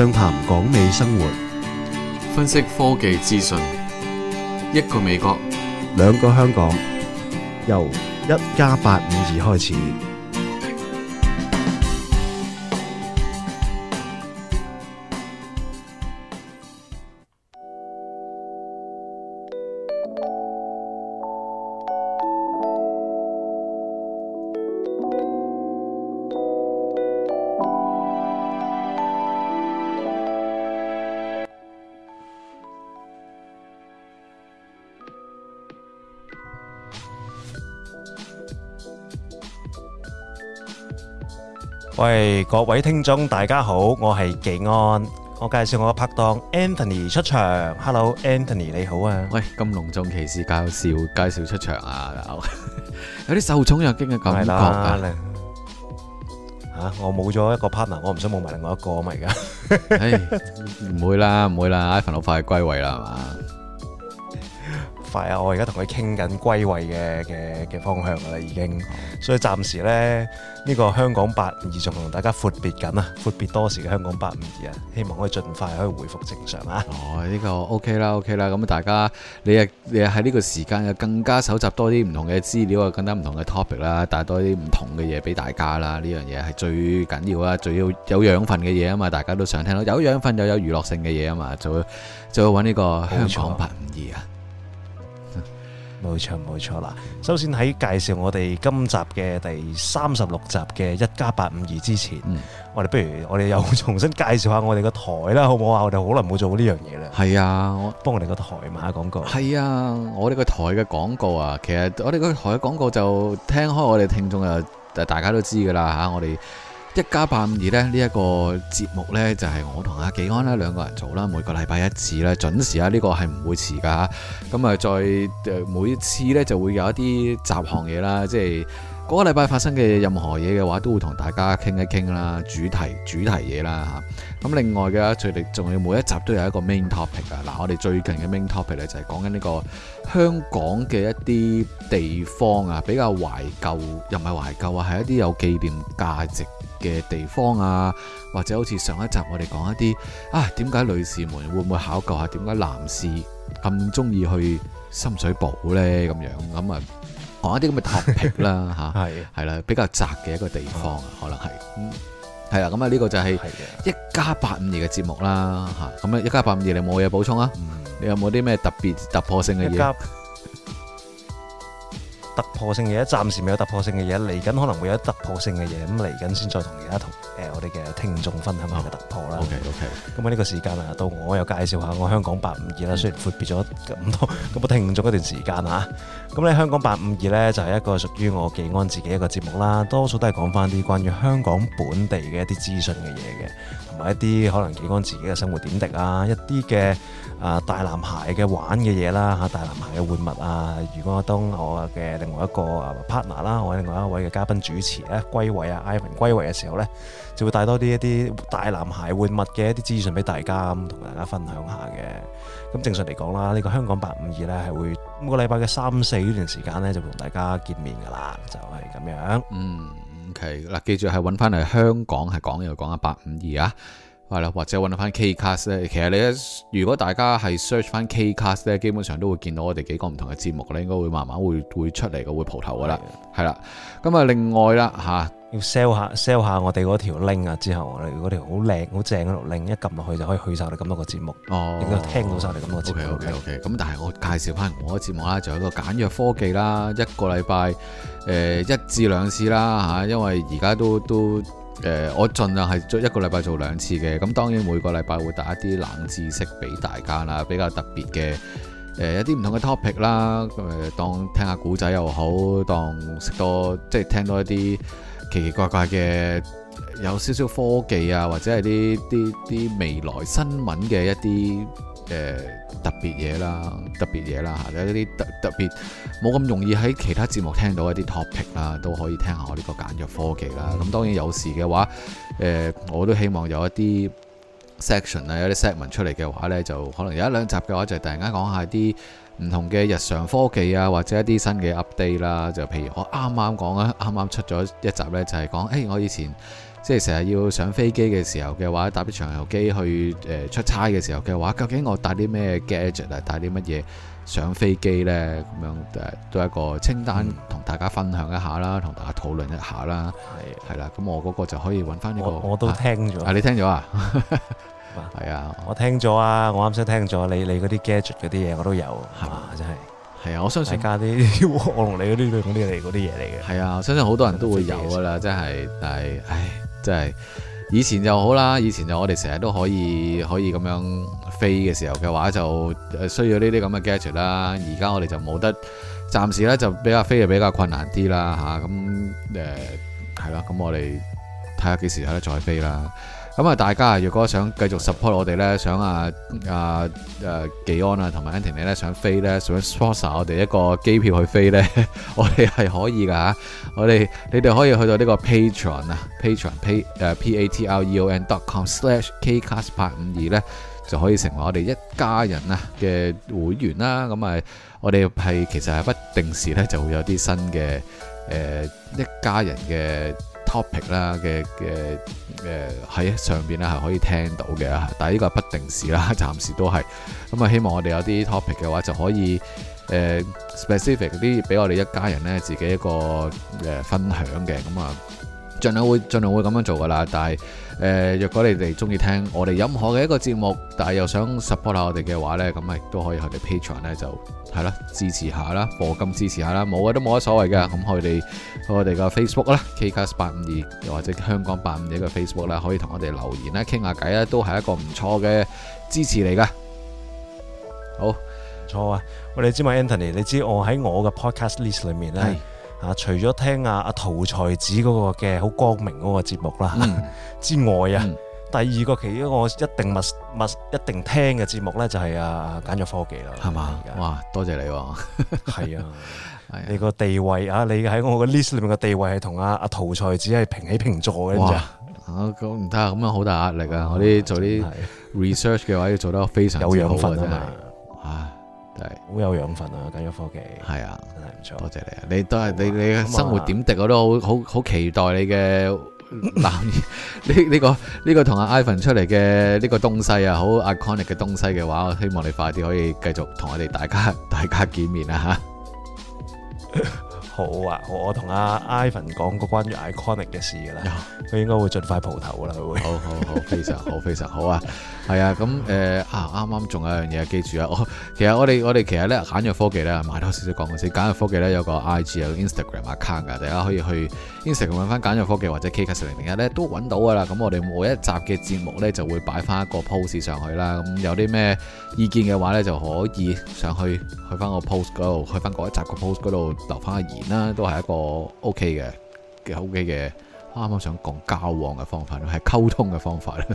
暢談港美生活， 分析科技資訊，一個美國， 兩個香港，由1+852開始。喂，各位聽眾大家好，我係技安，我介紹我嘅拍檔 Anthony 出場。Hello Anthony 你好啊。 喂，咁隆重其事介紹出場啊，有啲受寵若驚嘅感覺啊。 我冇咗一個 partner， 我唔想冇埋另外一個啊嘛而家。 唔會啦，Ivan 好快歸位啦係嘛？ 快啊！我而家同佢傾緊歸位嘅方向啦，已經，所以暫時咧呢個香講852仲同大家闊別緊啊，闊別多時嘅香講852啊，希望可以盡快可以回復正常啊！ 呢個 OK 啦，咁大家你喺呢個時間又更加搜集多啲唔同嘅資料啊，更加唔同嘅 topic 啦，帶多啲唔同嘅嘢俾大家啦，呢樣嘢係最緊要啦，最要有養分嘅嘢啊嘛，大家都想聽到有養分又有娛樂性嘅嘢啊嘛，就會揾呢個香講852啊！ 冇錯啦！首先喺介紹我哋今集嘅第36集嘅1+852之前，我哋又重新介紹下我哋個台啦，好唔好啊？我哋好耐冇做呢樣嘢啦。係啊，幫我哋個台賣下廣告。 係啊，我哋個台嘅廣告啊，其實我哋個台嘅廣告就聽開我哋聽眾啊，大家都知噶啦嚇，我哋1+852咧呢一個節目呢，就係我同阿技安啦兩個人做啦，每個禮拜一次啦，準時啊，呢個係唔會遲噶。咁啊，再每次呢，就會有一啲雜項嘢啦，即係嗰個禮拜發生嘅任何嘢嘅話，都會同大家傾一傾啦，主題嘢啦嚇。咁另外嘅，最哋仲要每一集都有一個 main topic 啊。嗱，我哋最近嘅 main topic 呢，就係講緊呢個香港嘅一啲地方啊，比較懷舊，又唔係懷舊啊，係一啲有紀念價值嘅地方啊，或者好似上一集我哋講一啲點解女士們會唔會考究下點解男士咁中意去深水埗呢？咁樣咁啊，講一啲咁嘅 topic 啦嚇，係啦，比較窄嘅一個地方啊，可能係係啦，咁啊呢個就係1+852嘅節目啦嚇，咁啊1+852你冇嘢補充啊？你有冇啲咩特別突破性嘅嘢？ 突破性嘅嘢，暫時未有突破性嘅嘢，嚟緊可能會有突破性嘅嘢，咁嚟緊先再同而家同我哋嘅聽眾分享下嘅突破啦。 OK， 咁啊呢個時間啊，到我又介紹下我香講852啦。雖然闊別咗咁多聽眾一段時間嚇，咁咧香講852咧就係一個屬於我技安自己一個節目啦，多數都係講翻啲關於香港本地嘅一啲資訊嘅嘢嘅，同埋一啲可能技安自己嘅生活點滴啊，一啲嘅大男孩嘅玩嘅嘢啦嚇，大男孩嘅玩物啊。如果當我嘅另外一個 partner 啦，我另外一位嘅嘉賓主持咧歸位啊 Ivan 歸位嘅時候咧，就會帶多啲一啲大男孩玩物嘅一啲資訊俾大家，咁同大家分享下嘅。咁正常嚟講啦，呢個香講852咧係會每個禮拜嘅3、4呢段時間咧就會同大家見面噶啦，就係咁樣。 OK 嗱，記住係揾翻嚟香港係講又講下852啊。係啦，或者揾到翻 Kcast 咧，其實你如果大家係 search 翻 Kcast 咧，基本上都會見到我哋幾個唔同嘅節目咧，應該會慢慢會出嚟嘅，會蒲頭噶啦，係啦。咁啊，另外啦嚇， 要 sell 下我哋嗰條 link 啊，之後我哋嗰條好靚好正嗰條 link，一撳落去就可以去晒我哋咁多個節目，應該聽到晒我哋咁多個節目。 OK。咁但係我介紹翻我嘅節目啦，就有一個簡約科技啦，一個禮拜1至2次啦嚇，因為而家都我盡量係一個禮拜做2次嘅，咁當然每個禮拜會帶一啲冷知識俾大家啦，比較特別嘅一啲唔同嘅 topic 啦，當聽下古仔又好，當識多即係聽多一啲奇奇怪怪嘅有少少科技啊，或者係啲未來新聞嘅一啲特別嘢啦嚇，有一啲特別冇咁容易喺其他節目聽到一啲 topic 啦，都可以聽下我呢個簡約科技啦。咁當然有時嘅話，我都希望有一啲 section 啊，有啲 segment 出嚟嘅話呢，就可能有1、2集嘅話，就突然間講下啲唔同嘅日常科技啊，或者一啲新嘅 update 啦。就譬如我啱啱講啊，啱啱出咗一集呢，就係講我以前即係成日要上飛機嘅時候嘅話，搭啲長遊機去出差嘅時候嘅話，究竟我帶啲咩 gadget 啊，帶啲乜嘢上飛機呢？咁樣都係一個清單，同大家分享一下啦，同大家討論一下啦。係啦，咁我嗰個就可以揾翻呢個。 我都聽咗。 你聽咗啊？係啊， 我聽咗啊，我啱先聽咗你嗰啲 gadget 嗰啲嘢我都有，係嘛，真係。係啊，我相信加啲我同你嗰啲嘢嚟嘅。 係啊，我相信好多人都會有噶啦，真係。但係，真係以前就好啦，以前就我哋成日都可以咁樣飛嘅時候嘅話，就需要呢啲咁嘅 gadget 啦。而家我哋就冇得，暫時咧就比較飛就比較困難啲啦嚇。咁係啦，咁我哋睇下幾時有得再飛啦。咁啊，大家如果想繼續 support 我哋咧，想技安啊同埋 Anthony 咧想飛咧，想 sponsor 我哋一個機票去飛咧，我哋係可以噶嚇。你哋可以去到呢個 Patreon 啊 patreon.com/kcast852 咧，就可以成為我哋一家人啊嘅會員啦。咁啊，我哋其實係不定時咧就會有啲新嘅一家人嘅topic 啦嘅喺上邊咧係可以聽到嘅，但係呢個係不定時啦，暫時都係咁啊。希望我哋有啲 topic 嘅話就可以specific 啲俾我哋一家人咧自己一個分享嘅，咁啊盡量會咁樣做噶啦。但係若果你哋中意聽我哋任何嘅一個節目，但係又想 support 下我哋嘅話咧，咁咪都可以去我哋 Patreon 咧就係啦，支持下啦，課金支持下啦，冇嘅都冇乜所謂嘅。咁我哋個 Facebook 啦 ，Kcast852 又或者香港852嘅 Facebook 啦，可以同我哋留言啦，傾下偈啦，都係一個唔錯嘅支持嚟噶。好，唔錯啊！我哋知嘛 Anthony，你知我喺我嘅 podcast list 裏面咧。除咗聽阿陶才子嗰個嘅好光明嗰個節目啦、之外啊，第二個其中我一定聽嘅節目咧就係簡約科技啦，係嘛？ 哇，多謝你喎！ 係啊，你個地位啊，你喺我個 list 裏面嘅地位係同阿陶才子係平起平坐嘅，哇！ 咁唔得啊，咁樣好大壓力啊！我啲做啲 research 嘅話要做得非常之好有養分真係。 好有養分啊！簡約科技係啊， 真係唔錯。 多謝你啊！你都係你嘅生活點滴，我都好期待你嘅呢個同阿 Ivan 出嚟嘅呢個東西啊，好 iconic 嘅東西嘅話，我希望你快啲可以繼續同我哋大家見面啊！嚇好啊！我同阿 Ivan 講過關於 iconic 嘅事㗎啦，佢應該會盡快蒲頭㗎啦，佢會。好，非常好，非常好啊！係啊，咁啱啱仲有一樣嘢，記住啊！其實我哋其實咧簡約科技咧，買多少少講過先。簡約科技咧有個 IG 有個 Instagram account 㗎，大家可以去 Instagram 揾翻簡約科技或者 Kcast001咧都揾到㗎啦。咁我哋每一集嘅節目咧就會擺翻一個 post 上去啦。咁有啲咩意見嘅話咧，就可以上去翻個 post 嗰度，去翻嗰一集個 post 嗰度留翻個言啦，都係一個 OK 嘅。啱啱想講交往嘅方法，係溝通嘅方法咧，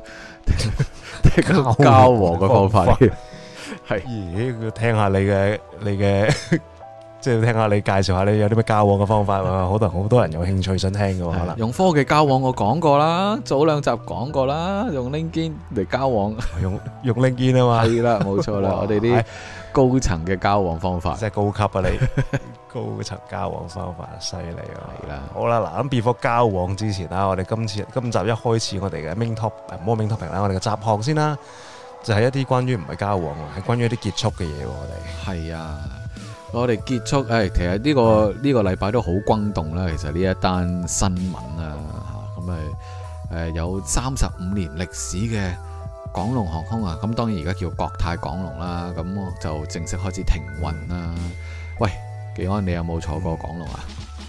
交往嘅方法係。 咦？聽下你嘅，即係聽下你介紹下你有啲咩交往嘅方法喎？好多人有興趣想聽嘅喎，可能用科技交往我講過啦，早兩集講過啦，用 LinkedIn 嚟交往， 用 LinkedIn 啊嘛， 係啦，冇錯啦，我哋啲高層嘅交往方法， 即係高級啊你。高層交往方法犀利啊！ 係啦， 好啦，嗱咁 before 交往之前啦，我哋今集一開始我哋嘅 main topic 啦，我哋嘅雜項先啦，就係一啲關於唔係交往喎，係關於一啲結束嘅嘢喎，我哋係啊， 我哋結束其實呢個禮拜都好轟動啦，其實呢一單新聞啊，咁有35年歷史嘅港龍航空啊，咁當然而家叫國泰港龍啦，咁就正式開始停運啦。喂！技安，你有冇坐過港龍啊？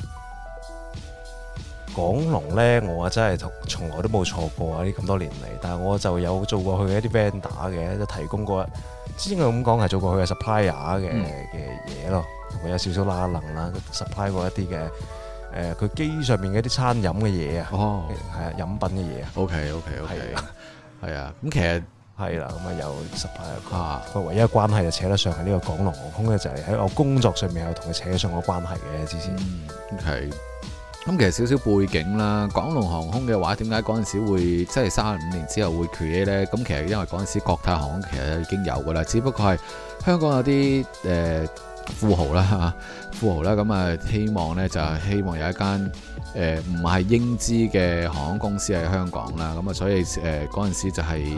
港龍呢，我真係從來都冇坐過啊！呢咁多年嚟，但係我就有做過佢嘅一啲 vendor 嘅，就提供過，之前佢咁講係做過佢嘅 supplier 嘅嘢咯，同佢有少少拉能啦，supply 過一啲嘅佢機上面嘅一啲餐飲嘅嘢啊，係啊，飲品嘅嘢啊。OK，係啊，咁其實。係啦，咁有supply 佢唯一嘅關係就扯得上係呢個港龍航空咧，就係喺我工作上面有同佢扯上個關係嘅之前。係，咁其實少少背景啦，港龍航空嘅話，點解嗰陣時會即係35年之後會 create 咧？咁其實因為嗰陣時國泰航空其實已經有噶啦，只不過係香港有啲富豪啦，咁啊希望呢，就係希望有一間唔係英資嘅航空公司喺香港啦，咁啊所以嗰陣時就係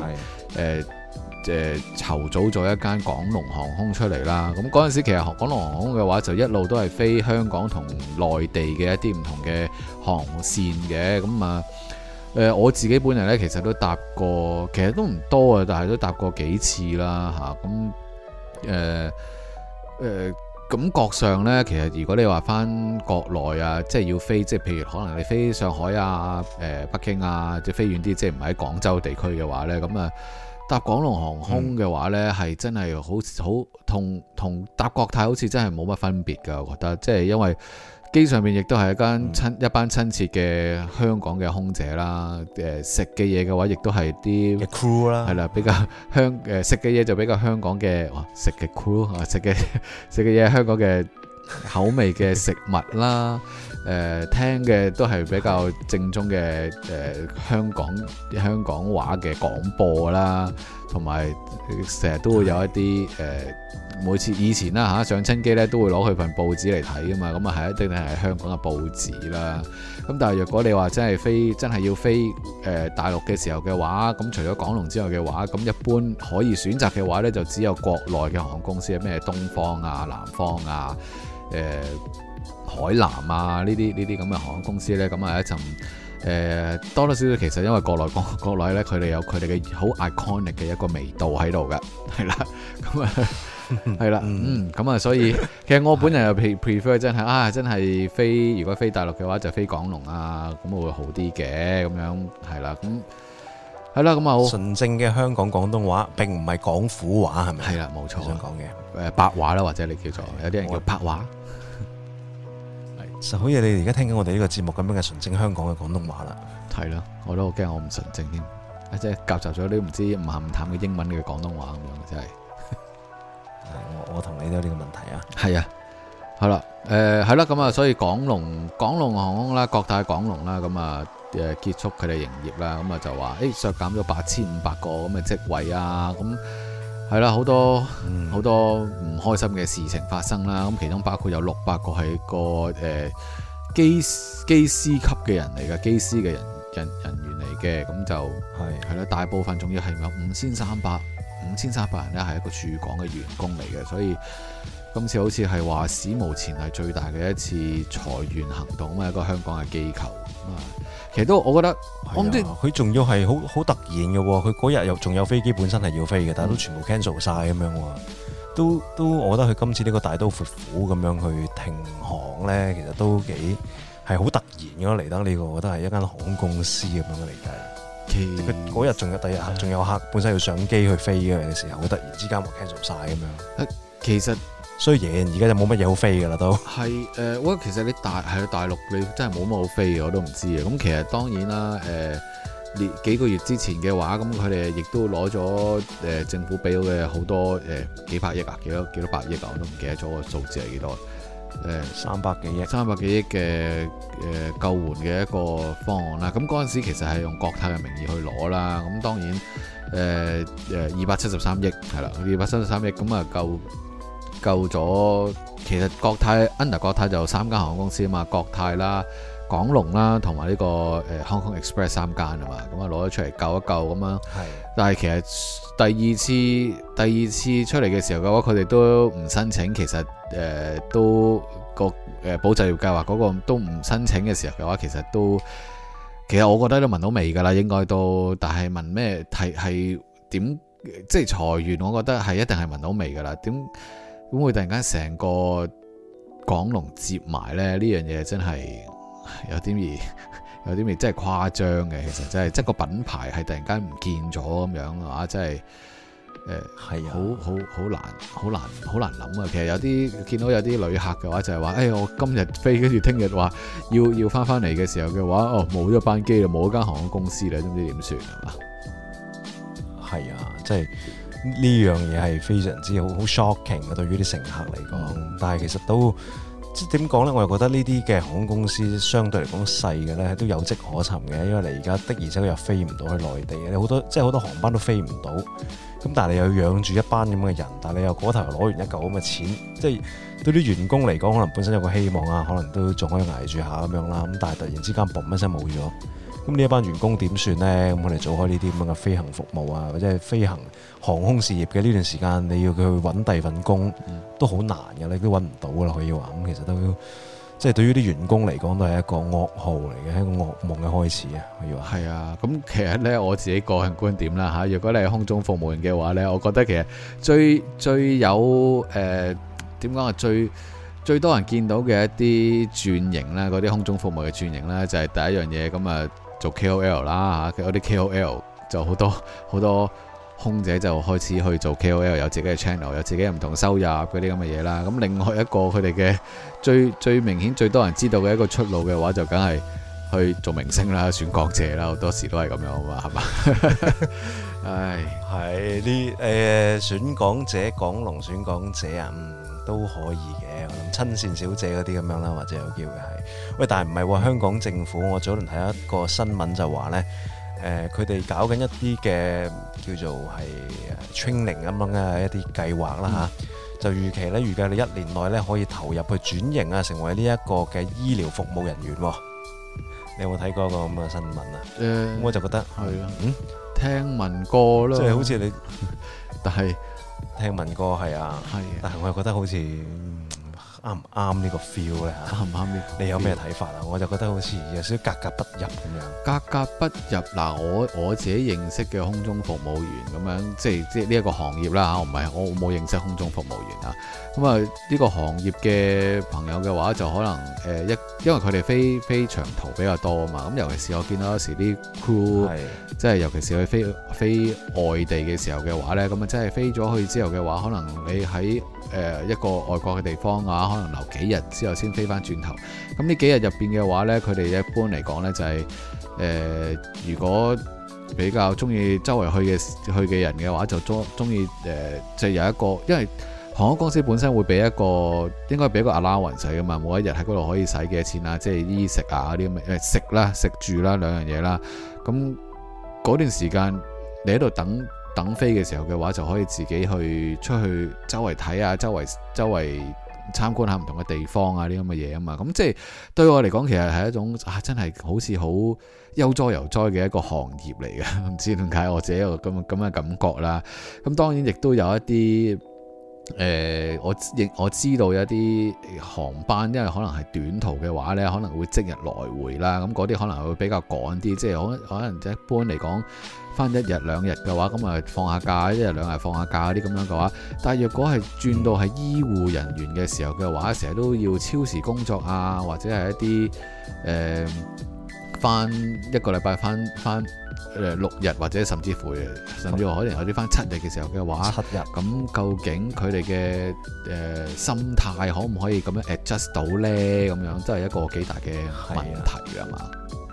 籌組咗一間港龍航空出嚟啦。咁嗰陣時其實港龍航空嘅話就一路都係飛香港同內地嘅一啲唔同嘅航線嘅。咁啊我自己本人呢，其實都搭過，其實都唔多啊，但係都搭過幾次啦嚇。咁感覺上呢，其實如果你話翻國內啊，即係要飛，即係譬如可能你飛上海啊、北京啊，即係飛遠啲，即係唔喺廣州地區嘅話呢，咁啊搭港龍航空嘅話呢，係真係好同搭國泰好似真係冇乜分別㗎，我覺得，即係因為機上面亦都係一班親切嘅香港嘅空姐啦，食嘅嘢嘅話，亦都係啲 crew 啦， 係啦，比較食嘅嘢就比較香港嘅食嘅 crew 啊，食嘅嘢香港嘅口味嘅食物啦，聽嘅都係比較正宗嘅香港話嘅廣播啦，同埋成日都會有一啲每次以前啦上親機咧都會攞佢份報紙嚟睇噶嘛，咁啊係一定係香港嘅報紙啦。咁但係若果你話真係要飛大陸嘅時候嘅話，咁除咗港龍之外嘅話，咁一般可以選擇嘅話咧，就只有國內嘅航空公司，咩東方啊、南方啊、海南啊呢啲咁嘅航空公司咧，咁啊一陣多多少少其實因為國內咧佢哋有佢哋嘅好 iconic 嘅一個味道喺度㗎，係啦，咁啊。係啦，咁啊，所以其實我本人又 prefer 真係飛，如果飛大陸嘅話就飛港龍啊，咁會好啲嘅，咁樣係啦，咁係啦，咁啊好純正嘅香港廣東話，並唔係廣府話，係咪？ 係啦，冇錯， 想講嘅白話啦，或者你叫做有啲人叫白話， 就好似你而家聽緊我哋呢個節目咁樣嘅純正香港嘅廣東話啦。 係啦，我都好驚我唔純正添，即係夾雜咗啲唔知唔鹹唔淡嘅英文嘅廣東話咁樣，真係。 我同你都有呢個問題啊。 係啊，係啦，係啦，咁啊，所以港龍航空啦，國泰港龍啦，咁啊結束佢哋營業啦，咁啊就話削減咗8500個咁嘅職位啊，咁係啦，好多唔開心嘅事情發生啦，咁其中包括有600個係個機師級嘅人嚟嘅，機師嘅人員嚟嘅，咁就係啦，大部分仲要係有5300人咧，係一個駐港嘅員工嚟嘅，所以今次好似係話史無前例最大嘅一次裁員行動啊！一個香港嘅機構其實都我覺得，我唔知佢仲要係好突然嘅喎，佢嗰日又仲有飛機本身係要飛嘅，但係都全部 cancel 晒咁樣喎，都我覺得佢今次呢個大刀闊斧咁樣去停航咧，其實都幾係好突然嘅嚟得呢個，我覺得係一間航空公司咁樣嘅理解。佢嗰日仲有第二日仲有客本身要上機去飛嘅時候，佢突然之間話 cancel 晒咁樣。其實雖然而家就冇乜嘢好飛㗎啦，都係我覺得其實你大陸你真係冇乜好飛嘅，我都唔知嘅。咁其實當然啦，幾個月之前嘅話，咁佢哋亦都攞咗政府俾到嘅好多幾百億啊，幾多百億啊，我都唔記得咗個數字係幾多。 300幾億嘅救援嘅一個方案啦，咁嗰陣時其實係用國泰嘅名義去攞啦，咁當然273億係啦，273億咁啊救咗，其實國泰 under 國泰就有3間航空公司啊嘛，國泰啦、港龍啦同埋呢個Hong Kong Express 3間啊嘛，咁啊攞咗出嚟救一救咁樣，但係其實第二次出嚟嘅時候嘅話，佢哋都唔申請，其實都個保就業計劃嗰個都唔申請嘅時候嘅話，其實我覺得都聞到味㗎啦，應該都，但係聞咩係點即係裁員，我覺得係一定係聞到味㗎啦，點會突然間成個港龍接埋咧？呢樣嘢真係有啲味真係誇張嘅，其實真係即係個品牌係突然間唔見咗咁樣啊！真係係好難諗啊！其實有啲見到有啲旅客嘅話就係話，我今日飛跟住聽日話要翻嚟嘅時候嘅話，冇咗班機啦，冇咗間航空公司啦，都唔知點算係嘛？ 係啊，即係呢樣嘢係非常之好 shocking 嘅，對於啲乘客嚟講。但係其實都即係點講呢？我又覺得呢啲嘅航空公司相對嚟講細嘅呢，都有跡可尋嘅，因為你而家的而且確又飛唔到去內地嘅，你好多航班都飛唔到。咁但係你又要養住一班咁嘅人，但係你又嗰頭又攞完一嚿咁嘅錢，即係對啲員工嚟講，可能本身有個希望啊，可能都仲可以捱住下咁樣啦。咁但係突然之間嘣一聲冇咗，咁呢一班員工點算呢？咁我哋做開呢啲咁嘅飛行服務啊，或者係飛行航空事業嘅呢段時間，你要佢去揾第二份工都好難嘅，你都揾唔到噶啦，可以話。咁其實都即係對於啲員工嚟講都係一個噩耗嚟嘅，係一個噩夢嘅開始啊，可以話。係啊，咁其實呢，我自己個人觀點啦嚇，如果你係空中服務員嘅話呢，我覺得其實最有點講啊，最多人見到嘅一啲轉型啦，嗰啲空中服務嘅轉型啦，就係第一樣嘢咁啊，做 KOL 啦嚇，嗰啲 KOL 就好多空姐就開始去做 KOL， 有自己嘅 channel， 有自己唔同收入嗰啲咁嘅嘢啦。咁另外一個佢哋嘅最明顯最多人知道嘅一個出路嘅話，就梗係去做明星啦、選港姐啦，好多時都係咁樣啊嘛，係嘛？唉， 係啲選港姐、港龍選港姐啊，都可以嘅。我諗親善小姐嗰啲咁樣啦，或者有機會係。喂，但係唔係喎？香港政府我早輪睇一個新聞就話呢。佢哋搞緊一啲嘅叫做係 training 咁樣嘅一啲計劃啦嚇，就預期咧預計你1年內咧可以投入去轉型啊，成為呢一個嘅醫療服務人員。你有冇睇過個咁嘅新聞啊？我就覺得係啊，聽聞過咯， 即係好似你， 但係聽聞過係啊，但係我又覺得好似啱唔啱呢個 feel 咧嚇？啱唔啱呢？你有咩睇法啊？我就覺得好似有少少格格不入咁樣。 格格不入嗱，我自己認識嘅空中服務員咁樣，即係呢一個行業啦嚇，我冇認識空中服務員啊。咁啊，呢個行業嘅朋友嘅話，就可能因為佢哋飛長途比較多啊嘛。咁尤其是我見到有時啲 crew，即係尤其是去飛外地嘅時候嘅話咧，咁啊真係飛咗去之後嘅話，可能你喺一個外國嘅地方啊，可能留幾日之後先飛翻轉頭。咁呢幾日入邊嘅話呢，佢哋一般嚟講呢，就係如果比較中意周圍去嘅人嘅話，就中意就有一個，因為航空公司本身會俾一個應該俾一個 allowance 㗎嘛，每一日喺嗰度可以使幾多錢啊，即係衣食啊嗰啲咁嘅食啦、食住啦兩樣嘢啦。咁嗰段時間你喺度等飛嘅時候嘅話，就可以自己去出去周圍睇啊，周圍參觀下唔同嘅地方啊，啲咁嘅嘢啊嘛。咁即係對我嚟講，其實係一種真係好似好悠哉悠哉嘅一個行業嚟嘅。唔知點解我自己有咁嘅感覺啦。咁當然亦都有一啲我知道有一啲航班，因為可能係短途嘅話呢，可能會即日來回啦。咁嗰啲可能會比較趕啲，即係可能一般嚟講，翻1日2日嘅話，咁啊放下假，1日2日放下假啲咁樣嘅話，但係若果係轉到係醫護人員嘅時候嘅話，成日都要超時工作啊，或者係一啲翻一個禮拜翻6日，或者甚至乎可能有啲翻7日嘅時候嘅話，7日咁究竟佢哋嘅心態可唔可以咁樣 adjust 到呢？咁樣真係一個幾大嘅問題啊嘛。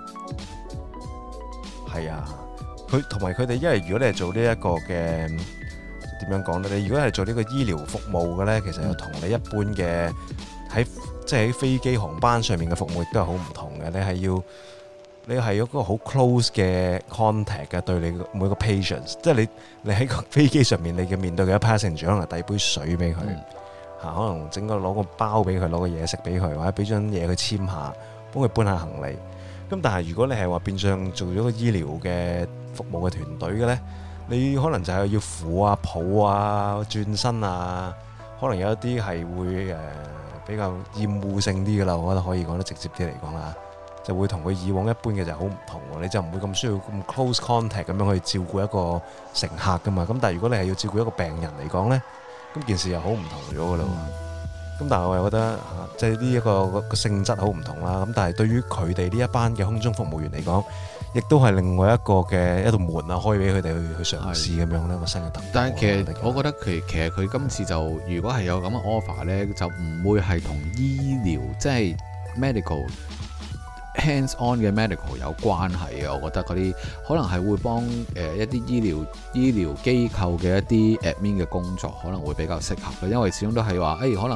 係啊。 佢同埋佢哋，因為如果你係做呢一個嘅點樣講呢？你如果係做呢個醫療服務嘅呢，其實又同你一般嘅即係喺飛機航班上面嘅服務亦都係好唔同嘅。你係有個好 close 嘅 contact 嘅，對你每個 patients， 即係你喺個飛機上面，你嘅面對嘅 passenger 可能遞杯水俾佢嚇，可能攞個包俾佢，攞個嘢食俾佢，或者俾張嘢佢簽下，幫佢搬下行李。咁但係如果你係話變相做咗個醫療嘅服務嘅團隊嘅呢，你可能就係要扶啊、抱啊、轉身啊，可能有一啲係會比較厭惡性啲嘅啦，我覺得可以講得直接啲嚟講啦，就會同佢以往一般嘅就好唔同喎，你就唔會咁需要咁 close contact 咁樣去照顧一個乘客噶嘛。咁但係如果你係要照顧一個病人嚟講呢，咁件事又好唔同咗噶啦。咁但係我又覺得即係呢一個性質好唔同啦。咁但係對於佢哋呢一班嘅空中服務員嚟講，亦都係另外一個嘅一道門啊，開俾佢哋去嘗試咁樣咧個新嘅突破。 但係其實我覺得其實佢今次就如果係有咁嘅 offer 咧，就唔會係同醫療即係 medical hands on 嘅 medical 有關係嘅。我覺得嗰啲可能係會幫一啲醫療機構嘅一啲 admin 嘅工作可能會比較適合嘅，因為始終都係話可能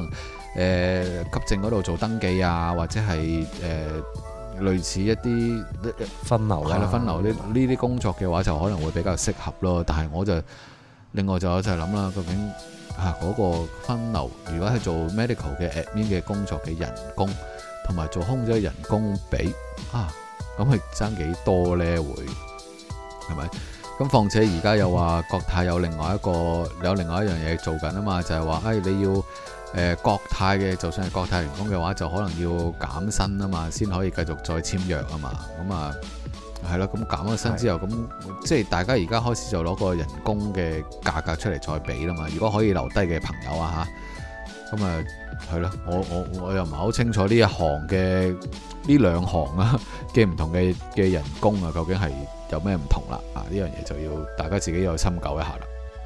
急症嗰度做登記啊，或者係類似一啲分流啦， 係啦，分流呢啲工作嘅話就可能會比較適合咯。但係我就另外就諗啦，究竟嗰個分流，如果係做 medical 嘅 admin 嘅工作嘅人工，同埋做空姐嘅人工比咁係爭幾多呢？會係咪？咁況且而家又話國泰有另外一樣嘢做緊啊嘛，就係話你要國泰嘅，就算係國泰員工嘅話，就可能要減薪啊嘛，先可以繼續再簽約啊嘛。咁係咯，咁減咗薪之後，咁即係大家而家開始就攞個人工嘅價格出嚟再比啦嘛。如果可以留低嘅朋友啊嚇，咁係咯，我又唔係好清楚呢一行嘅呢兩行啊嘅唔同嘅人工啊，究竟係有咩唔同啦？呢樣嘢就要大家自己有深究一下啦。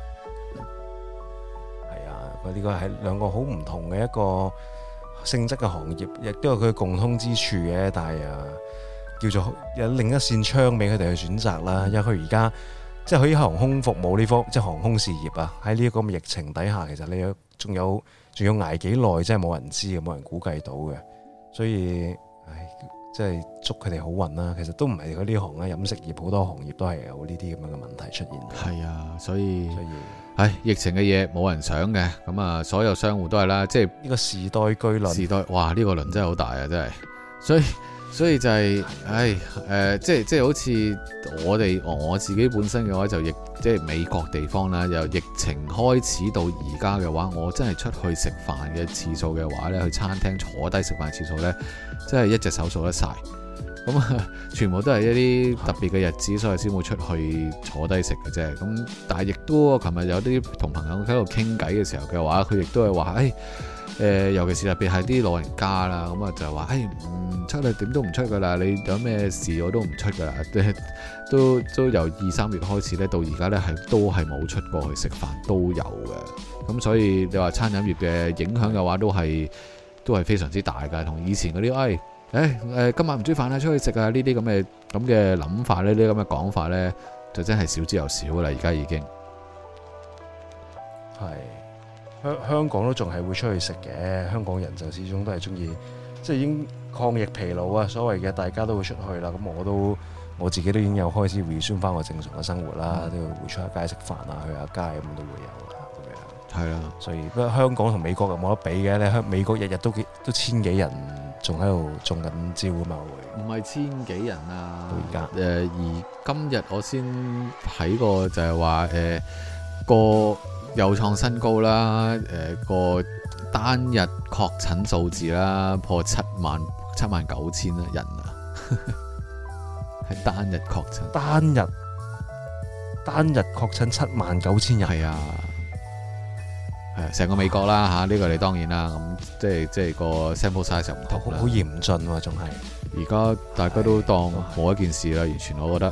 係啊，呢個係兩個好唔同嘅一個性質嘅行業，亦都有佢共通之處嘅，但係叫做有另一扇窗俾佢哋去選擇啦。因為佢而家即係佢啲航空服務呢方，即係航空事業啊，喺呢一個疫情底下，其實你仲要捱幾耐，真係冇人知嘅，冇人估計到嘅。所以，即係祝佢哋好運啦。其實都唔係佢呢行啦，飲食業好多行業都係有呢啲咁樣嘅問題出現。係啊，所以疫情嘅嘢冇人想嘅，咁啊，所有商戶都係啦，即係呢個時代巨輪。 哇！呢個輪真係好大啊，真係。所以就係，即係好似我自己本身嘅話，即係美國地方啦，由疫情開始到而家嘅話，我真係出去食飯嘅次數嘅話呢，去餐廳坐低食飯次數呢，真係一隻手數得晒。咁啊，全部都係一啲特別嘅日子，所以先會出去坐低食嘅啫。咁但係亦都，我琴日有啲同朋友喺度傾偈嘅時候嘅話，佢亦都係話，尤其是特別係啲老人家啦，咁啊就話，唔出去點都唔出噶啦，你有咩事我都唔出噶啦，都由2-3月開始咧，到而家咧都係冇出過去食飯都有嘅。咁所以你話餐飲業嘅影響嘅話，都係非常之大噶，同以前嗰啲今晚唔煮飯啦，出去食啊，呢啲咁嘅諗法咧，呢啲咁嘅講法咧，就真係少之又少啦。而家已經係香港都仲係會出去食嘅，香港人就始終都係中意，即係已經抗疫疲勞啊，所謂嘅大家都會出去啦。咁我自己都已經有開始 resume 翻我正常嘅生活啦，都要會出下街食飯啊，去下街咁都會有啦。咁樣係啦，所以不過香港同美國又冇得比嘅，你美國日日都千幾人。仲喺度中緊招啊嘛，會唔係千幾人啊？ 到而家而今日我先睇過就係話個又創新高啦，個單日確診數字啦破79000人啊，係單日確診， 單日確診79000人， 係啊。係成個美國啦嚇，呢個你當然啦，咁即係個 sample size 就唔同啦， 好嚴峻喎，仲係而家大家都當冇一件事啦，完全我覺得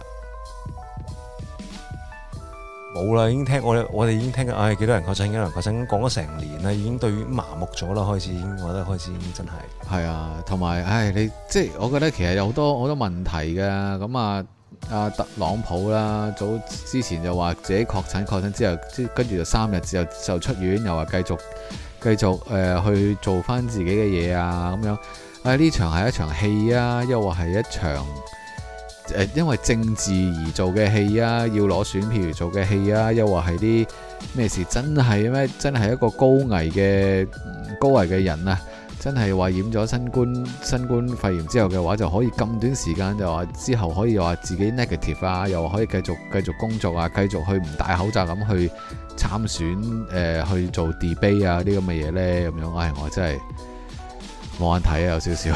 冇啦，已經聽我哋已經聽緊，幾多人確診，幾多人確診，講咗成年啦，已經對於麻木咗啦，開始已經覺得開始已經真係啊，同埋你即係我覺得其實有好多問題嘅，咁阿特朗普啦，早之前就話自己確診之後，跟住就3日之後就出院，又話繼續去做翻自己嘅嘢啊咁樣。呢場係一場戲啊，又話係一場因為政治而做嘅戲啊，要攞選票而做嘅戲啊，又話係啲咩事？真係咩？真係一個高危嘅人啊！真係話染咗新冠肺炎之後嘅話，就可以咁短時間就話之後可以話自己 negative 啊，又可以繼續工作啊，繼續去唔戴口罩咁去參選去做 debate 啊啲咁嘅嘢呢。咁樣，我真係冇眼睇啊，有少少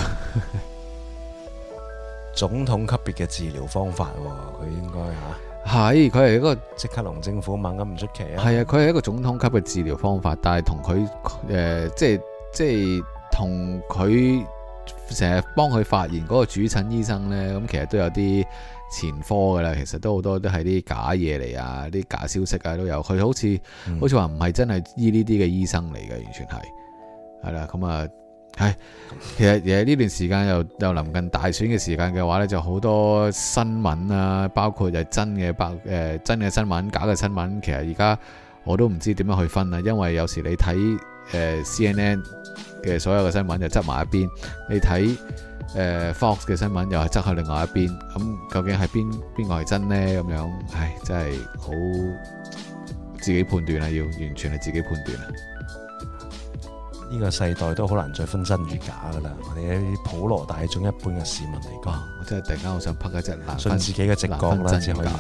總統級別嘅治療方法喎，佢應該係佢係一個即刻龍政府猛咁唔出奇啊，係啊，佢係一個總統級嘅治療方法，但係同佢即係同佢成日幫佢發言嗰個主診醫生呢，咁其實都有啲前科㗎啦。其實都好多都係啲假嘢嚟啊，啲假消息啊都有。佢好似話唔係真係醫呢啲嘅醫生嚟嘅，完全係啦。咁啊，其實呢段時間又臨近大選嘅時間嘅話呢，就好多新聞啊，包括係真嘅新聞、假嘅新聞。其實而家我都唔知點樣去分啊，因為有時你睇CNN 嘅所有嘅新聞就執埋一邊，你睇Fox 嘅新聞又係執去另外一邊，咁究竟係邊個係真呢？咁樣，唉，真係好自己判斷啦，要完全係自己判斷啊！ 呢個世代都好難再分真與假噶啦，我哋啲普羅大眾一般嘅市民嚟講， 我真係突然間好想拍一隻難信自己嘅直覺啦，只可以係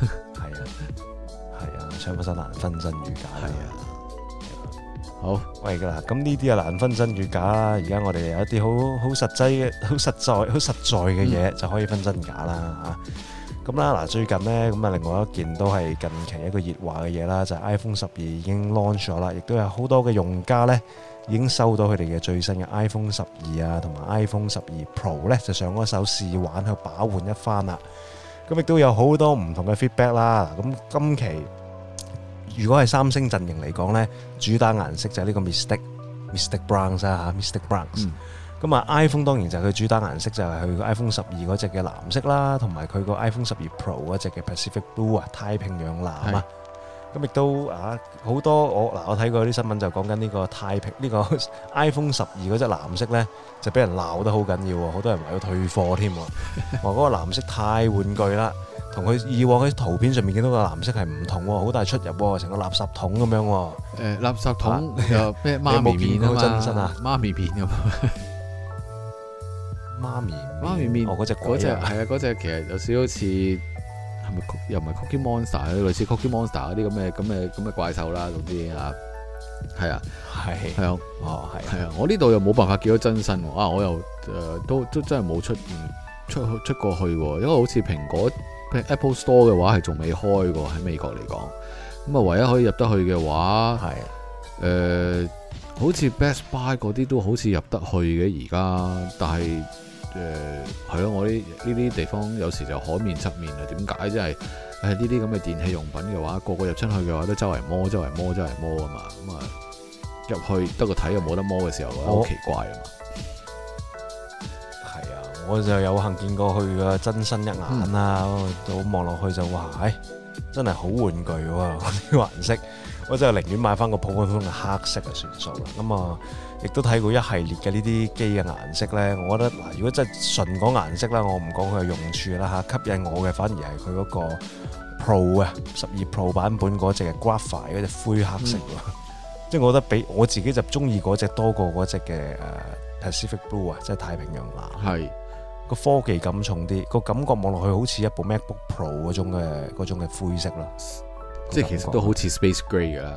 啊，搶不手難分真與假。係啊， 好喂噶啦，咁呢啲啊難分真與假啦。而家我哋有一啲好實際嘅、好實在嘅嘢就可以分真假啦嚇。咁啦嗱，最近呢，咁啊，另外一件都係近期一個熱話嘅嘢啦，就係 iPhone 12已經 launch 咗啦，亦都有好多嘅用家呢已經收到佢哋嘅最新嘅 iPhone 12啊，同埋 iPhone 12 Pro 呢，就上嗰手試玩去把玩一番啦。咁亦都有好多唔同嘅 feedback 啦。咁今期如果係三星陣營嚟講呢，主打顏色就係呢個 Mystic Browns 啊 Mystic Browns。咁啊 iPhone 當然就係佢主打顏色就係佢個 iPhone 12嗰隻嘅藍色啦，同埋佢個 iPhone 12 Pro 嗰隻嘅 Pacific Blue 啊，太平洋藍啊。咁亦都好多我睇過啲新聞就講緊呢個呢個 iPhone 12嗰隻藍色呢，就俾人鬧得好緊要喎，好多人話要退貨添喎，話嗰個藍色太玩具啦，同佢以往喺圖片上面見到個藍色係唔同喎，好大出入喎，成個垃圾桶咁樣喎。 垃圾桶又咩媽咪面啊嘛？真身啊，媽咪面咁。媽咪面， 嗰隻係啊，嗰隻其實有少少似係咪又唔係 Cookie Monster 類似 Cookie Monster 嗰啲咁嘅怪獸啦，總之啊，係啊，係啊，係啊，我呢度又冇辦法見到真身喎，我又都真係冇出過去喎，因為好似蘋果 Apple Store 嘅話係仲未開過喺美國嚟講，咁啊唯一可以入得去嘅話係好似 Best Buy 嗰啲都好似入得去嘅而家，但係係咯，我呢啲地方有時就海面側面啊，點解？即係呢啲咁嘅電器用品嘅話，個個入出去嘅話都周圍摸啊嘛，咁啊入去得個睇又冇得摸嘅時候，好奇怪啊嘛。係啊， 我就有幸見過佢嘅真身一眼啦，我望落去就哇，真係好玩具喎，啲顏色。我真係寧願買翻個普普通通嘅黑色就算數啦。咁啊，亦都睇過一系列嘅呢啲機嘅顏色咧。我覺得嗱，如果真係純講顏色啦，我唔講佢嘅用處啦嚇，吸引我嘅反而係佢嗰個 Pro 啊12 Pro 版本嗰隻嘅 Graphite 嗰隻灰黑色喎。即係我覺得比我自己就中意嗰隻多過嗰隻嘅Pacific Blue 啊，即係太平洋藍。係個科技感重啲，個感覺望落去好似一部 MacBook Pro 嗰種嘅灰色啦。 即係其實都好似 Space Grey 㗎啦，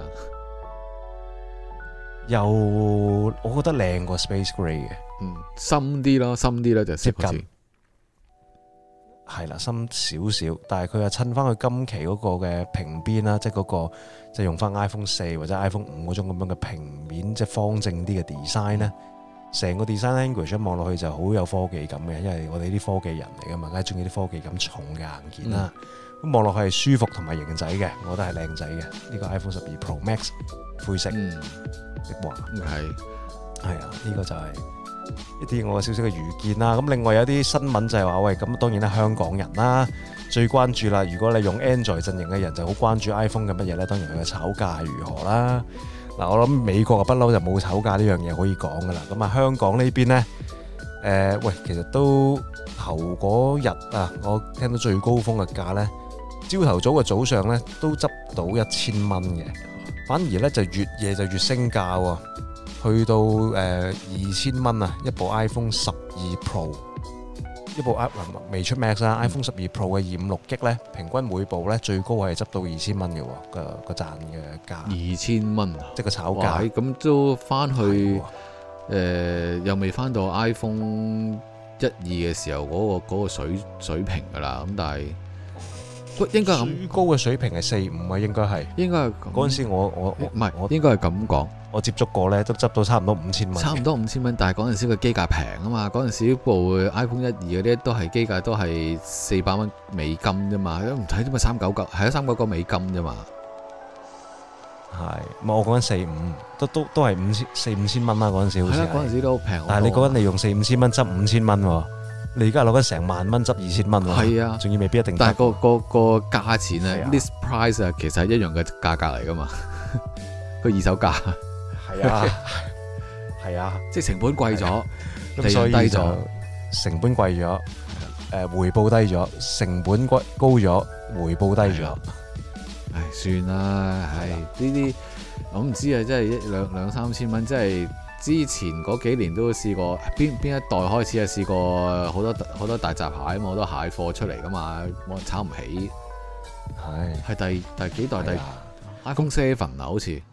又我覺得靚過 Space Grey 嘅， 深啲咯就接近， 係啦，深少少，但係佢又襯翻佢今期嗰個嘅平邊啦，即係嗰個即係用翻 iPhone 4或者 iPhone 5嗰種咁樣嘅平面，即係方正啲嘅 design 咧，成個 design language 望落去就好有科技感嘅，因為我哋啲科技人嚟㗎嘛，梗係中意啲科技感重嘅硬件啦。咁望落去係舒服同埋型仔嘅，我覺得係靚仔嘅。呢個 iPhone 12 Pro Max 灰色的話，係啊，呢個就係一啲我少少嘅預見啦。咁另外有啲新聞就係話，喂，咁當然啦，香港人啦最關注啦。如果你用 Android 陣營嘅人就好關注 iPhone 嘅乜嘢咧？當然佢嘅炒價係如何啦。嗱，我諗美國啊不嬲就冇炒價呢樣嘢可以講噶啦。咁啊，香港呢邊咧，喂，其實都頭嗰日啊，我聽到最高峰嘅價咧。朝頭早嘅早上咧都執到1000蚊嘅，反而咧就越夜就越升價喎，去到2000蚊啊！一部 iPhone 12 Pro， 一部未出 Max 啦，iPhone 12 Pro 嘅256G 咧，平均每部咧最高係執到2000蚊嘅喎，個賺嘅價。2000蚊，即係個炒價。 咁都翻去又未翻到 iPhone 1、2嘅時候嗰個水平㗎啦，咁但係。應該咁最高嘅水平係4、5啊，應該係嗰陣時我唔係，我應該係咁講。 我接觸過咧，都執到差唔多5000蚊。 差唔多5000蚊，但係嗰陣時個機價平啊嘛。嗰陣時部 iPhone 1、2嗰啲都係機價都係400蚊美金啫嘛，都唔睇點解399係399美金啫嘛。 係，我講緊4、5都係4、5000蚊啦。嗰陣時好似係。 嗰陣時都平。 但係你講緊你用4、5000蚊執5000蚊喎。你而家攞緊成萬蚊執2000蚊喎， 係啊， 仲要未必一定。 但係個價錢咧 list price 啊，其實係一樣嘅價格嚟噶嘛，個二手價。 係啊， 係啊， 即係成本貴咗， 咁所以低就咗， 成本貴咗，回報低咗，成本高咗，回報低咗。 唉，算啦，唉，呢啲我唔知啊，真係兩三千蚊，即係之前嗰幾年都試過，邊一代開始啊試過好多大閘蟹啊嘛，好多蟹貨出嚟噶嘛，我炒唔起。係第幾代？第 iPhone 7啊，好似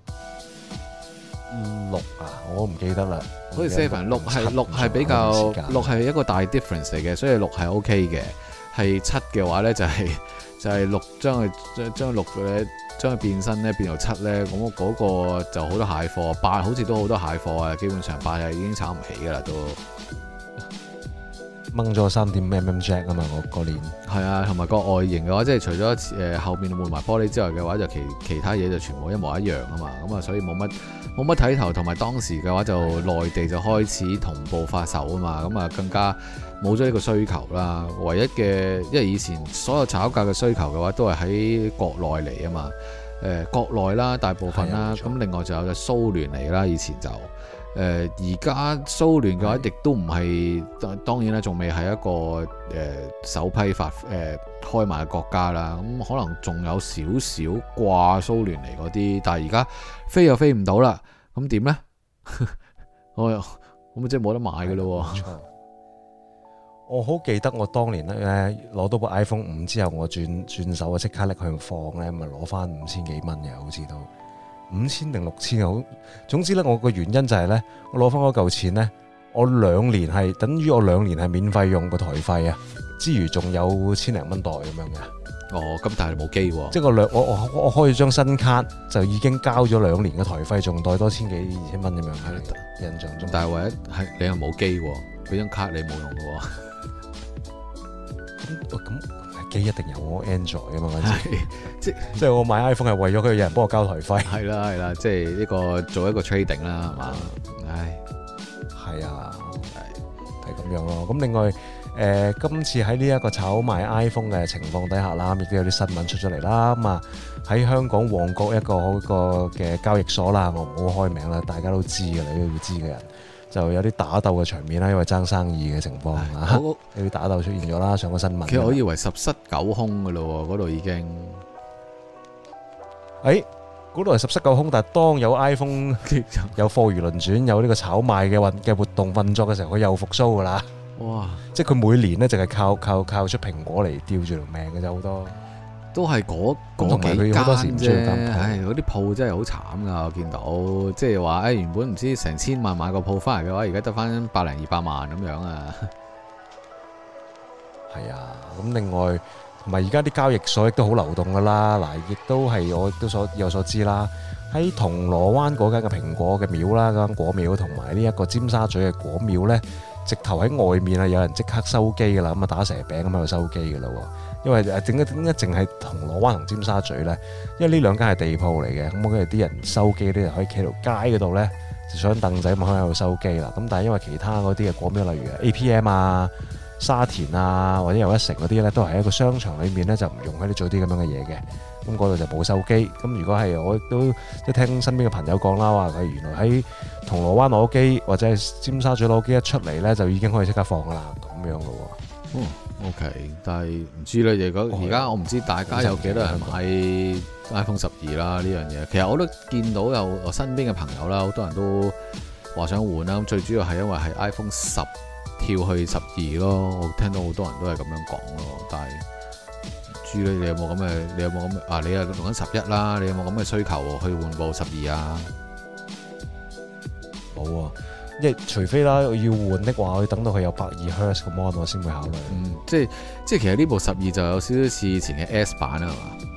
6啊，我唔記得啦。 好似7六係比較6係一個大 difference 嚟嘅，所以6係 OK 嘅。係7嘅話咧就係6將6嘅將佢變身咧變到7咧，咁嗰個就好多蟹貨。8好似都好多蟹貨啊，基本上8係已經炒唔起噶啦都。 掹咗3.5mm jack 啊嘛，我嗰年係啊，同埋個外形嘅話，即係除咗後面換埋玻璃之外嘅話，就其他嘢就全部一模一樣啊嘛，咁啊所以冇乜睇頭，同埋當時嘅話就內地就開始同步發售啊嘛，咁啊更加冇咗呢個需求啦。唯一嘅，因為以前所有炒價嘅需求嘅話都係喺國內嚟啊嘛，國內啦大部分啦，咁另外就有蘇聯嚟啦，以前就。而家蘇聯嘅話，亦都唔係當然啦，仲未係一個首批開賣嘅國家啦。咁可能仲有少少掛蘇聯嚟嗰啲，但係而家飛又飛唔到啦。咁點呢？我咪即係冇得買嘅咯。 我好記得我當年咧攞到部 iPhone 5之後，我轉手啊，即刻拎去放咧，咪攞翻5000幾蚊嘅，好似都。5000定6000好，總之咧，我個原因就係咧，我攞翻嗰嚿錢咧，我2年係等於我2年係免費用個台費啊，之餘仲有1000零蚊袋咁樣嘅。 哦，咁但係冇機喎， 即係我開咗張新卡就已經交咗2年嘅台費，仲袋多1000幾2000蚊咁樣喺印象中。 但係唯一係你又冇機喎，嗰張卡你冇用嘅喎。 咁。機一定有我 Android 啊嘛，嗰陣時即係我買 iPhone 係為咗佢有人幫我交台費。係啦，即係呢個做一個 trading 啦，係嘛？唉， 係啊，係咁樣咯。咁另外今次喺呢一個炒賣 iPhone 嘅情況底下啦，亦都有啲新聞出咗嚟啦。咁啊喺香港旺角一個嘅交易所啦，我唔好開名啦，大家都知嘅，你都要知嘅人。就有啲打鬥嘅場面啦，因為爭生意嘅情況啊，有啲打鬥出現咗啦，上個新聞。 其實我以為十室九空嘅咯，嗰度已經。 嗰度係十室九空，但係當有 iPhone 有貨如輪轉，有呢個炒賣嘅活動運作嘅時候，佢又復甦噶啦。哇！即係佢每年咧，淨係靠出蘋果嚟吊住條命嘅啫，好多。都係嗰幾間啫，唉，嗰啲鋪真係好慘噶，我見到，即係話，原本唔知成千萬買個鋪翻嚟嘅話，而家得翻100-200萬咁樣啊。係啊，咁另外同埋而家啲交易所亦都好流動噶啦，嗱，亦都係我亦都有所知啦。喺銅鑼灣嗰間嘅蘋果嘅廟啦，嗰間果廟同埋呢一個尖沙咀嘅果廟咧，直頭喺外面啊，有人即刻收機噶啦，咁啊打蛇餅咁喺度收機噶啦。因為點解淨係銅鑼灣同尖沙咀咧？因為呢兩間係地鋪嚟嘅，咁我哋啲人收機啲人可以企喺條街嗰度咧，就上凳仔咁可以喺度收機啦。咁但係因為其他嗰啲嘅果廟，例如 APM 啊、沙田啊或者又一城嗰啲咧，都係一個商場裏面咧，就唔容許你做啲咁樣嘅嘢嘅。咁嗰度就冇收機。咁如果係我亦都即係聽身邊嘅朋友講啦，話佢原來喺銅鑼灣攞機或者係尖沙咀攞機一出嚟咧，就已經可以即刻放噶啦，咁樣咯喎。OK， 但係唔知咧，如果而家我唔知大家有幾多人買 iPhone 12啦呢樣嘢。其實我都見到有我身邊嘅朋友啦，好多人都話想換啦。咁最主要係因為係 iPhone 10跳去12咯，我聽到好多人都係咁樣講咯。但係唔知咧，你有冇咁嘅啊？你又用緊11啦，你有冇咁嘅需求去換部12啊？冇啊。即係除非啦，我要換的話，我要等到佢有120Hz 嘅 mon 我先會考慮。即係其實呢部12就有少少似以前嘅 S 版啊嘛。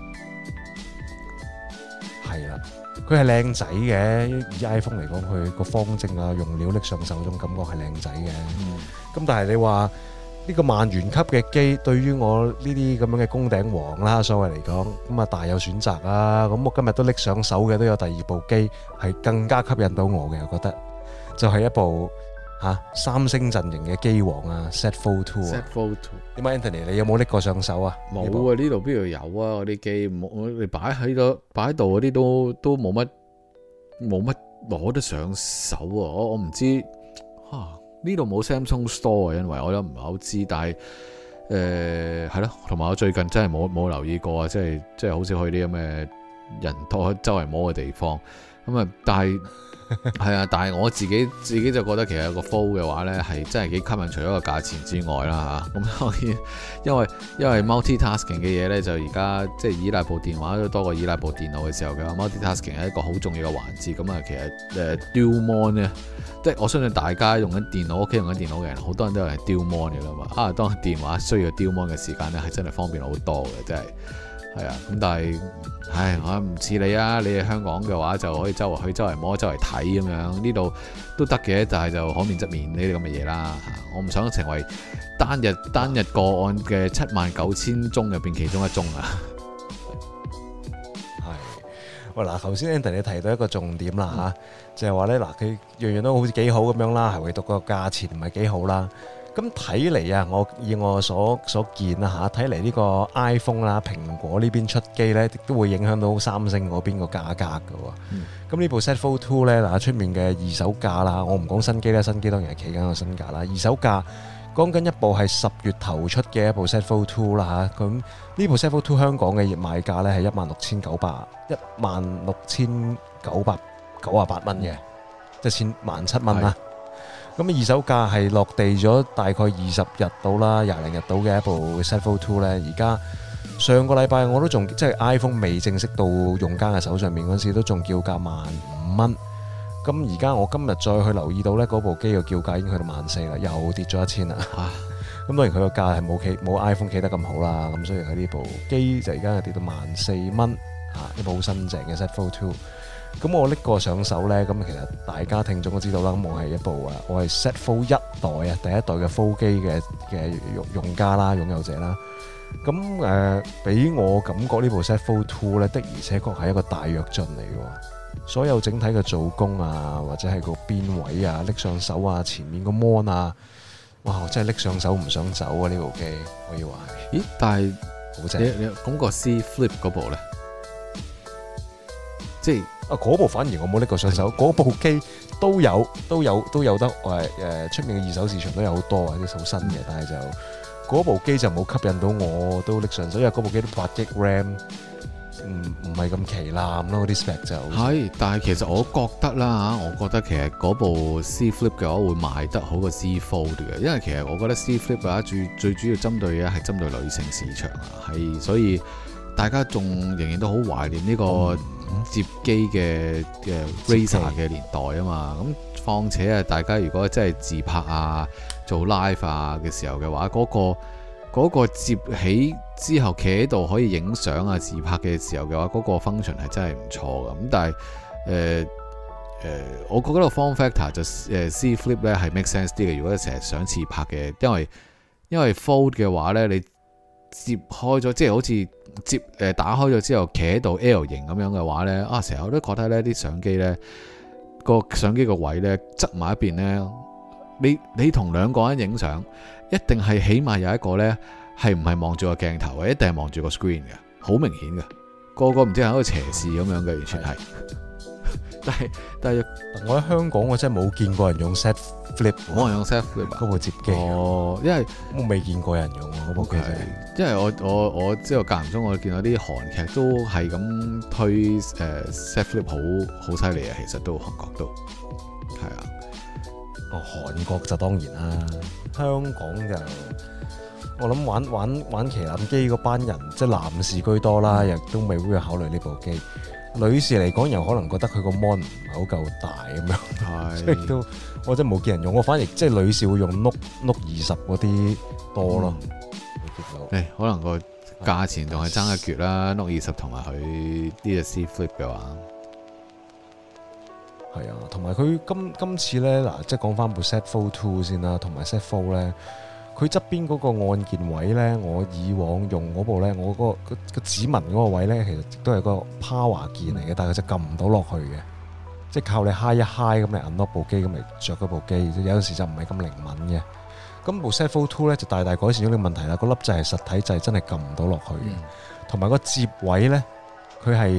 係啦，佢係靚仔嘅，以 iPhone 嚟講，佢個方正啊，用料拎上手嗰種感覺係靚仔嘅。咁但係你話呢個萬元級嘅機，對於我呢啲咁樣嘅宮頂王啦，所謂嚟講，咁啊大有選擇啊。咁我今日都拎上手嘅，都有第二部機係更加吸引到我嘅，我覺得。就係一部三星陣營嘅機王啊 ，Z Fold 2 啊。點解 Anthony 你有冇拎過上手啊？冇啊，呢度邊度有啊？嗰啲機，我哋擺喺度嗰啲都冇乜攞得上手啊！我唔知呢度冇 Samsung Store 啊，因為我都唔係好知，但係係咯，同埋我最近真係冇留意過啊，即係好少去啲咁嘅人多周圍摸嘅地方咁啊，但係係啊，但係我自己就覺得其實有個 Fold 嘅話呢係真係幾吸引，除咗個價錢之外啦嚇。咁當然因為 multitasking 嘅嘢呢，就而家即係依賴部電話都多過依賴部電腦嘅時候嘅話，multitasking 係一個好重要嘅環節。咁啊，其實Dual Mon 呢，即係我相信大家用緊電腦，屋企用緊電腦嘅人，好多人都係 Dual Mon 嘅啦嘛。當電話需要 Dual Mon 嘅時間呢，係真係方便好多嘅，真係。係啊，咁但係，我唔似你啊！你喺香港嘅話就可以周圍去、周圍摸、周圍睇咁樣，呢度都得嘅，但係就可免則免呢啲咁嘅嘢啦。我唔想成為單日個案嘅79000宗入邊其中一宗啊！ 係，喂嗱，頭先 Andy 你提到一個重點啦嚇，就係話咧嗱，佢樣樣都好似幾好咁樣啦，係唯獨個價錢唔係幾好啦。咁睇嚟啊，以我所見啦嚇，睇嚟呢個 iPhone 啦，蘋果呢邊出機咧，都會影響到三星嗰邊個價格㗎喎。咁呢部 Z Fold 2咧，嗱出面嘅二手價啦，我唔講新機啦，新機當然係企緊個新價啦。二手價講緊一部係10月頭出嘅一部 Z Fold 2啦嚇。咁呢部 Z Fold 2香港嘅賣價咧係16,998蚊嘅，即係17,000蚊啦。咁二手價係落地咗大概20日到啦，廿零日到嘅一部 Z Fold 2咧，而家上個禮拜我都仲即係 iPhone 未正式到用家嘅手上面嗰陣時，都仲叫價15,000蚊。咁而家我今日再去留意到咧，嗰部機嘅叫價已經去到14,000啦，又跌咗1000啦。咁當然佢個價係冇 iPhone 企得咁好啦，咁所以佢呢部機就而家係跌到14,000蚊，一部好新淨嘅 Z Fold 2。咁我拎過上手呢，咁其實大家聽眾都知道啦。咁我係一部我係 Z Fold 1代啊，第一代嘅 Fold 機嘅用家啦，擁有者啦。咁俾我感覺呢部 Z Fold 2呢，的而且確係一個大躍進嚟嘅。所有整體嘅做工啊，或者係個邊位啊，拎上手啊，前面個 mon 啊，哇！我真係拎上手唔想走啊！呢部機可以話係。咦？但係好正。你講個 C Flip 嗰部呢？即係。 嗰部反而我冇拎過上手，嗰部機都有得出面嘅二手市場都有好多啊，啲好新嘅，但係就嗰部機就冇吸引到我都拎上手，因為嗰部機都8GB RAM，唔係咁旗艦咯，啲 spec 就係。但係其實我覺得啦嚇，我覺得其實嗰部 C Flip 嘅話會賣得好過 C Fold 嘅，因為其實我覺得 C Flip 嘅話最主要針對嘅係針對女性市場啊，係所以大家仲仍然都好懷念呢個摺機嘅 Razr 嘅年代啊嘛，咁況且啊，大家如果真係自拍啊、做 live 啊嘅時候嘅話，嗰個摺起之後企喺度可以影相啊、自拍嘅時候嘅話，嗰個 function 係真係唔錯㗎。咁但係我覺得個 form factor 就C Flip 咧係 make sense 啲嘅。如果你成日想自拍嘅，因為 Fold 嘅話咧，你摺開咗，即係好似打開咗之後企喺度 L 型咁樣嘅話呢，成日我都覺得呢啲相機呢，個相機個位呢，側埋一邊呢，你同兩個人影相，一定係起碼有一個呢係唔係望住個鏡頭嘅，一定係望住個 screen 嘅，好明顯嘅，個唔知係一個斜視咁樣嘅，完全係。但係我喺香港我真係冇見過人用 Z Flip， 冇人用 Z Flip 嗰部摺機。因為我未見過人用嗰部機。 因為我知道間唔中我見到啲韓劇都係咁推Z Flip 好犀利啊！其實都韓國都係啊。 韓國就當然啦，香港就我諗玩旗艦機嗰班人即係男士居多啦，亦都未會考慮呢部機。女士嚟講，又可能覺得佢個 mon 唔係好夠大咁樣，所以都我真係冇見人用。我反而即係女士會用 Note 20嗰啲多咯。 可能個價錢仲係爭一橛啦，Note 20同埋佢呢隻 C Flip 嘅話， 係啊，同埋佢今次咧嗱，即係講翻部 Z Fold 2先啦，同埋 Z Fold 咧。佢側邊嗰個按鍵位呢，我以往用嗰部呢，我嗰個指紋嗰個位呢，其實都係個 power 鍵嚟嘅，但係佢就撳唔到落去嘅，即係靠你揩一揩咁嚟 unlock 部機咁嚟着嗰部機，有陣時就唔係咁靈敏嘅。咁部 Z Fold 2呢，就大大改善咗呢個問題啦，個粒掣係實體掣，真係撳唔到落去嘅，同埋個接位呢，佢係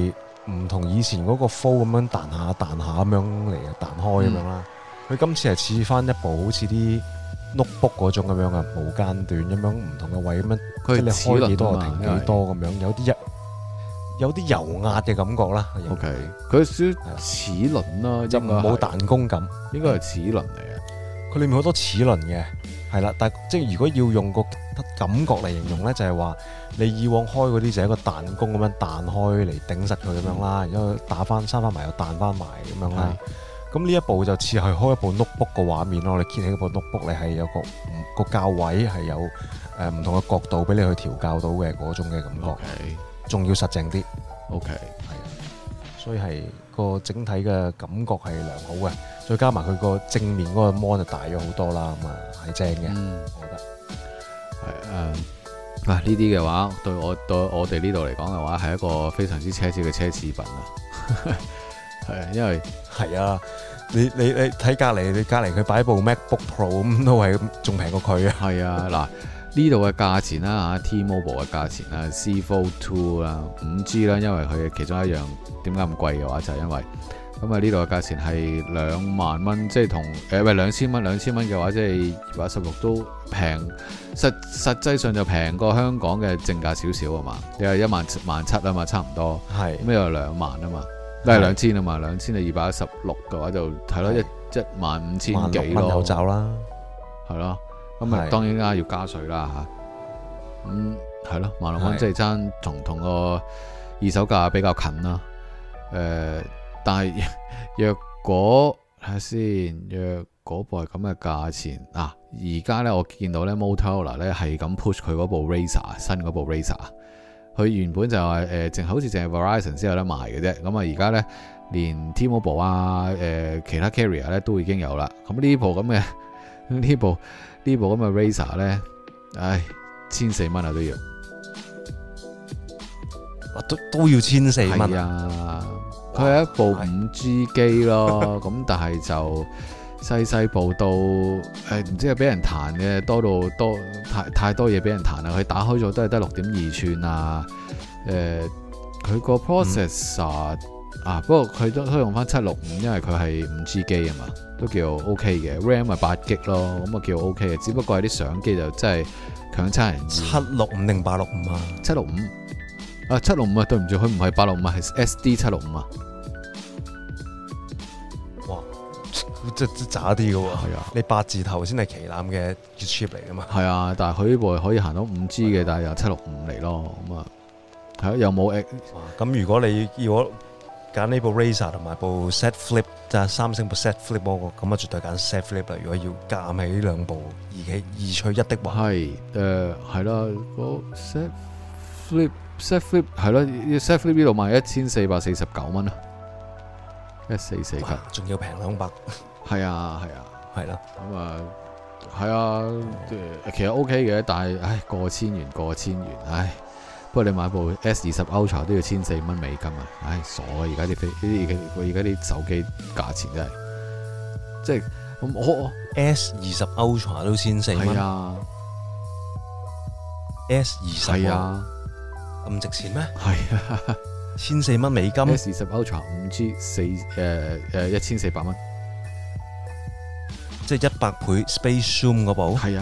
唔同以前嗰個 fold 咁樣彈下彈下咁樣嚟彈開咁樣啦。佢今次係似翻一部好似啲 notebook 嗰種咁樣啊，無間斷咁樣唔同嘅位咁樣，即係你開幾多就停幾多咁樣，有啲油壓嘅感覺啦。 OK， 佢少少齒輪啦， 就冇彈弓感， 應該係齒輪嚟嘅。 佢裏面好多齒輪嘅，係啦。但係即係如果要用個感覺嚟形容咧，就係話你以往開嗰啲就係一個彈弓咁樣彈開嚟頂實佢咁樣啦，然之後打翻閂翻埋又彈翻埋咁樣啦。咁呢一部就似係開一部 notebook 個畫面咯。你揭起一部 notebook，你係有個校位係有唔同嘅角度俾你去調校到嘅嗰種嘅感覺。仲要實淨啲。 OK， 係啊，所以係個整體嘅感覺係良好嘅。再加埋佢個正面嗰個 mon 就大咗好多啦，咁啊係正嘅，我覺得係呢啲嘅話對我哋呢度嚟講嘅話係一個非常之奢侈嘅奢侈品啊。係啊，因為係啊，你睇隔離佢擺部 MacBook Pro 咁都係仲平過佢啊。係啊， 嗱。呢度嘅價錢啦嚇 T-Mobile 嘅價錢啦 C Fold 2啦 5G 啦，因為佢其中一樣點解咁貴嘅話就係因為咁啊，呢度嘅價錢係2萬蚊，即係同2000蚊嘅話即係216都平，實際上就平過香港嘅正價少少啊嘛，你係17000啊嘛，差唔多係咁又2萬啊嘛，都係2000啊嘛，2000你216嘅話就係咯15000幾咯， 有找啦， 係咯。咁啊，當然啦，要加稅啦嚇。係咯，16,000蚊即係爭同個二手價比較近啦。但係若果睇下先，若嗰部係咁嘅價錢啊，而家咧我見到咧 Motorola 咧係咁 push 佢嗰部 Razr 新嗰部 Razr，佢原本就係好似淨係 Verizon 先有得賣嘅啫。咁啊，而家咧連 T-Mobile 啊其他 carrier 咧都已經有啦。咁呢部咁嘅呢部咁嘅 Razr 咧，唉，1400蚊啊都要， 都要1400蚊啊！佢係一部5G 機咯，咁但係就細部到唔知係俾人彈嘅多太多嘢俾人彈啦。佢打開咗都係得6.2寸啊，佢個 processor 不過佢都用翻765，因為佢係5G 機啊嘛。都叫 OK 嘅 ，RAM 咪8GB 咯，咁啊叫 OK 嘅，只不過係啲相機就真係強差人意。 765定865啊 ？765啊，765啊，對唔住，佢唔係865啊，係 SD 765啊。 哇，即係渣啲嘅喎。係啊，你8字頭先係旗艦嘅 chip 嚟㗎嘛。係啊，但係佢呢部可以行到5G 嘅，但係又765嚟咯，咁啊係又冇。 咁如果你揀呢部 Razr 同埋部 Z Flip 就係三星部 Z Flip 嗰個，咁啊絕對揀 Z Flip 啦。如果要夾起呢兩部二取一的話， 係啦，個 Z Flip 係咯 ，Z Flip 呢度賣1449蚊啊，1449， 仲要平200。 係啊， 啦， 咁啊係啊，其實 OK 嘅，但係過千元，唉。不過你買部 S20 Ultra 都要1400蚊美金啊！唉，傻啊！而家啲手機價錢真係，即係我 S20 Ultra 都1400蚊。係啊 ，S20 係啊， 咁值錢咩？ 係啊 ，1400蚊美金。 S20 Ultra 5G 1400蚊， 即係100倍 Space Zoom 嗰部。 係啊。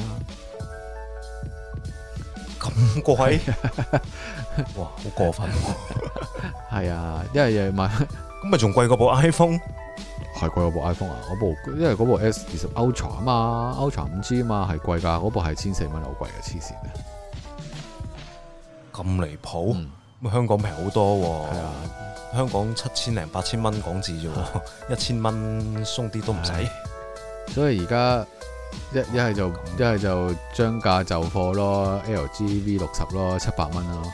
咁貴，哇，好過分喎！ 係啊，因為又買， 咁咪仲貴過部 iPhone？ 係貴過部 iPhone 啊！因為嗰部 S20 Ultra 啊嘛 ，Ultra 5G 啊嘛，係貴㗎，嗰部係1400蚊，好貴嘅，黐線嘅。 咁離譜，咁香港平好多喎。係啊，香港7000零8000蚊港紙啫喎，1000蚊鬆啲都唔使。 所以而家。一係就將價就貨咯 ，LG V60 咯，700蚊咯。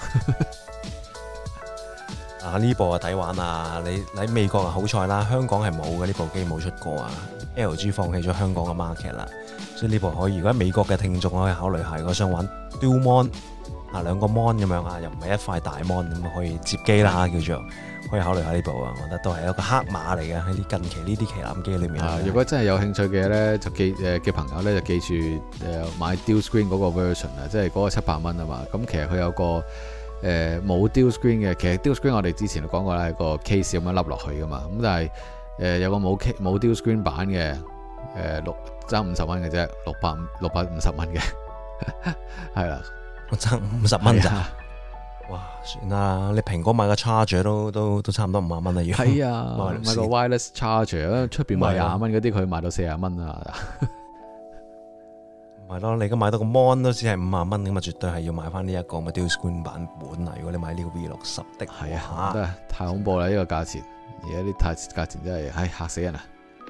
呢部啊抵玩啊！你喺美國啊好彩啦，香港係冇嘅，呢部機冇出過啊。LG 放棄咗香港嘅 market 啦，所以呢部可以。如果美國嘅聽眾可以考慮下，如果想玩 Dual Mon 兩個 mon 咁樣啊，又唔係一塊大 mon 咁可以接機啦，叫做。可以考慮下呢部啊，我覺得都係一個黑馬嚟嘅喺啲近期呢啲旗艦機裏面。 如果真係有興趣嘅咧，就嘅朋友咧就記住買 Dual Screen 嗰個 version 啊，即係嗰個700蚊啊嘛。咁其實佢有個冇 Dual Screen 嘅，其實 Dual Screen 我哋之前都講過啦，係個 case 咁樣笠落去噶嘛。咁但係有個冇 Dual Screen 版嘅爭50蚊嘅啫，650蚊嘅，係啦， 我爭50蚊咋？哇，算啦，你蘋果買個 charger 都差唔多50蚊啦，要係啊，買個 wireless charger， 出邊賣20蚊嗰啲，佢賣到40蚊啊！ 係咯，你而家買到個 mon 都只係50蚊咁啊，絕對係要買翻呢一個Dual Screen 版本啊！如果你買呢個 V60的， 係啊，真係太恐怖啦！呢個價錢，而家啲價錢真係，嚇死人啊！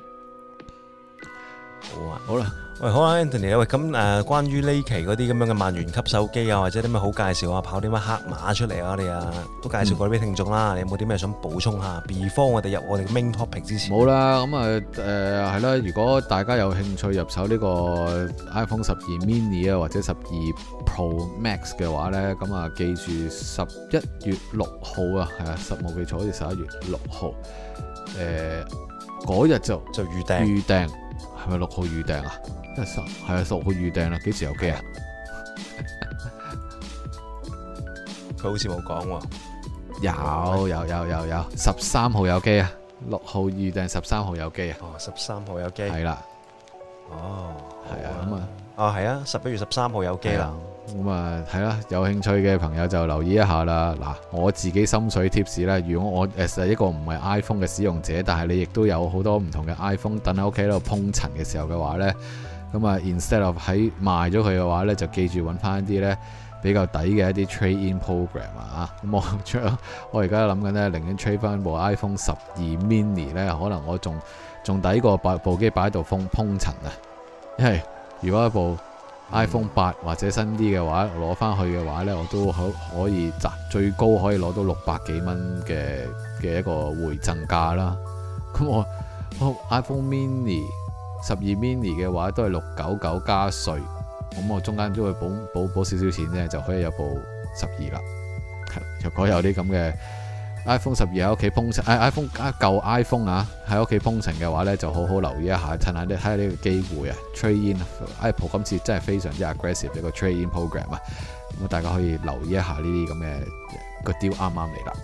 好啦， 喂，好啊 ，Anthony 喂，咁關於呢期嗰啲咁樣嘅萬元級手機啊，或者啲咩好介紹啊，跑啲乜黑馬出嚟啊，你啊都介紹過俾聽眾啦。你有冇啲咩想補充下？before 我哋入我哋嘅 main topic 之前， 冇啦。咁係啦，如果大家有興趣入手呢個 iPhone 12 mini 啊，或者12 Pro Max 嘅話咧，咁啊記住11月6號啊，係啊，冇記錯好似11月6號，嗰日就預訂。係咪6號預訂啊？係啊，6號預訂啦。幾時有機啊？ 佢好似冇講喎。 有13號有機啊！6號預訂13號有機啊！ 哦，13號有機。係啦。哦，係啊，咁啊。哦，係啊，11月13號有機啦。 咁啊，係啦，有興趣嘅朋友就留意一下啦。嗱，我自己心水貼士咧，如果我係一個唔係 iPhone 嘅使用者，但係你亦都有好多唔同嘅 iPhone 等喺屋企喺度碰塵嘅時候嘅話呢，咁啊 instead of 喺賣咗佢嘅話呢，就記住揾翻一啲呢比較抵嘅一啲 trade-in program 啊。咁我而家諗緊呢，寧願 trade 翻部 iPhone 12 mini 呢，可能我仲抵過部機擺喺度碰塵啊。因為如果一部iPhone 8或者新啲嘅話，攞翻去嘅話呢，我都可以最高可以攞到600幾蚊嘅一個回贈價啦。咁我 iPhone mini 12 mini 嘅話都係699加稅，咁我中間都會補少少錢呢，就可以有部12啦。若果有啲咁嘅 iPhone 12喺屋企碰塵，iPhone 舊 iPhone 啊喺屋企碰塵嘅話呢，就好好留意一下，趁下睇下呢個機會啊 trade in。Apple 今次真係非常之 aggressive 一個 trade in program 啊，咁大家可以留意一下呢啲咁嘅個 deal 啱啱嚟啦。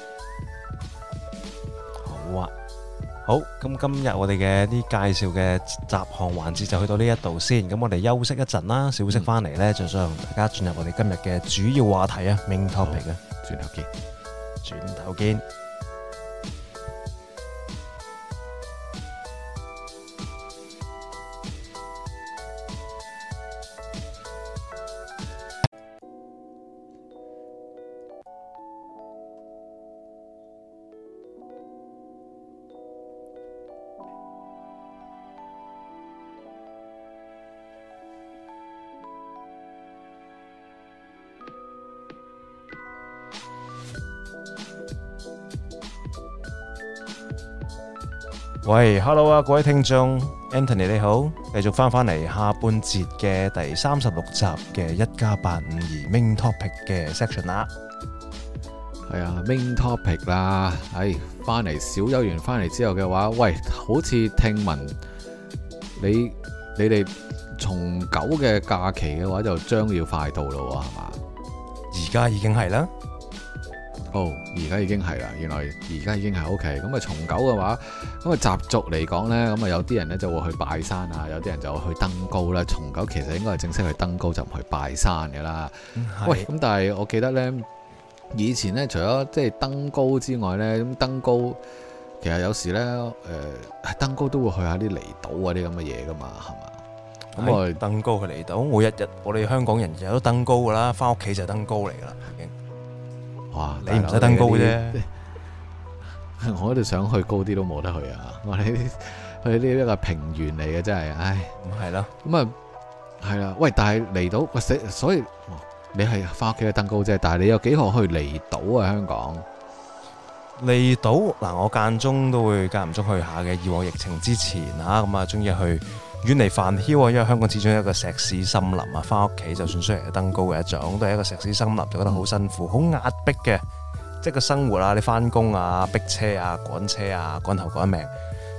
好啊，好，咁今日我哋嘅啲介紹嘅雜項環節就去到呢一度先，咁我哋休息一陣啦，小息翻嚟呢，就想同大家進入我哋今日嘅主要話題啊 ，main topic 啊， 轉頭見。 轉頭見。喂 ，Hello 啊，各位聽眾 ，Anthony 你好，繼續翻嚟下半節嘅第36集嘅1+852 main topic 嘅 section 啦。 係啊 ，main topic 啦，翻嚟小休完翻嚟之後嘅話，喂，好似聽聞你哋重九嘅假期嘅話就將要快到咯，係嘛？ 而家已經係啦。 而家已經係啦，原來而家已經係 OK。咁啊，重九嘅話，咁啊習俗嚟講呢，咁啊有啲人呢就會去拜山啊，有啲人就會去登高啦。重九其實應該係正式去登高，就唔去拜山嘅啦。喂，咁但係我記得呢，以前呢，除咗即係登高之外呢，咁登高其實有時呢，登高都會去下啲離島啊啲咁嘅嘢噶嘛，係嘛？咁我登高去離島，每一日我哋香港人日日都登高噶啦，翻屋企就登高嚟噶啦，已經。哇！你唔使登高啫， 我都想去高啲都冇得去啊！我哋去呢一個平原嚟嘅真係，唉， 係咯， 咁啊係啦。喂，但係離島，所以你係翻屋企去登高啫，但係你有幾何去離島啊？香港離島嗱，我間中都會間唔中去下嘅。以往疫情之前啊，咁啊，中意去遠離繁囂啊，因為香港始終有一個石屎森林啊，翻屋企就算雖然係登高嘅一種，都係一個石屎森林，就覺得好辛苦、好壓迫嘅，即係個生活啊，你翻工啊、逼車啊、趕車啊、趕頭趕命，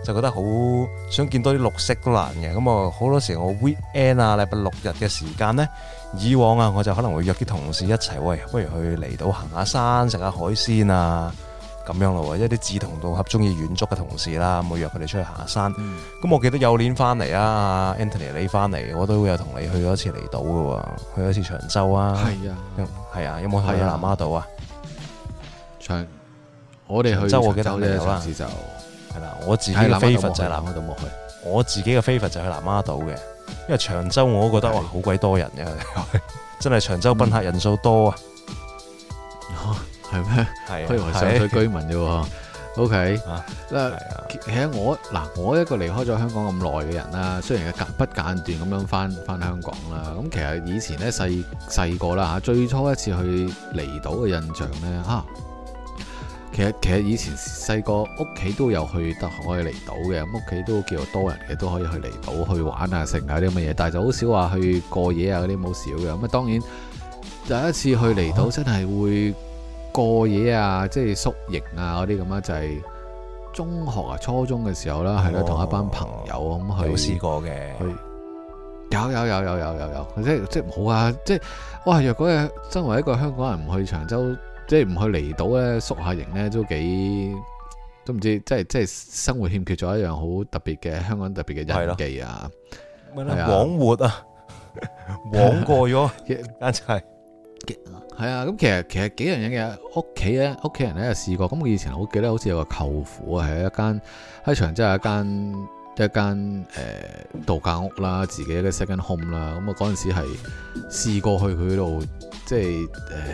就覺得好想見多啲綠色都難嘅。咁啊好多時我 weekend 啊禮拜六日嘅時間呢，以往啊我就可能會約啲同事一齊，喂，不如去離島行下山食下海鮮啊咁樣咯喎，一啲志同道合中意遠足嘅同事啦，咁我約佢哋出去行下山。咁我記得有年翻嚟啊 Anthony 你翻嚟，我都有同你去咗一次離島嘅喎，去咗一次長洲啊。係啊，有冇去南丫島啊？ 我哋去長洲我記得你有啦。 就係啦，我自己嘅飛佛就係南丫島冇去。我自己嘅飛佛就去南丫島嘅，因為長洲我都覺得哇好鬼多人嘅，真係長洲賓客人數多啊。 係咩？係，佢以為上水居民啫喎。OK，其實我一個離開咗香港咁耐嘅人啦，雖然不間斷咁樣翻香港啦，咁其實以前咧細個啦嚇，最初一次去離島嘅印象咧嚇，其實以前細個屋企都有去得可以離島嘅，咁屋企都叫做多人嘅，都可以去離島去玩啊食啊啲咁嘅嘢，但係就好少話去過夜啊嗰啲冇少嘅。咁啊當然第一次去離島真係會過夜啊，即係宿營啊嗰啲咁啊，就係中學啊初中嘅時候啦，係啦，同一班朋友咁去。有試過嘅。有，即係冇啊！即係哇，若果係身為一個香港人唔去長洲，即係唔去離島咧，宿下營咧都唔知，即係生活欠缺咗一樣好特別嘅香港特別嘅印記啊！ 枉活啊，枉過咗，簡直係。 係啊，咁其實幾樣嘢嘅屋企人咧試過。咁我以前好記得好似有個舅父啊，喺長洲有一間度假屋啦，自己嘅 second home 啦。咁我嗰陣時係試過去佢度，即係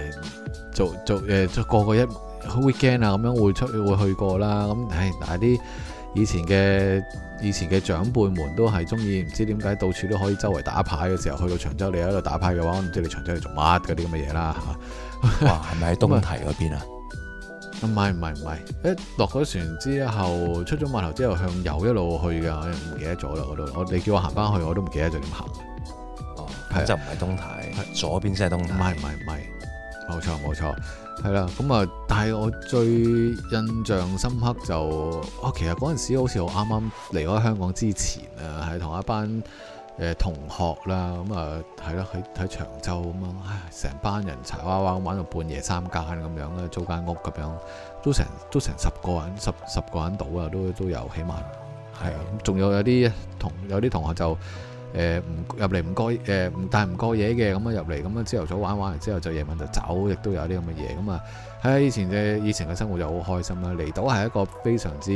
做過一 weekend 啊，咁樣會去過啦。咁但係啲以前嘅長輩們都係中意，唔知點解到處都可以周圍打牌嘅時候，去到長洲你喺度打牌嘅話，我唔知你長洲嚟做乜嗰啲咁嘅嘢啦嚇。 哇，係咪喺東堤嗰邊啊？ 唔係，一落咗船之後，出咗碼頭之後向右一路去嘅，我唔記得咗啦。你叫我行翻去，我都唔記得咗點行。 咁就唔係東堤，左邊先係東堤。 唔係，冇錯。係啦，咁啊，但係我最印象深刻就，其實嗰陣時好似我啱啱離開香港之前啊，係同一班同學啦，咁啊係咯，喺長洲咁樣，成班人柴娃娃玩到半夜三更咁樣咧，租間屋咁樣，都成10個人，十個人到啊，都有起碼係啊，仲有啲同學就。入嚟唔過但係唔過夜嘅，咁啊入嚟咁啊朝頭早玩完之後就夜晚就走，亦都有啲咁嘅嘢。咁啊喺以前嘅生活就好開心啦。離島係一個非常之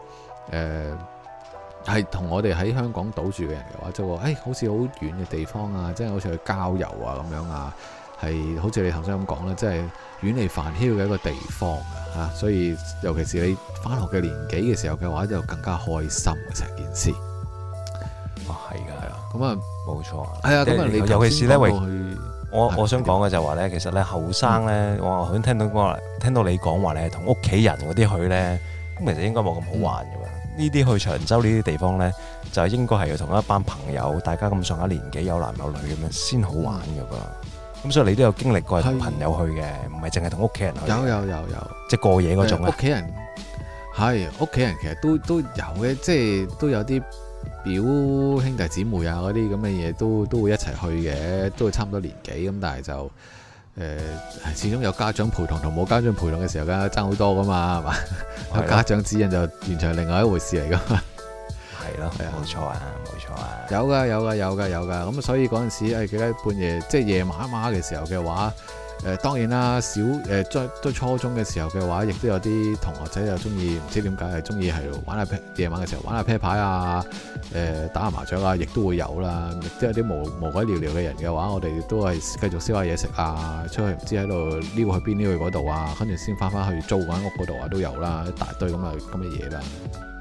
係同我哋喺香港島住嘅人嘅話，就話好似好遠嘅地方啊，即係好似去郊遊啊咁樣啊，係好似你頭先咁講啦，即係遠離煩囂嘅一個地方啊，所以尤其是你返學嘅年紀嘅時候嘅話，就更加開心嘅成件事。 係㗎， 咁啊冇錯， 係啊，咁啊，你尤其是咧，我想講嘅就係話咧，其實咧後生咧，我頭先聽到你講話咧，同屋企人嗰啲去咧，咁其實應該冇咁好玩嘅喎。呢啲去長洲呢啲地方咧，就應該係要同一班朋友，大家咁上下年紀，有男有女咁樣先好玩嘅噃。咁所以你都有經歷過係同朋友去嘅，唔係淨係同屋企人去。有，即係過夜嗰種啊。屋企人其實都有嘅，即係都有啲。表兄弟姊妹啊嗰啲咁嘅嘢都會一齊去嘅，都會差唔多年紀咁，但係就始終有家長陪同同冇家長陪同嘅時候，梗係爭好多噶嘛，係嘛？有家長指引就完全係另外一回事嚟噶嘛。係咯，冇錯啊。有噶，咁所以嗰陣時記得半夜即係夜晚晚嘅時候嘅話。當然啦，都初中嘅時候嘅話，亦都有啲同學仔又中意，唔知點解係中意係玩下夜晚嘅時候玩下啤牌啊，打下麻雀啊，亦都會有啦。亦都有啲無鬼聊聊嘅人嘅話，我哋都係繼續燒下嘢食啊，出去唔知喺度撩去邊撩去嗰度啊，跟住先翻去租間屋嗰度啊，都有啦，一大堆咁嘅嘢啦。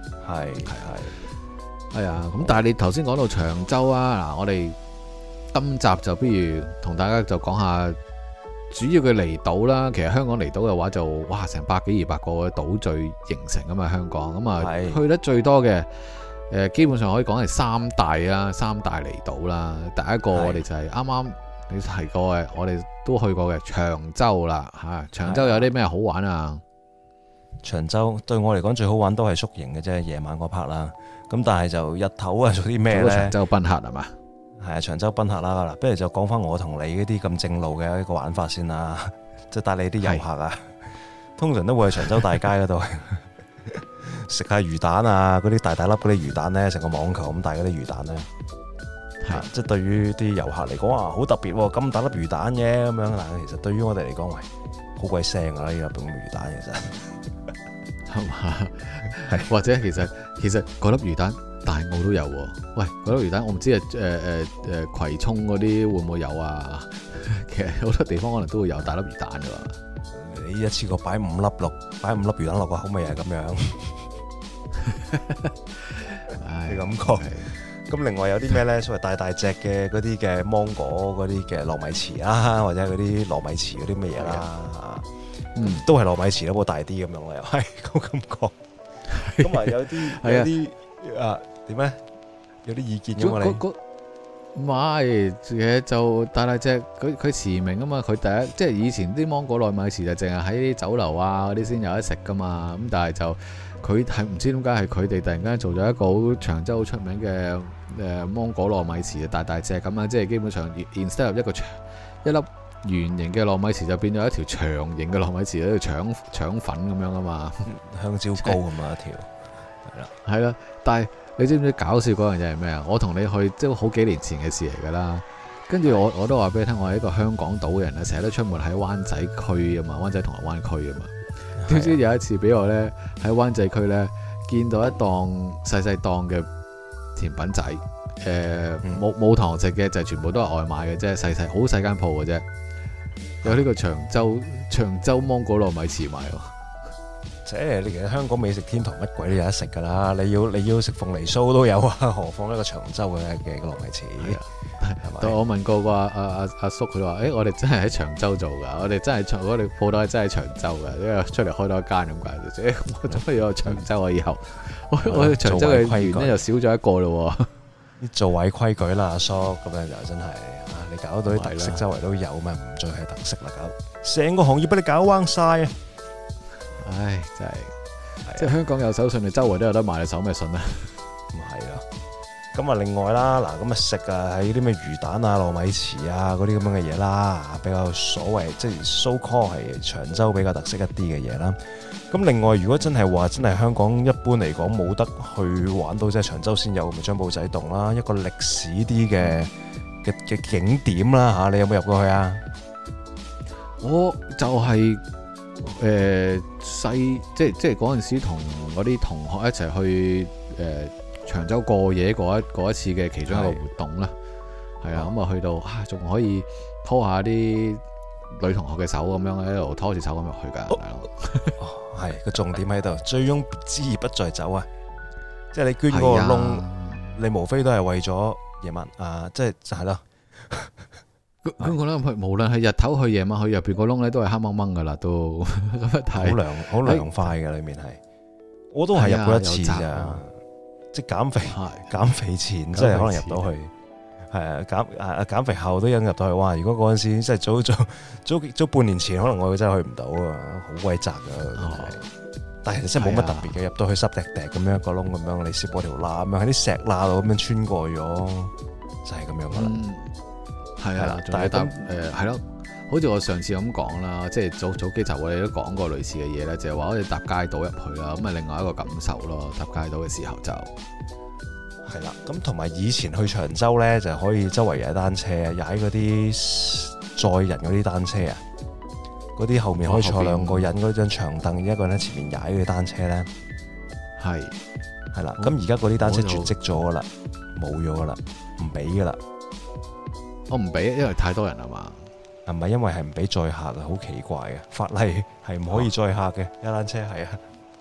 係啊，咁但係你頭先講到長洲啊，嗱，我哋今集就不如同大家就講下。主要嘅離島啦，其實香港離島嘅話就哇成100幾200個嘅島嶼形成咁啊，香港咁啊去得最多嘅基本上可以講係三大離島啦。第一個我哋就係啱啱你提過嘅，我哋都去過嘅長洲啦嚇。長洲有啲咩好玩啊？ 長洲對我嚟講最好玩都係宿營嘅啫，夜晚嗰 part 啦。咁但係就日頭啊做啲咩咧？ 長洲賓客係嘛？ 係啊，長洲賓客啦。嗱，不如就講翻我同你嗰啲咁正路嘅一個玩法先啦。即係帶你啲遊客啊，通常都會去長洲大街嗰度食下魚蛋啊，嗰啲大粒嗰啲魚蛋咧，成個網球咁大嗰啲魚蛋咧。即係對於啲遊客嚟講啊，好特別喎，咁大粒魚蛋嘅咁樣。但係其實對於我哋嚟講，喂，好鬼腥啊！呢粒咁魚蛋其實係嘛？係或者其實嗰粒魚蛋大澳都有喎。喂，嗰粒魚蛋我唔知葵涌嗰啲會唔會有啊？其實好多地方可能都會有大粒魚蛋㗎嘛。 你一次過擺五粒魚蛋落個口味係咁樣，你咁講。咁另外有啲咩咧？所謂大隻嘅嗰啲嘅芒果嗰啲嘅糯米糍啦，或者嗰啲糯米糍嗰啲咩嘢啦，都係糯米糍，不過大啲咁樣啦，又係咁感覺。咁啊有啲點咧？有啲意見嘅嘛你？ 唔係，其實就大隻，佢馳名啊嘛。佢第一即係以前啲芒果糯米糍就淨係喺啲酒樓啊嗰啲先有得食噶嘛。咁但係就佢係唔知點解係佢哋突然間做咗一個好長洲好出名嘅芒果糯米糍，大隻咁啊！即係基本上 instead of 一粒圓形嘅糯米糍就變咗一條長形嘅糯米糍喺度腸粉咁樣啊嘛， 香蕉糕咁啊一條， 係啦。但係你知唔知搞笑嗰樣嘢係咩啊？我同你去即係好幾年前嘅事嚟㗎啦。跟住我都話俾你聽，我係一個香港島嘅人啊，成日都出沒喺灣仔區啊嘛，灣仔銅鑼灣區啊嘛。點知有一次俾我咧喺灣仔區咧見到一檔細檔嘅甜品仔，冇堂食嘅，就全部都係外賣嘅啫，好細間鋪嘅啫。有呢個長洲芒果糯米糍賣喎。 即係你其實香港美食天堂乜鬼都有得食㗎啦！你要食鳳梨酥都有啊，何況一個長洲嘅糯米糍？ 但我問過阿叔，佢話：我哋真係喺長洲做㗎，我哋鋪頭係真係長洲㗎，因為出嚟開多一間咁解啫。我做乜要去長洲啊？以後我哋長洲嘅員咧又少咗一個咯。 做位規矩啦，阿叔咁樣就真係你搞到啲特色周圍都有咩？唔再係特色啦，搞成個行業俾你搞彎晒啊！ 唉，真係，即係香港有手信，你周圍都有得賣，你手咩信啊？ 咁係咯。咁啊，另外啦，嗱，咁啊食啊，喺啲咩魚蛋啊、糯米糍啊嗰啲咁樣嘅嘢啦，比較所謂即係 so call 係長洲比較特色一啲嘅嘢啦。咁另外，如果真係話真係香港一般嚟講冇得去玩到即係長洲先有，咪張保仔洞啦，一個歷史啲嘅景點啦嚇，你有冇入過去啊？ 我就係即係嗰陣時同嗰啲同學一齊去長洲過夜嗰一次嘅其中一個活動啦，係啊，咁啊去到仲可以拖下啲女同學嘅手咁樣喺度拖住手咁入去㗎， 係個重點喺度，醉翁之意不在酒啊！即係你捐嗰個窿，你無非都係為咗夜晚即係就係咯。 咁我諗無論係日頭去夜晚去，入邊個窿咧都係黑掹掹㗎啦，都咁樣睇。好涼快嘅裏面係，我都係入過一次咋，即係減肥前，即係可能入到去。係減肥後都引入到去。哇！如果嗰陣時即係早半年前，可能我真係去唔到啊，好鬼窄啊！但係其實真係冇乜特別嘅，入到去濕滴滴咁樣一個窿咁樣，你攝過條罅咁樣喺啲石罅度咁樣穿過咗，就係咁樣噶啦。 係啊，但係係咯，好似我上次咁講啦，即係早幾集我哋都講過類似嘅嘢咧，就係話可以搭街道入去啦，咁啊另外一個感受咯，搭街道嘅時候就。 係啦，咁同埋以前去長洲咧，就可以周圍踩單車啊，踩嗰啲載人嗰啲單車啊，嗰啲後面可以坐兩個人嗰張長凳，一個人喺前面踩嗰啲單車咧，係啦，咁而家嗰啲單車絕跡咗噶啦，冇咗噶啦，唔俾噶啦， 我唔俾，因為太多人啊嘛， 係咪因為係唔俾載客嘅？好奇怪嘅法例係唔可以載客嘅，踩單車係啊。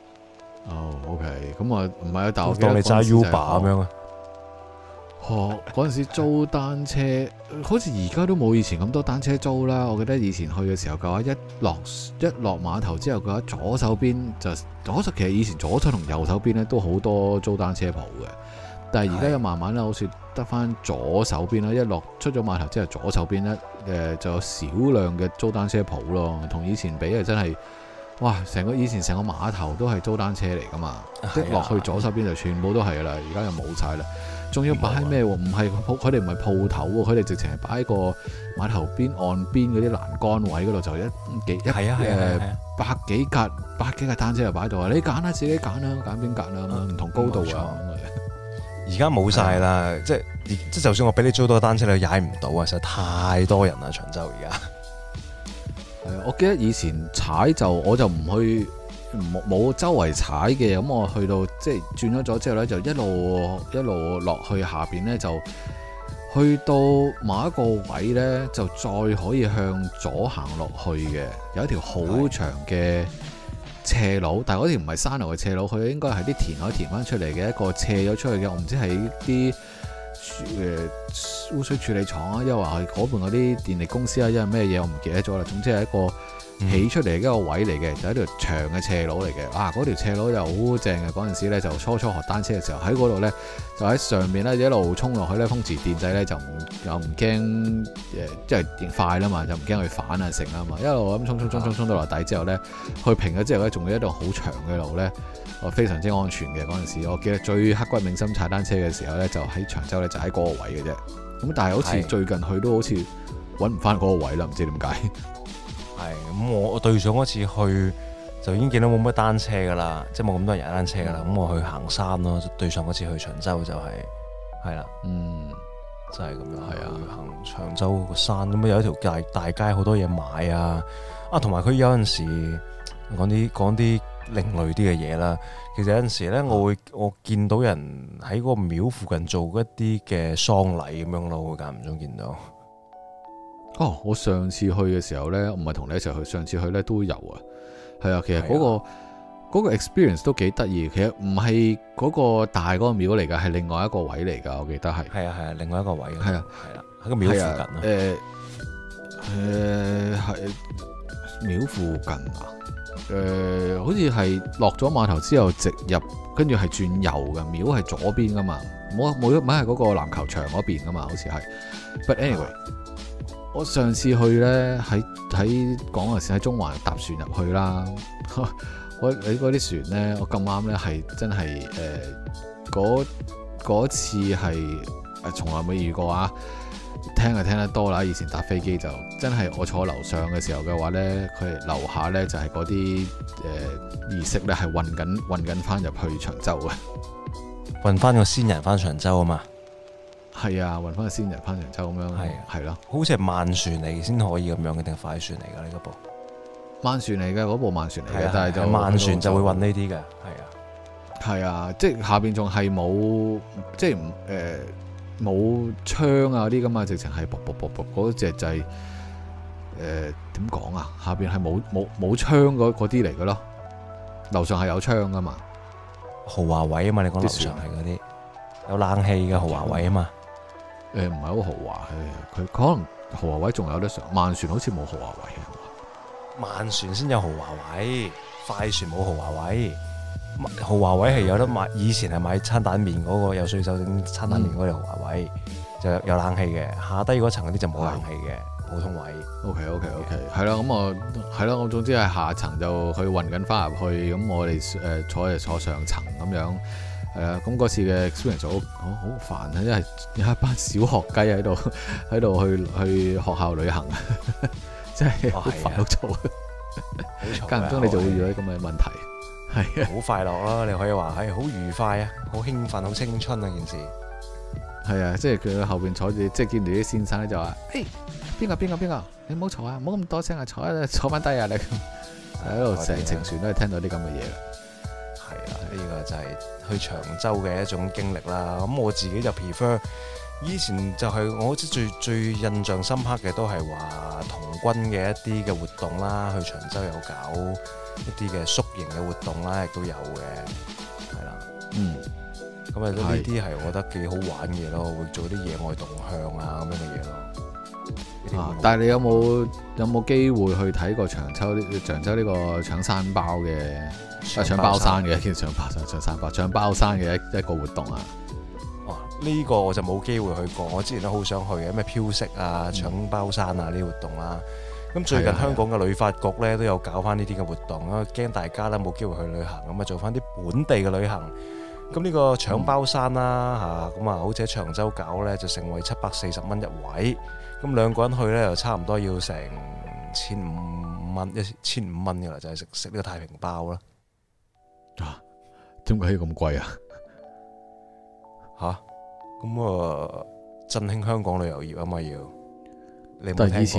OK， 咁啊唔係啊，但我當你揸 Uber 咁樣啊。 嗰陣時租單車，好似而家都冇以前咁多單車租啦。我記得以前去嘅時候嘅話，一落碼頭之後嘅話，左手邊其實以前左手同右手邊咧都好多租單車鋪嘅。但係而家又慢慢咧，好似得翻左手邊啦。一出咗碼頭之後，左手邊咧就有少量嘅租單車鋪咯。同以前比啊，真係哇！以前成個碼頭都係租單車嚟噶嘛，即落去左手邊就全部都係啦，而家又冇晒啦。仲要擺喺咩喎？唔係佢哋唔係鋪頭喎，佢哋直情係擺喺個碼頭邊岸邊嗰啲欄杆位嗰度，就百幾架單車就擺喺度啊！你揀啦，自己揀啦，揀邊格啦，唔同高度啊。 而家冇晒啦，即就算我俾你租到個單車，你踩唔到啊！實在太多人啦，長洲而家。 我記得以前踩我就唔去，冇周圍踩嘅，咁我去到即係轉咗之後呢，就一路落去下邊呢，就去到某一個位呢，就再可以向左行落去嘅，有一條好長嘅斜路，但係嗰條唔係山路嘅斜路，佢應該係啲填海填翻出嚟嘅一個斜咗出去嘅，我唔知係啲污水處理廠啊，因為話嗰邊嗰啲電力公司啊，因為咩嘢我唔記得咗啦。總之係一個起出嚟嘅一個位嚟嘅，就係一條長嘅斜路嚟嘅。嗰條斜路就好正嘅。嗰陣時咧就初學單車嘅時候，喺嗰度咧就喺上面咧一路衝落去咧，風馳電掣咧就唔驚即係電快啦嘛，就唔驚佢反啊成啦嘛。一路咁衝到落底之後咧，去平咗之後咧，仲有一段好長嘅路咧。非常之安全嘅嗰陣時，我記得最刻骨銘心踩單車嘅時候呢，就喺長洲呢，就喺嗰個位嘅啫。咁但係好似最近去都好似揾唔翻嗰個位啦，唔知點解。 係咁，我對上嗰次去就已經見到冇乜單車噶啦，即係冇咁多人踩單車噶啦。咁我去行山咯，對上嗰次去長洲就係啦，就係咁樣。係啊，行長洲個山咁有一條大街，好多嘢買啊！同埋佢有陣時講啲另類啲嘅嘢啦，其實有陣時咧，我見到人喺嗰個廟附近做一啲嘅喪禮咁樣咯，會間唔中見到。 我上次去嘅時候咧，唔係同你一齊去，上次去咧都有啊。係啊，其實嗰個 experience 都幾得意。其實唔係嗰個大嗰個廟嚟㗎，係另外一個位嚟㗎。我記得係。係啊，另外一個位。係啊，喺個廟附近啊。係廟附近啊。好似係落咗碼頭之後直入，跟住係轉右嘅，廟係左邊噶嘛，冇係嗰個籃球場嗰邊噶嘛，好似係。But anyway，我上次去呢，喺講嗰時喺中環搭船入去啦，你嗰啲船呢，我咁啱呢係真係嗰次係從來未遇過啊！聽就聽得多啦，以前搭飛機就真係我坐樓上嘅時候嘅話呢，佢樓下呢就係嗰啲儀式呢係運緊翻入去長洲嘅， 運翻個先人翻長洲啊嘛。係啊，運翻個先人翻長洲咁樣，係咯。好似係慢船嚟先可以咁樣嘅，定係快船嚟㗎呢部？ 慢船嚟嘅，嗰部慢船嚟嘅，但係就慢船就會運呢啲嘅， 係啊，即係下邊仲係冇，即係冇槍啊啲咁啊，直情係卜嗰隻就係點講啊？下邊係冇槍嗰啲嚟嘅咯，樓上係有槍噶嘛， 豪華位啊嘛，你講樓上係嗰啲有冷氣嘅豪華位啊嘛， 唔係好豪華，佢可能豪華位仲有得上，慢船好似冇豪華位啊， 慢船先有豪華位，快船冇豪華位。豪華位係有得買，以前係買餐蛋麵嗰個有水手整餐蛋麵嗰條豪華位，就有冷氣嘅。下低嗰層嗰啲就冇冷氣嘅普通位。OK， 係啦，咁我總之係下層就去運緊翻入去，咁我哋坐上層咁樣。咁嗰次嘅 experience 好煩啊，因為有一班小學雞喺度去學校旅行，真係好煩好嘈。間唔中你就會遇到咁嘅問題。係啊， 好快樂咯！你可以話係好愉快啊，好興奮，好青春啊件事。 係啊，即係佢後邊坐住，即係見住啲先生咧就話：誒，邊個？你唔好嘈啊，唔好咁多聲啊，坐翻低啊！你喺度成程船都係聽到啲咁嘅嘢啦。 係啊，呢個就係去長洲嘅一種經歷啦。咁我自己就 prefer 以前就係我最印象深刻嘅都係話童軍嘅一啲嘅活動啦，去長洲有搞一啲嘅宿營嘅活動啦，亦都有嘅，係啦，咁啊呢啲係我覺得幾好玩嘅咯，會做啲野外動向啊咁樣嘅嘢咯。 但係你有冇機會去睇過長洲呢個搶山包嘅搶包山嘅搶包山嘅一個活動啊？ 呢個我就冇機會去過，我之前都好想去嘅，咩飄色啊、搶包山啊呢啲活動啦。 咁最近香港嘅旅發局咧都有搞翻呢啲嘅活動啦，驚大家咧冇機會去旅行，咁啊做翻啲本地嘅旅行。咁呢個搶包山啦嚇，咁啊好似喺長洲搞咧就成為740蚊一位，咁兩個人去咧又差唔多要成1500蚊，1500蚊㗎啦，就係食呢個太平包啦。 啊，點解要咁貴啊？ 嚇，咁啊振興香港旅遊業啊嘛要。你但係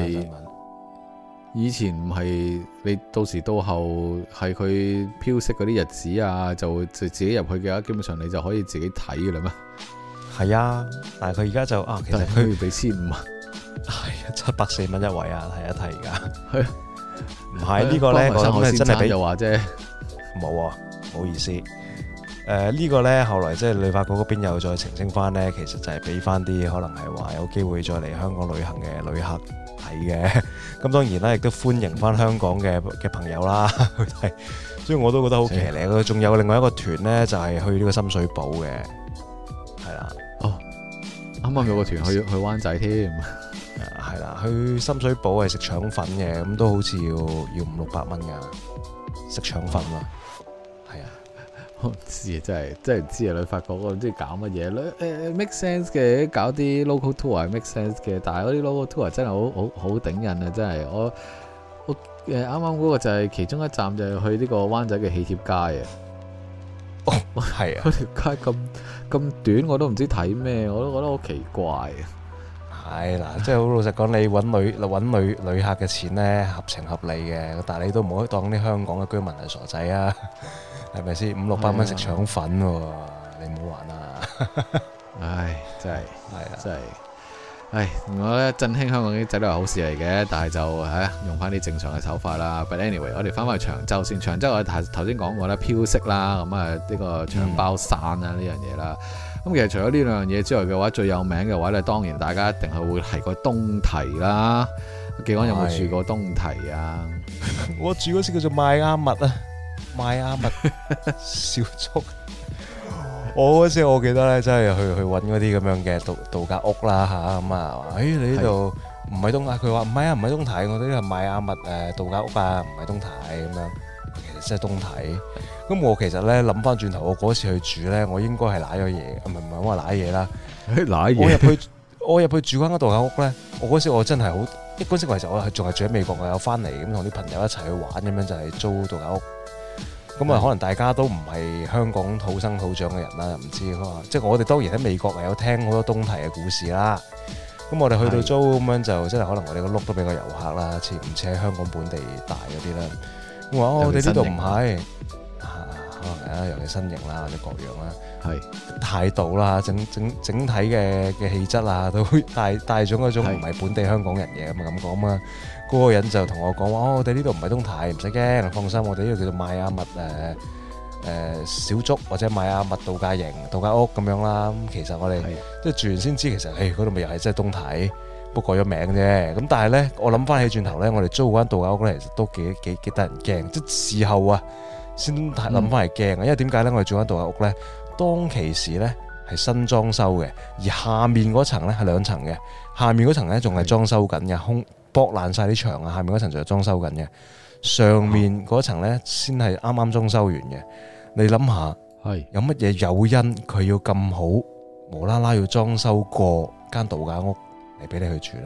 以前唔係你到時到後係佢飄色嗰啲日子啊，就自己入去嘅話，基本上你就可以自己睇嘅啦咩？ 係啊，但係佢而家就其實佢要俾1500， 係啊，740蚊一位啊，睇一睇而家。 係唔係呢個咧？我諗真係俾又話啫， 冇啊，唔好意思。呢個呢，後來即係旅發局嗰邊又再澄清翻呢，其實就係俾翻啲可能係話有機會再嚟香港旅行嘅旅客睇嘅。咁當然啦，亦都歡迎翻香港嘅朋友啦去睇。所以我都覺得好騎呢。仲有另外一個團呢，就係去呢個深水埗嘅，係啦。 哦，啱啱有個團去灣仔添。 係啦，去深水埗係食腸粉嘅，咁都好似要500-600蚊㗎，食腸粉啊。 我唔知啊，真係唔知啊！旅發局我唔知搞乜嘢，make sense 嘅，搞啲 local tour 係 make sense 嘅，但係嗰啲 local tour 真係好頂癮啊！真係我啱啱嗰個就係其中一站就係去呢個灣仔嘅喜帖街啊！ 哦，係啊， 嗰條街咁短，我都唔知睇咩，我都覺得好奇怪啊！ 係嗱，即係好老實講，你揾旅客嘅錢咧合情合理嘅，但係你都唔好當啲香港嘅居民係傻仔啊！係咪先500-600蚊食腸粉喎？你唔好玩啊！ 唉，真係係真係，唉，我覺得振興香港啲仔都係好事嚟嘅，但係就用翻啲正常嘅手法啦。But anyway，我哋翻返去長洲先。長洲我哋頭先講過啦，飄色啦，咁啊呢個搶包山啦呢樣嘢啦。咁其實除咗呢兩樣嘢之外嘅話，最有名嘅話咧，當然大家一定係會提過東堤啦。技安有冇住過東堤啊？ 我住嗰時叫做邁阿密啊。邁阿密小築，我嗰時我記得咧，真係去揾嗰啲咁樣嘅度假屋啦嚇，咁啊，你呢度唔係東啊？佢話唔係啊，唔係東堤，我哋呢度邁阿密度假屋啊，唔係東堤咁樣，其實真係東堤。咁我其實咧諗翻轉頭，我嗰次去住咧，我應該係揦咗嘢，唔係我話揦嘢啦，揦嘢。我入去住嗰間度假屋咧，我嗰時我真係好，嗰時其實我仲係住喺美國，我有翻嚟咁同啲朋友一齊去玩咁樣，就係租度假屋。咁啊，可能大家都唔係香港土生土長嘅人啦，唔知即係我哋當然喺美國有聽好多東堤嘅故事啦。咁我哋去到租咁樣就，即係可能我哋個碌都比較遊客啦，似唔似喺香港本地大嗰啲啦。我話我哋呢度唔係，可能係啦，尤其身形啦或者各樣啦，態度啦，整體嘅氣質啊，都帶咗嗰種唔係本地香港人嘅咁講嘛。嗰個人就同我講話，我哋呢度唔係東堤，唔使驚，放心，我哋呢度叫做邁阿密小築或者邁阿密度假營、度假屋咁樣啦。咁其實我哋即係住完先知，其實嗰度咪又係真係東堤，不過改咗名啫。咁但係咧，我諗翻起轉頭咧，我哋租嗰間度假屋咧，其實都幾得人驚。即係事後啊，先諗翻係驚。因為點解咧？我哋租間度假屋咧，當其時咧係新裝修嘅，而下面嗰層咧係2層嘅，下面嗰層咧仲係裝修緊嘅，剝爛晒啲牆啊！下面嗰層就係裝修緊嘅，上面嗰層咧先係啱啱裝修完嘅。你諗下，有乜嘢誘因佢要咁好，無啦啦要裝修過間度假屋嚟俾你去住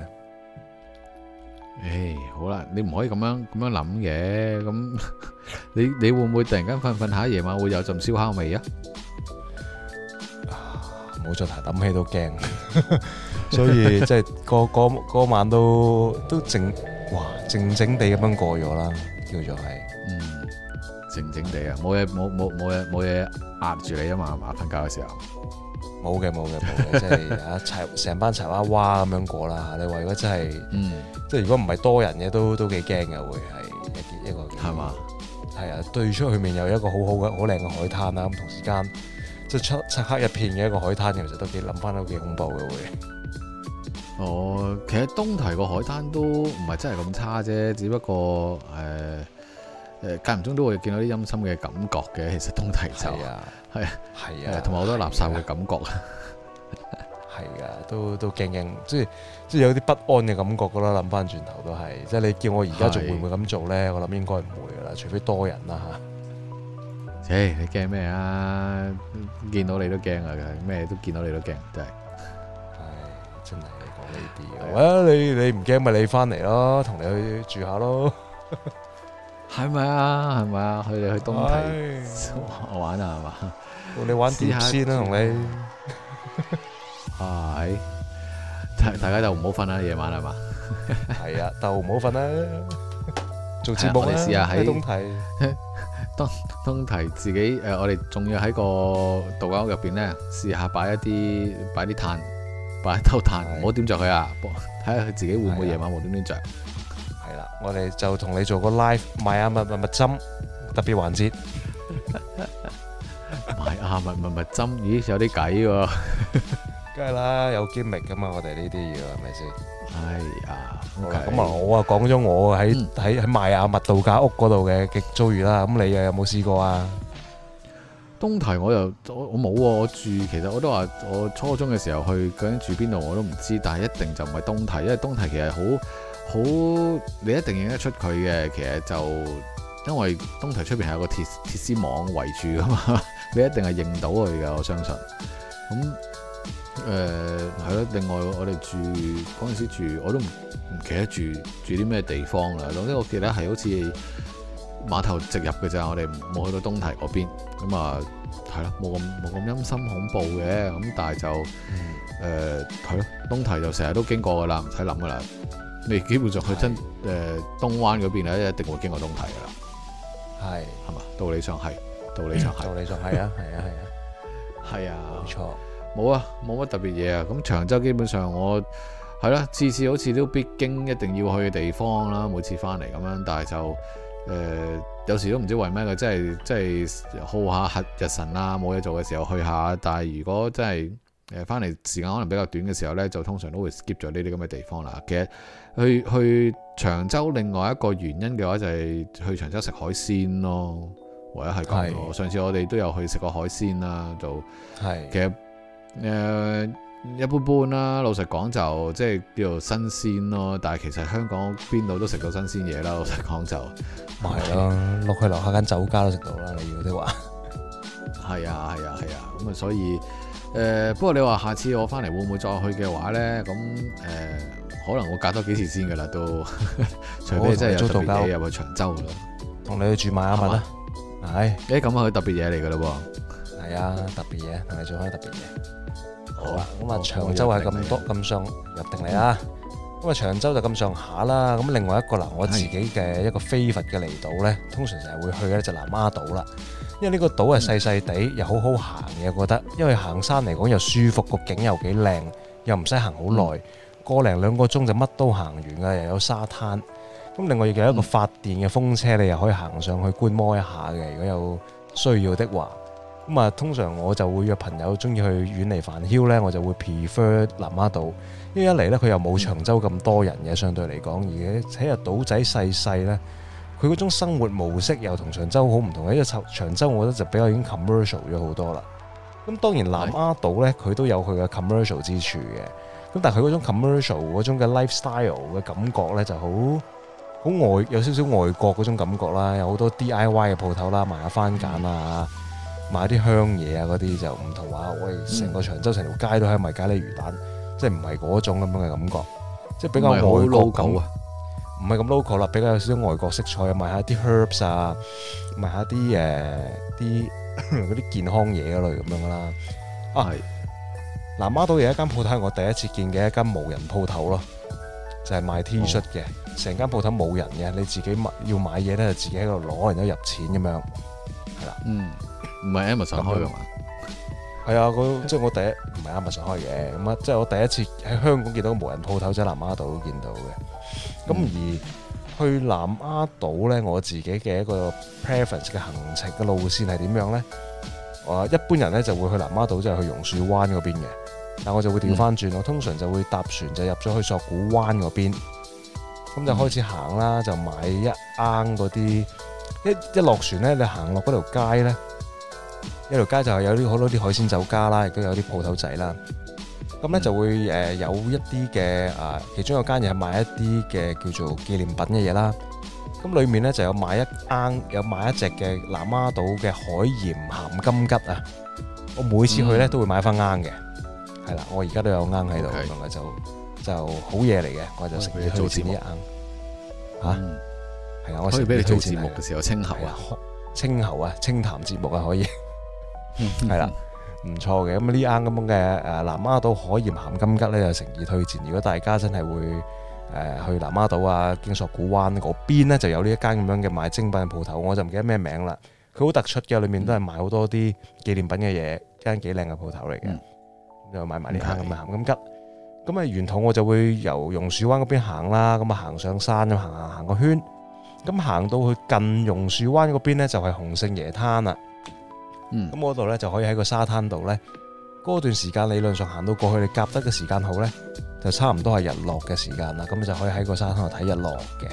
咧？ 好啦，你唔可以咁樣諗嘅。咁你會唔會突然間瞓下夜晚會有陣燒烤味啊？ 冇再提，諗起都驚。所以即係嗰晚都靜靜地咁樣過咗啦，叫做係靜靜地啊，冇嘢壓住你啊嘛，瞓覺嘅時候冇嘅，即係成班柴娃娃咁樣過啦。你話如果真係即係如果唔係多人嘅都幾驚嘅，會係一個係嘛？ 係啊，對出去面有一個好靚嘅海灘啦，咁同時間即係漆黑一片嘅一個海灘，其實都諗翻都幾恐怖嘅會。 其實東堤個海灘都唔係真係咁差啫，只不過間唔中都會見到啲陰森嘅感覺嘅。其實東堤就係啊，同埋好多垃圾嘅感覺。 係㗎，都驚驚，即係有啲不安嘅感覺㗎啦。諗翻轉頭都係，即係你叫我而家仲會唔會咁做咧？我諗應該唔會㗎啦，除非多人啦嚇。 你驚咩啊？見到你都驚啊！咩都見到你都驚，真係。 真係講呢啲嘅。你唔驚咪你翻嚟咯，同你去住下咯。 係咪啊？佢哋去東堤玩啊？係嘛？ 你玩碟先啦，同你。 大家就唔好瞓啦，夜晚係嘛？ 係啊，就唔好瞓啦。做節目啦，試下喺東堤。 東堤自己我哋仲要喺個度假屋入邊咧，試下擺啲炭，擺一兜炭，唔好點着佢啊！睇下佢自己會唔會夜晚無端端着。 係啦，我哋就同你做個 live 買下蜜針特別環節。 買下蜜針，咦有啲計喎！ 梗係啦，有機密噶嘛，我哋呢啲嘢係咪先？ 係啊， 咁我講咗我喺邁阿密度假屋嗰度嘅遭遇啦。咁你又有冇試過啊？ 東堤我冇喎，我住其實我都話我初中嘅時候去，究竟住邊度我都唔知，但係一定就唔係東堤，因為東堤其實好你一定認得出佢嘅。其實就因為東堤出邊係有個鐵絲網圍住噶嘛，你一定係認到佢嘅，我相信。咁係咯，另外我哋住嗰陣時住，我都唔記得住啲咩地方啦。總之我記得係好似碼頭直入嘅咋，我哋冇去到東堤嗰邊。咁啊，係咯，冇咁陰森恐怖嘅。咁但係就係咯，東堤就成日都經過噶啦，唔使諗噶啦。你基本上去真東灣嗰邊咧，一定會經過東堤噶啦。係嘛？道理上係啊，係啊， 冇錯。 冇啊，冇乜特別嘢啊。咁長洲基本上我係啦，次次好似都必經一定要去嘅地方啦。每次翻嚟咁樣，但係就有時都唔知為咩嘅，即係好下日神啊，冇嘢做嘅時候去下。但係如果真係翻嚟時間可能比較短嘅時候呢，就通常都會 skip 咗呢啲咁嘅地方啦。其實去長洲另外一個原因嘅話，就係去長洲食海鮮咯。唯一係咁咯。上次我哋都有去食過海鮮啦，就其實。一般般啦，老實講就即係叫做新鮮咯。但係其實香港邊度都食到新鮮嘢啦。老實講就咪係咯，落去樓下間酒家都食到啦。你要的話係啊。咁啊，所以不過你話下次我翻嚟會唔會再去嘅話咧？咁可能我隔多幾次先噶啦，都除非真係有特別嘢入去長洲啦。 同你去住邁阿密啦。係咁啊，佢特別嘢嚟噶啦。 係啊，特別嘢，同你做翻特別嘢。好啦，咁啊長洲係咁多咁上入定嚟啦。咁啊長洲就咁上下啦。咁另外一個嗱，我自己嘅一個非佛嘅離島咧，通常成日會去嘅咧就南丫島啦。因為呢個島係細細地，又好好行嘅，我覺得。因為行山嚟講又舒服，個景又幾靚，又唔使行好耐，個零兩個鐘就乜都行完㗎，又有沙灘。咁另外亦有一個發電嘅風車，你又可以行上去觀摩一下嘅。如果有需要的話。咁啊，通常我就會約朋友中意去遠離煩囂咧，我就會 prefer 南丫島，因為一嚟咧佢又冇長洲咁多人嘅，相對嚟講，而且喺個島仔細細咧，佢嗰種生活模式又同長洲好唔同嘅。因為長洲我覺得就比較已經 commercial 咗好多啦。咁當然南丫島咧，佢都有佢嘅 commercial 之處嘅。咁但係佢嗰種 commercial 嗰種嘅 lifestyle 嘅感覺咧，就好外，有少少外國嗰種感覺啦，有好多 DIY 嘅鋪頭啦，賣下番梘啊。買啲香嘢啊，嗰啲就唔同話，喂，成個長洲成條街都係賣咖喱魚蛋，即係唔係嗰種咁樣嘅感覺，即係比較外國感啊，唔係咁 local 啦，比較有少少外國色彩啊，賣下啲 herbs 啊，賣下啲嗰啲健康嘢嗰類咁樣啦。係南丫島有一間鋪頭係我第一次見嘅一間無人鋪頭咯，就係賣 T 恤嘅，成間鋪頭冇人嘅，你自己要買嘢咧就自己喺度攞，然之後入錢咁樣，係啦， 唔係 Amazon 開嘅嘛？ 係啊，即係我第一唔係 Amazon 開嘅，咁啊，即係我第一次喺香港見到無人鋪頭，即係南丫島見到嘅。咁而去南丫島咧，我自己嘅一個 preference 嘅行程嘅路線係點樣咧？一般人咧就會去南丫島，即係去榕樹灣嗰邊嘅，但我就會調翻轉，我通常就會搭船就入咗去索罟灣嗰邊，咁就開始行啦，就買一罌嗰啲一落船咧，你行落嗰條街咧。一條街就係有好多啲海鮮酒家啦，亦都有啲鋪頭仔啦。 咁咧就會有一啲嘅其中有間嘢係賣一啲嘅叫做紀念品嘅嘢啦。咁裡面咧就有買一隻嘅南丫島嘅海鹽鹹金桔啊！我每次去咧都會買翻罌嘅，係啦，我而家都有罌喺度，咁啊就好嘢嚟嘅，我就食嘢做節目呢一罌嚇，係啊，我可以俾你做節目嘅時候清喉啊， 清談節目啊可以，係啦，唔錯嘅。咁呢罌咁樣嘅南丫島海鹽鹹金桔咧就誠意推薦。如果大家真係會去南丫島啊，經索罟灣嗰邊咧就有呢一間咁樣嘅賣精品嘅鋪頭，我就唔記得咩名啦。佢好突出嘅，裏面都係賣好多啲紀念品嘅嘢，間幾靚嘅鋪頭嚟嘅。就買埋呢間咁嘅鹹金桔。咁沿途我就會由榕樹灣嗰邊行啦，咁行上山咁行個圈。咁行到去近榕樹灣嗰邊咧，就係洪聖爺灘啦。咁嗰度咧就可以喺個沙灘度咧，嗰段時間理論上行到過去，你夾得嘅時間好咧，就差唔多係日落嘅時間啦。咁就可以喺個沙灘度睇日落嘅。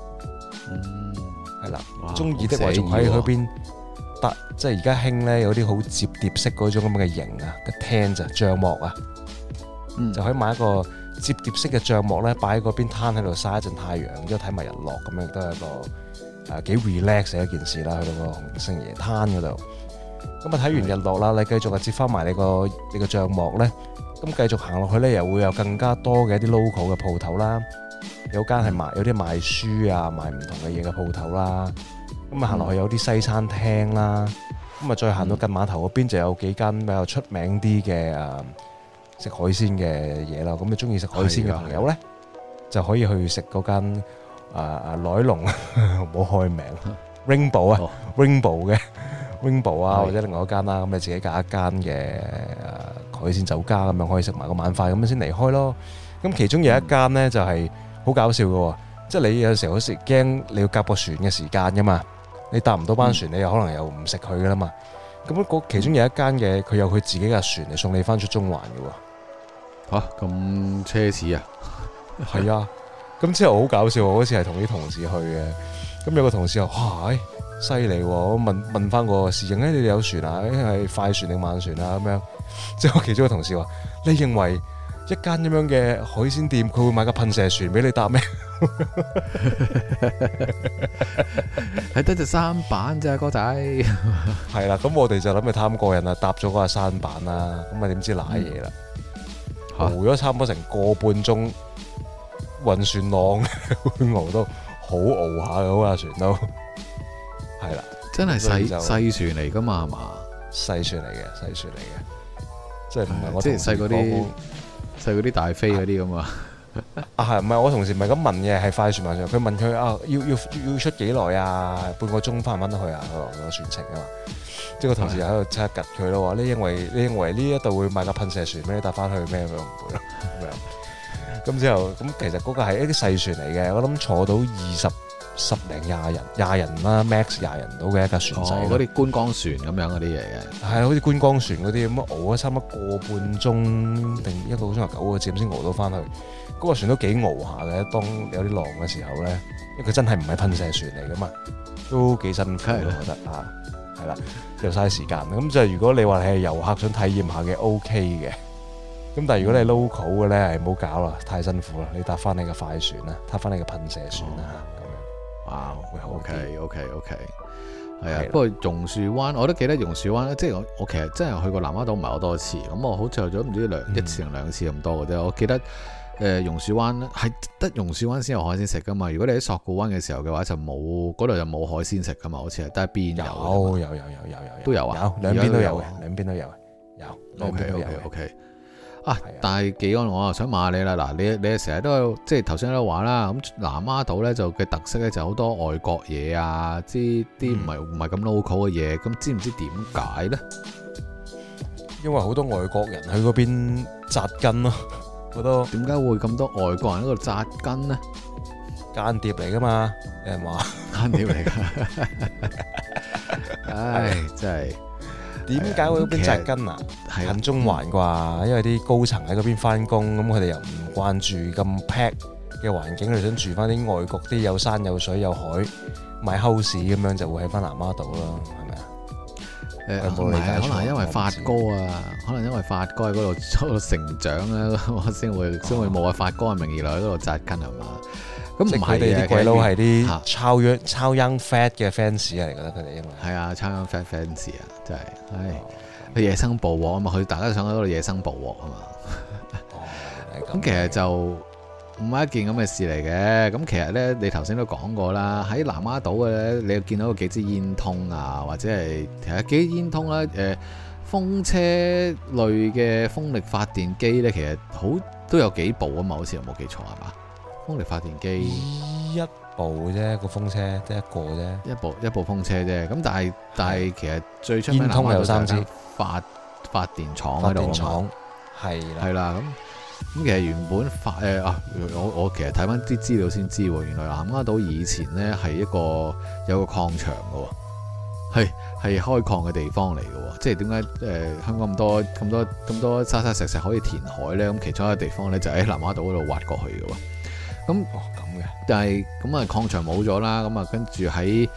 係啦，中意的話仲喺嗰邊得，即係而家興咧有啲好摺疊式嗰種咁嘅型啊，個 tent 就帳幕啊，就可以買一個摺疊式嘅帳幕咧，擺喺嗰邊攤喺度曬一陣太陽，然之後睇埋日落，咁樣都係一個幾 relax 嘅一件事啦。去到個洪聖爺灘嗰度，咁睇完日落啦，你繼續接翻埋你個帳幕咧，咁繼續行落去咧，又會有更加多嘅一啲 local 嘅鋪頭啦。有間係有啲賣書啊，賣唔同嘅嘢嘅鋪頭啦。咁行落去有啲西餐廳啦。咁再行到近碼頭嗰邊就有幾間比較出名啲嘅食海鮮嘅嘢啦。咁你中意食海鮮嘅朋友咧，就可以去食嗰間來龍，唔好開名 Rainbow 啊，Rainbow 嘅 Rainbow 啊，或者另外一間啦。咁你自己揀一間嘅海鮮酒家咁樣可以食埋個晚飯，咁樣先離開咯。咁其中有一間咧就係好搞笑嘅喎，即係你有時候好似驚你要夾個船嘅時間噶嘛，你搭唔到班船，你又可能又唔食佢噶啦嘛。咁其中有一間嘅，佢有佢自己嘅船嚟送你翻出中環嘅喎。嚇， 咁奢侈啊！ 係啊，咁之後好搞笑，我嗰次係同啲同事去嘅，咁有個同事話：哇，犀利喎！我問翻個侍應，你哋有船啊？係快船定慢船啊？咁樣，之後其中一個同事話：你認為一間咁樣嘅海鮮店，佢會買個噴射船俾你搭咩？ 係得隻舢板啫，哥仔。 係啦，咁我哋就諗住貪過癮啦，搭咗嗰個舢板啦，咁點知瀨嘢啦，熬咗差唔多成個半鐘，暈船浪會熬到好熬下嘅嗰架船都係啦， 真係細船嚟噶嘛，係嘛？ 細船嚟嘅，即係唔係我即係細嗰啲大飛嗰啲咁啊？ 係唔係我同事唔係咁問嘅，係快船慢船。佢問佢要出幾耐啊？半個鐘翻唔翻得去啊？個船程啊嘛。即係個同事又喺度即刻趌佢咯，話你認為呢一度會買架噴射船俾你搭翻去咩？佢唔會咯咁樣。咁之後咁其實嗰個係一啲細船嚟嘅，我諗坐到十零廿人啦 ，max 廿人到嘅一架船仔。 嗰啲觀光船咁樣嗰啲嘢嘅。係好似觀光船嗰啲咁熬咗差唔多個半鐘定一個鐘頭9個字先熬到翻去。嗰個船都幾熬下嘅，當有啲浪嘅時候咧，因為佢真係唔係噴射船嚟噶嘛，都幾辛苦我覺得啊，係啦，又嘥時間。咁就如果你話你係遊客想體驗下嘅 OK 嘅，咁但係如果你係 local 嘅咧，係唔好搞啦，太辛苦啦，你搭翻你嘅快船啦，搭翻你嘅噴射船啦咁樣。哇，會好 OK， 係啊。不過榕樹灣我都記得榕樹灣咧，即係我其實真係去過南丫島唔係好多次，咁我好似去咗唔知一次定兩次咁多嘅啫。我記得。榕樹灣咧係得榕樹灣先有海鮮食噶嘛？如果你喺索罟灣嘅時候嘅話，就冇嗰度就冇海鮮食噶嘛？好似係得一邊有都有啊， 兩邊都有嘅，兩邊都有。 OK 啊！但係紀安，我又想問下你啦。嗱，你成日都有即係頭先都話啦，咁南丫島咧就嘅特色咧就好多外國嘢啊，啲唔係咁 local 嘅嘢，咁知唔知點解咧？ 因為好多外國人去嗰邊紮根咯。 點解會咁多外國人喺度紮根呢？ 間諜嚟噶嘛？有人話間諜嚟噶，唉，真係點解會喺嗰邊紮根啊？近中環啩，因為啲高層喺嗰邊翻工，咁佢哋又唔慣住咁 pack 嘅環境，佢哋想住翻啲外國啲有山有水有海買 house 咁樣，就會喺翻南丫島咯，係咪啊？ 唔係，可能係因為發哥啊，可能因為發哥喺嗰度成長咧，我先會冇發哥嘅名義嚟喺嗰度紮根係嘛？咁唔係嘅，啲鬼佬係啲超 young fat 嘅 fans 嚟，覺得佢哋因為係啊，超 young fat fans 啊，真係，佢野生捕獲啊嘛，佢大家都想喺嗰度野生捕獲啊嘛。咁其實就唔係一件咁嘅事嚟嘅。咁其實咧，你頭先都講過啦，喺南丫島嘅咧，你又見到幾支煙通啊，或者係其實幾支煙通啦，風車類嘅風力發電機咧，其實都有幾部啊嘛，好似有冇記錯係嘛？風力發電機一部啫，個風車得一個啫， 一部風車啫。咁但係其實最出名煙通有3支發電廠喺度啊嘛，係啦。咁其實原本我其實睇翻啲資料先知喎，原來南丫島以前咧係有個礦場嘅喎，係開礦嘅地方嚟嘅喎。即係點解香港咁多沙沙石可以填海咧？咁其中一個地方咧就喺南丫島嗰度挖過去嘅喎。咁咁嘅， 但係咁啊礦場冇咗啦，咁啊跟住喺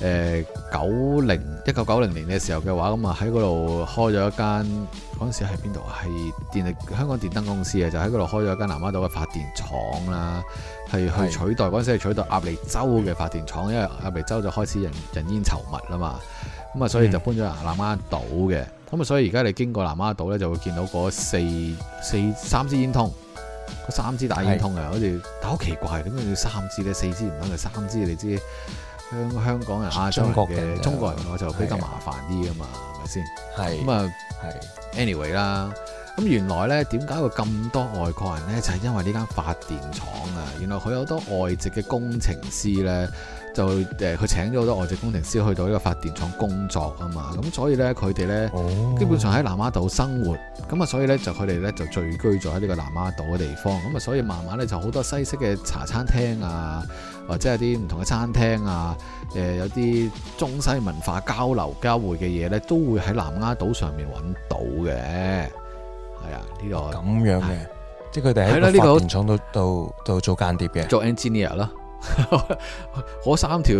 1990年嘅時候嘅話，咁啊喺嗰度開咗一間，嗰陣時喺邊度啊？係香港電燈公司啊，就喺嗰度開咗一間南丫島嘅發電廠啦，係去取代嗰陣時係取代鴨脷洲嘅發電廠，因為鴨脷洲就開始人煙稠密啦嘛，咁啊所以就搬咗嚟南丫島嘅，咁啊所以而家你經過南丫島咧就會見到嗰三支煙通。3支大煙通啊，好似但好奇怪，點解要3支咧？4支唔得嘅，3支你知香港人亞洲嘅中國人我就比較麻煩啲噶嘛，係咪先？係咁啊，anyway 啦。咁原來咧點解會咁多外國人咧？就係因為呢間發電廠啊，原來佢有好多外籍嘅工程師咧，就佢請咗好多外籍工程師去到呢個發電廠工作啊嘛。咁所以咧佢哋咧基本上喺南丫島生活，咁啊所以咧就佢哋咧就聚居咗喺呢個南丫島嘅地方。咁啊所以慢慢咧就好多西式嘅茶餐廳啊，或者係啲唔同嘅餐廳啊，有啲中西文化交流交匯嘅嘢咧，都會喺南丫島上面揾到嘅。係啊，呢個咁樣嘅，即係佢哋喺個發電廠度做間諜嘅， 做 engineer 咯。嗰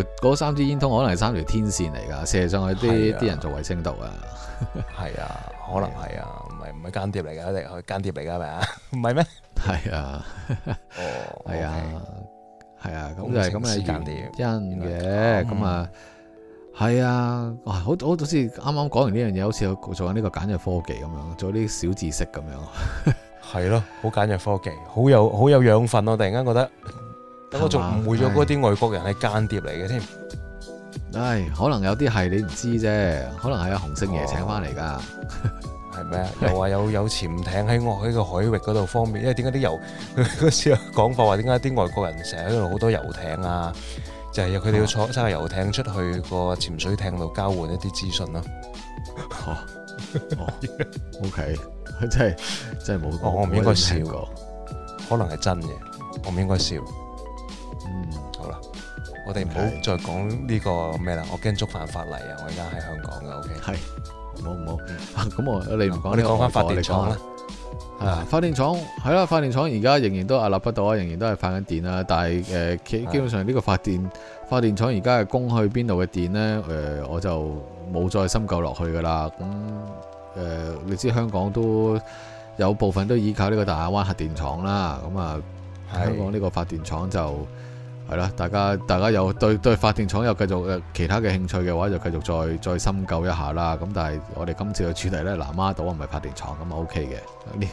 3支煙通可能係3條天線嚟㗎，射上去啲人做衛星度啊。 係啊，可能係啊，唔係間諜嚟㗎，一定係間諜嚟㗎，係咪啊？唔係咩？ 係啊，係啊，係啊，咁就係咁嘅原因嘅，咁啊。係啊，好似啱啱講完呢樣嘢，好似做緊呢個簡約科技咁樣，做啲小知識咁樣。 係咯，好簡約科技，好有養分。我突然間覺得，等我仲誤會咗嗰啲外國人係間諜嚟嘅添。 唉，可能有啲係你唔知啫，可能係阿洪聖爺請翻嚟㗎。 係咩啊？又話有潛艇喺個海域嗰度方面，因為點解啲嗰時有講法話點解啲外國人成日喺度好多遊艇啊？就係佢哋要坐揸個遊艇出去個潛水艇度交換一啲資訊咯。 OK， 真係冇。 我唔應該笑，可能係真嘅，我唔應該笑。好啦，我哋唔好再講呢個咩啦，我驚觸犯法例啊！我而家喺香港嘅 OK。 係，冇。咁你唔講，你講翻發電廠啦。 發電廠係啦，發電廠而家仍然都屹立不倒啊，仍然都係發緊電啦。但係基本上呢個發電廠而家係供去邊度嘅電呢？我就冇再深究落去噶啦。咁你知香港都有部分都依靠呢個大亞灣核電廠啦。咁啊，香港呢個發電廠就係啦，大家有對發電廠有繼續其他嘅興趣嘅話，就繼續再深究一下啦。咁但係我哋今次嘅主題呢，南丫島唔係發電廠咁啊 OK 嘅。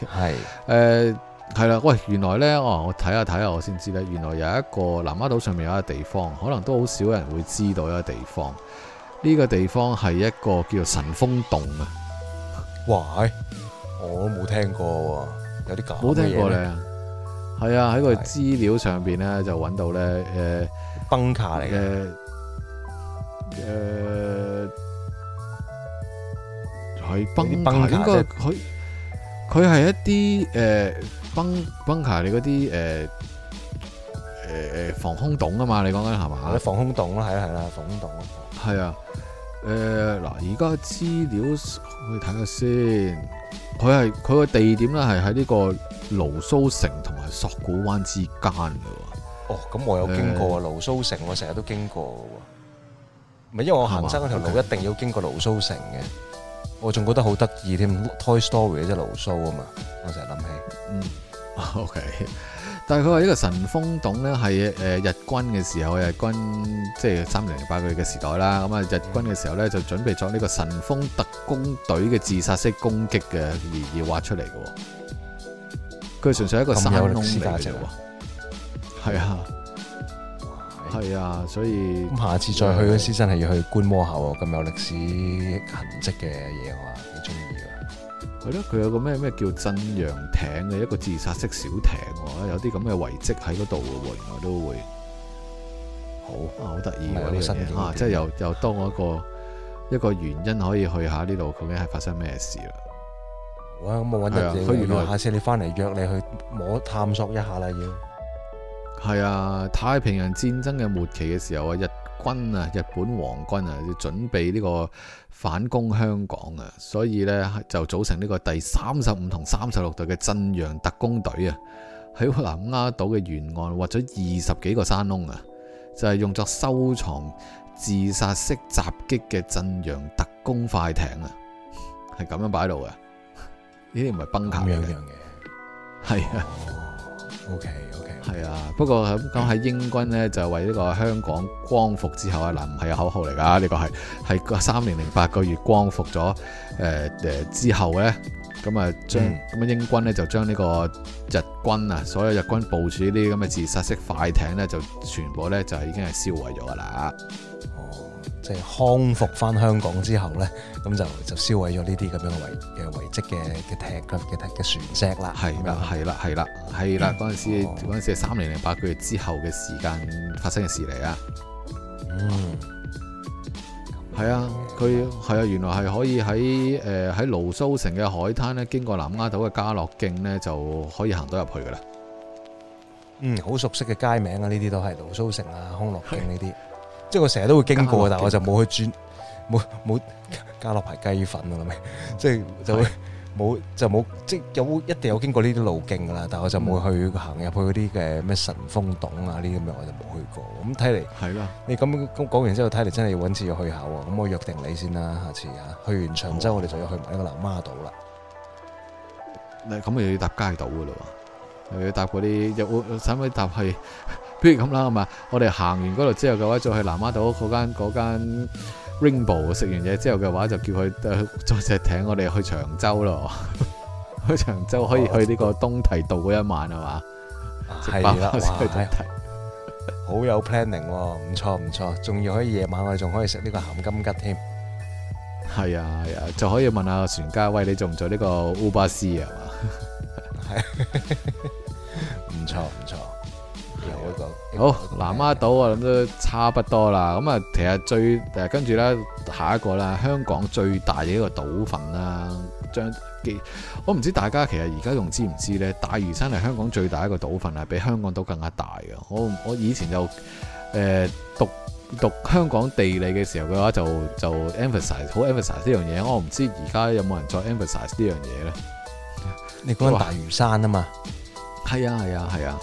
係啦，喂，原來呢，我睇下我先知呢，原來有一個南丫島上面有一個地方，可能都好少人會知道一個地方。呢個地方係一個叫做神風洞啊！ 哇，我都冇聽過喎，有啲咁冇聽過呢？係啊，喺個資料上邊咧就揾到咧， 崩卡嚟嘅， 係崩卡，應該佢係一啲崩卡你嗰啲防空洞啊嘛，你講緊係嘛？ 防空洞啦，係啦，防空洞啦， 係啊，嗱，而家資料我哋睇下先，佢個地點咧係喺呢個蘆蘇城同埋索罟灣之間嘅喎。 哦，咁我有經過蘆蘇城，我成日都經過嘅喎。 唔係因為我行山嗰條路一定要經過盧蘇城嘅，我仲覺得好得意添。Toy Story 即係盧蘇啊嘛，我成日諗起。 OK。但係佢話呢個神風洞咧係日軍嘅時候，日軍即係3008個月嘅時代啦。咁啊，日軍嘅時候咧就準備作呢個神風特攻隊嘅自殺式攻擊嘅而挖出嚟嘅。佢純粹係一個山窿嚟嘅啫喎。係啊，係啊，所以咁下次再去嗰時真係要去觀摩下喎。咁有歷史痕跡嘅嘢我話幾中意㗎。係咯，佢有個咩叫震陽艇嘅一個自殺式小艇喎，有啲咁嘅遺跡喺嗰度嘅喎，原來都會好得意喎呢樣嘢啊！即係又多我一個原因可以去下呢度，究竟係發生咩事啦？好啊，咁我揾日佢原來下次你翻嚟約你去探索一下啦，要係啊！太平洋戰爭嘅末期嘅時候啊，日本皇軍啊，要準備呢個反攻香港啊，所以呢，就組成呢個第35同36隊嘅震陽特攻隊啊，喺南丫島嘅沿岸挖咗20幾個山窿啊，就係用作收藏自殺式襲擊嘅震陽特攻快艇啊，係咁樣擺喺度嘅，呢啲唔係崩卡嘅，係啊。OK， 係啊，不過咁喺英軍呢，就為呢個香港光復之後啊，嗱唔係口號嚟㗎，呢個係個3008個月光復咗之後呢，咁啊英軍呢，就將呢個日軍啊，所有日軍部署呢啲咁嘅自殺式快艇呢，就全部呢，就已經係燒毀咗㗎啦。即係康復翻香港之後咧，咁就燒毀咗呢啲咁樣嘅遺跡嘅船隻啦。係啦，嗰陣時係3008個月之後嘅時間發生嘅事嚟啊。係啊，原來係可以喺盧蘇城嘅海灘咧，經過南丫島嘅家樂徑咧，就可以行到入去噶啦。好熟悉嘅街名啊，呢啲都係盧蘇城啊、康樂徑呢啲。即係我成日都會經過，但係我就冇去冇家樂牌雞粉啊，即係就冇即係一定有經過呢啲路徑噶啦，但係我就冇去行入去嗰啲嘅咩神風洞啊呢啲咁樣，我就冇去過。咁睇嚟係啦，你咁講完之後睇嚟真係要揾次要去下喎。咁我約定你先啦，下次去完長洲我哋就要去埋呢個南丫島啦。咁又要搭街島噶啦喎，又要搭嗰啲使唔使搭去？不如咁啦，係嘛？我哋行完嗰度之後嘅話，再去南丫島嗰間 Rainbow 食完嘢之後嘅話，就叫佢再隻艇，我哋去長洲咯。去長洲可以去呢個東堤道嗰一晚係嘛？係啦，好有 planning 喎，唔錯，仲要可以夜晚我哋仲可以食呢個鹹金桔添。係啊，就可以問下船家，喂，你做唔做呢個 Uber C 啊？係，唔錯。好，南丫島我諗都差不多啦。咁啊，其實跟住咧，下一個啦，香港最大嘅一個島份啦。我唔知大家其實而家仲知唔知咧？大嶼山係香港最大一個島份，係比香港島更加大嘅。我以前就讀香港地理嘅時候嘅話，就 emphasize 好 emphasize 呢樣嘢。我唔知而家有冇人再 emphasize 呢樣嘢咧？你講緊大嶼山啊嘛？係啊。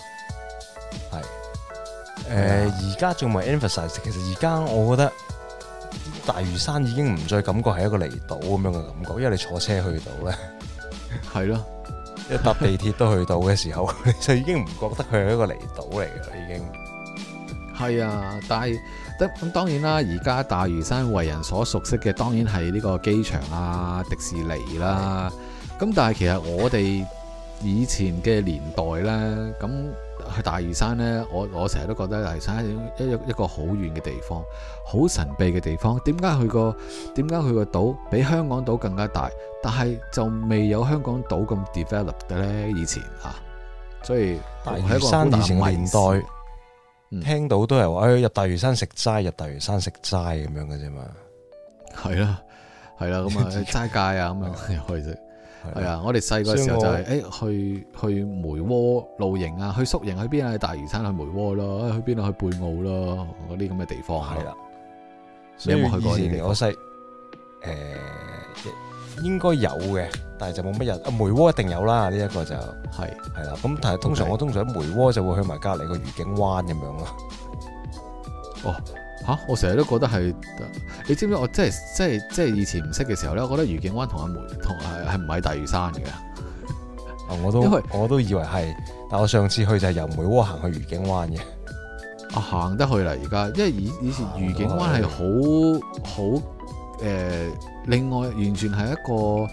而家仲未 emphasize， 其實而家我覺得大嶼山已經唔再感覺係一個離島咁樣嘅感覺，因為你坐車去到咧，係咯，一搭地鐵都去到嘅時候，你就已經唔覺得佢係一個離島嚟嘅啦，已經。係啊，但係咁當然啦，而家大嶼山為人所熟悉嘅，當然係呢個機場啊、迪士尼啦。咁但係其實我哋以前嘅年代咧，咁去大嶼山呢，我成日都覺得大嶼山係一個好遠嘅地方，好神秘嘅地方。點解佢個島比香港島更加大，但係就未有香港島咁 develop 嘅呢？以前所以大嶼山以前嘅年代，聽到都係話入大嶼山食齋，入大嶼山食齋咁樣嘅啫嘛。係啦，咁啊齋戒啊咁樣又可以食。係啊，我哋細個時候就係去梅窩露營啊，去宿營去邊啊？去大嶼山去梅窩咯，去邊啊？去貝澳咯，嗰啲咁嘅地方。係啦，你有冇去過？以前我細應該有嘅，但係就冇乜人。梅窩一定有啦，呢一個就係啦。咁但係通常喺梅窩就會去埋隔離個愉景灣咁樣咯。 我成日都覺得係，你知唔知我即係以前唔識嘅時候咧，我覺得愉景灣同阿梅同係唔係大嶼山嘅。 我都以為係，但我上次去就係由梅窩行去愉景灣嘅。 行得去啦而家，因為以前愉景灣係好另外完全係一個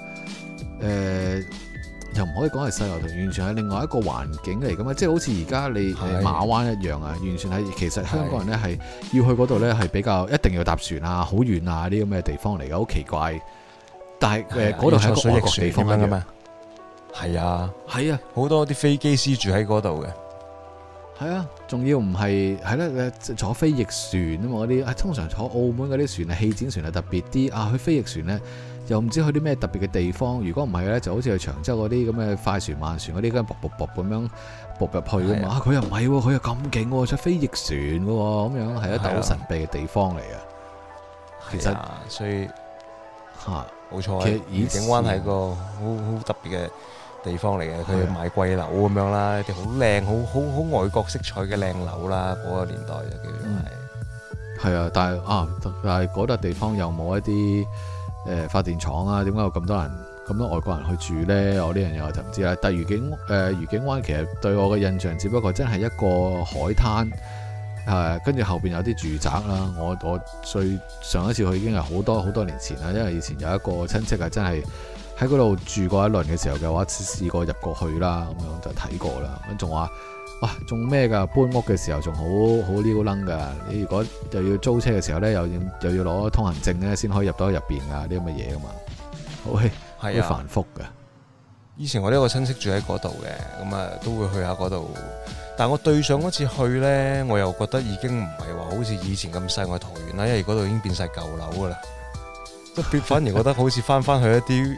又唔可以講係世外桃源，完全係另外一個環境嚟㗎嘛，即係好似而家你馬灣一樣啊，完全係其實香港人咧係要去嗰度咧係比較一定要搭船啊，好遠啊啲咁嘅地方嚟嘅，好奇怪。但係嗰度係一個外國地方㗎嘛。 係啊， 係啊， 好多啲飛機師住喺嗰度嘅。 係啊，仲要唔係咧？坐飛翼船啊嘛，嗰啲通常坐澳門嗰啲船啊，氣展船係特別啲啊。去飛翼船咧，又唔知去啲咩特別嘅地方。如果唔係咧，就好似去長洲嗰啲咁嘅快船慢船嗰啲，咁卜咁樣卜入去噶嘛。佢又唔係喎，佢又咁勁喎，坐飛翼船嘅喎，咁樣係一笪好神秘嘅地方嚟嘅。其實所以冇錯， 其實愉景灣係個好特別嘅地方嚟嘅，佢買貴樓咁樣啦，啲好靚、好外國色彩嘅靚樓啦，嗰個年代就叫做係。 係啊，但係嗰笪地方又冇一啲發電廠啊？點解有咁多外國人去住咧？我呢樣嘢我就唔知啦。但係愉景灣其實對我嘅印象，只不過真係一個海灘，跟住後邊有啲住宅啦。我最上一次去已經係好多年前啦，因為以前有一個親戚係真係喺嗰度住過一輪嘅時候嘅話，試過入過去啦，咁樣就睇過啦。咁仲話哇，仲咩㗎？搬屋嘅時候仲好撩楞㗎。你如果又要租車嘅時候咧，又要攞通行證咧，先可以入到入邊㗎，啲咁嘅嘢㗎嘛。好繁複㗎。 以前我呢個親戚住喺嗰度嘅，咁啊都會去下嗰度。但係我對上嗰次去咧，我又覺得已經唔係話好似以前咁世外桃源啦，因為嗰度已經變晒舊樓㗎啦。反而覺得好似翻去一啲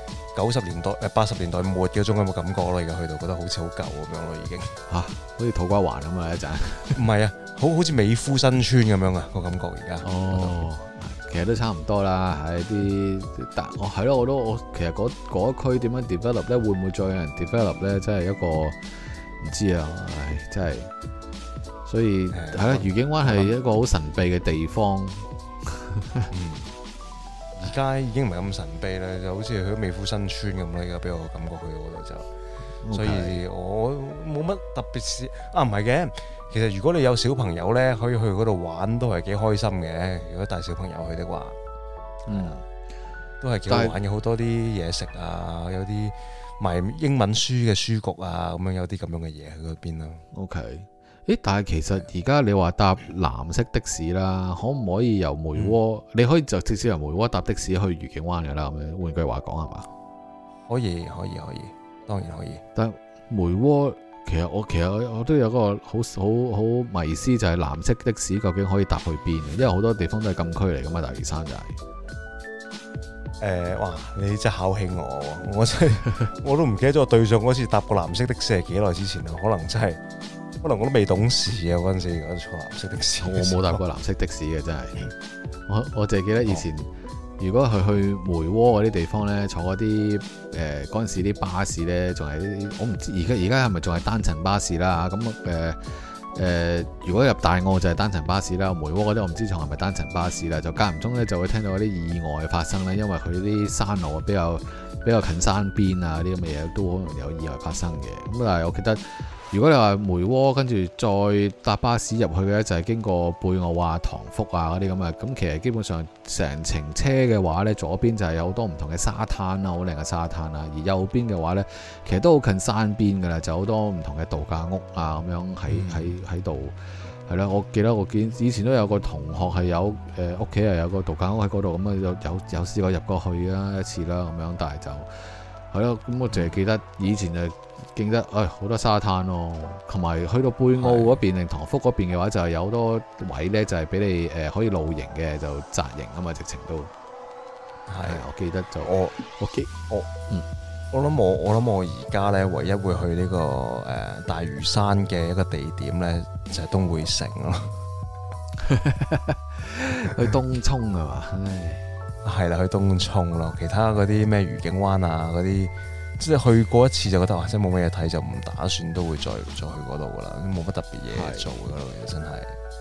90年代、80年代末嗰種咁嘅感覺咯，而家去到覺得好似好舊咁樣咯，已經好似土瓜灣咁啊一陣。唔係啊，好似美孚新村咁樣啊個感覺而家。 其實都差唔多啦，係啲但係咯，我其實嗰一區點樣 develop 咧，會唔會再有人 develop 咧？真係一個唔知啊，真係。所以係啦，愉景灣係一個好神秘嘅地方。 而家已經唔係咁神秘啦，就好似去美孚新村咁啦。而家俾我感覺去到嗰度就，所以我冇乜特別事啊。唔係嘅，其實如果你有小朋友咧，可以去嗰度玩都係幾開心嘅。如果帶小朋友去的話，都係幾好玩嘅。好多啲嘢食啊，有啲賣英文書嘅書局啊，咁樣有啲咁樣嘅嘢喺嗰邊咯。 OK。但係其實而家你話搭藍色的士啦，可唔可以由梅窩？你可以就直接由梅窩搭的士去愉景灣嘅啦。咁樣換句話講係嘛？可以， 當然可以。 但係梅窩其實我都有個好迷思，就係藍色的士究竟可以搭去邊？因為好多地方都係禁區嚟噶嘛，大嶼山就係。 哇！你真係考起我真係我都唔記得咗我對上嗰次搭過藍色的士係幾耐之前啦，可能我都未懂事啊嗰陣時，我坐藍色的士。我冇搭過藍色的士嘅真係，我淨係記得以前，如果去梅窩嗰啲地方咧，坐嗰啲嗰陣時啲巴士咧，仲係啲我唔知而家係咪仲係單層巴士啦？咁如果入大澳就係單層巴士啦，梅窩嗰啲我唔知仲係咪單層巴士啦，就間唔中咧就會聽到嗰啲意外發生咧，因為佢啲山路比較近山邊啊，啲咁嘅嘢都好容易有意外發生嘅。咁但係我記得。如果你話梅窩跟住再搭巴士入去嘅就係經過貝澳啊、塘福啊嗰啲咁啊，咁其實基本上成程車嘅話呢，左邊就係有好多唔同嘅沙灘啊，好靚嘅沙灘啊，而右邊嘅話呢，其實都好近山邊噶啦，就好多唔同嘅度假屋啊咁樣喺度，係啦。我記得我以前都有個同學係有屋企係有個度假屋喺嗰度，咁啊有試過入過去啦一次啦咁樣，但係就係咯，咁我淨係記得以前就記得好多沙灘咯，同埋去到貝澳嗰邊定塘福嗰邊嘅話，就係有好多位咧，就係俾你可以露營嘅，就紮營啊嘛，直情都係。我記得就我諗我而家咧，唯一會去呢個大嶼山嘅一個地點咧，就係東薈城咯。 去東涌係嘛？ 係啦，去東涌咯。其他嗰啲咩愉景灣啊嗰啲。即係去過一次就覺得哇，真係冇乜嘢睇，就唔打算都會再去嗰度噶啦，冇乜特別嘢做噶啦，真係。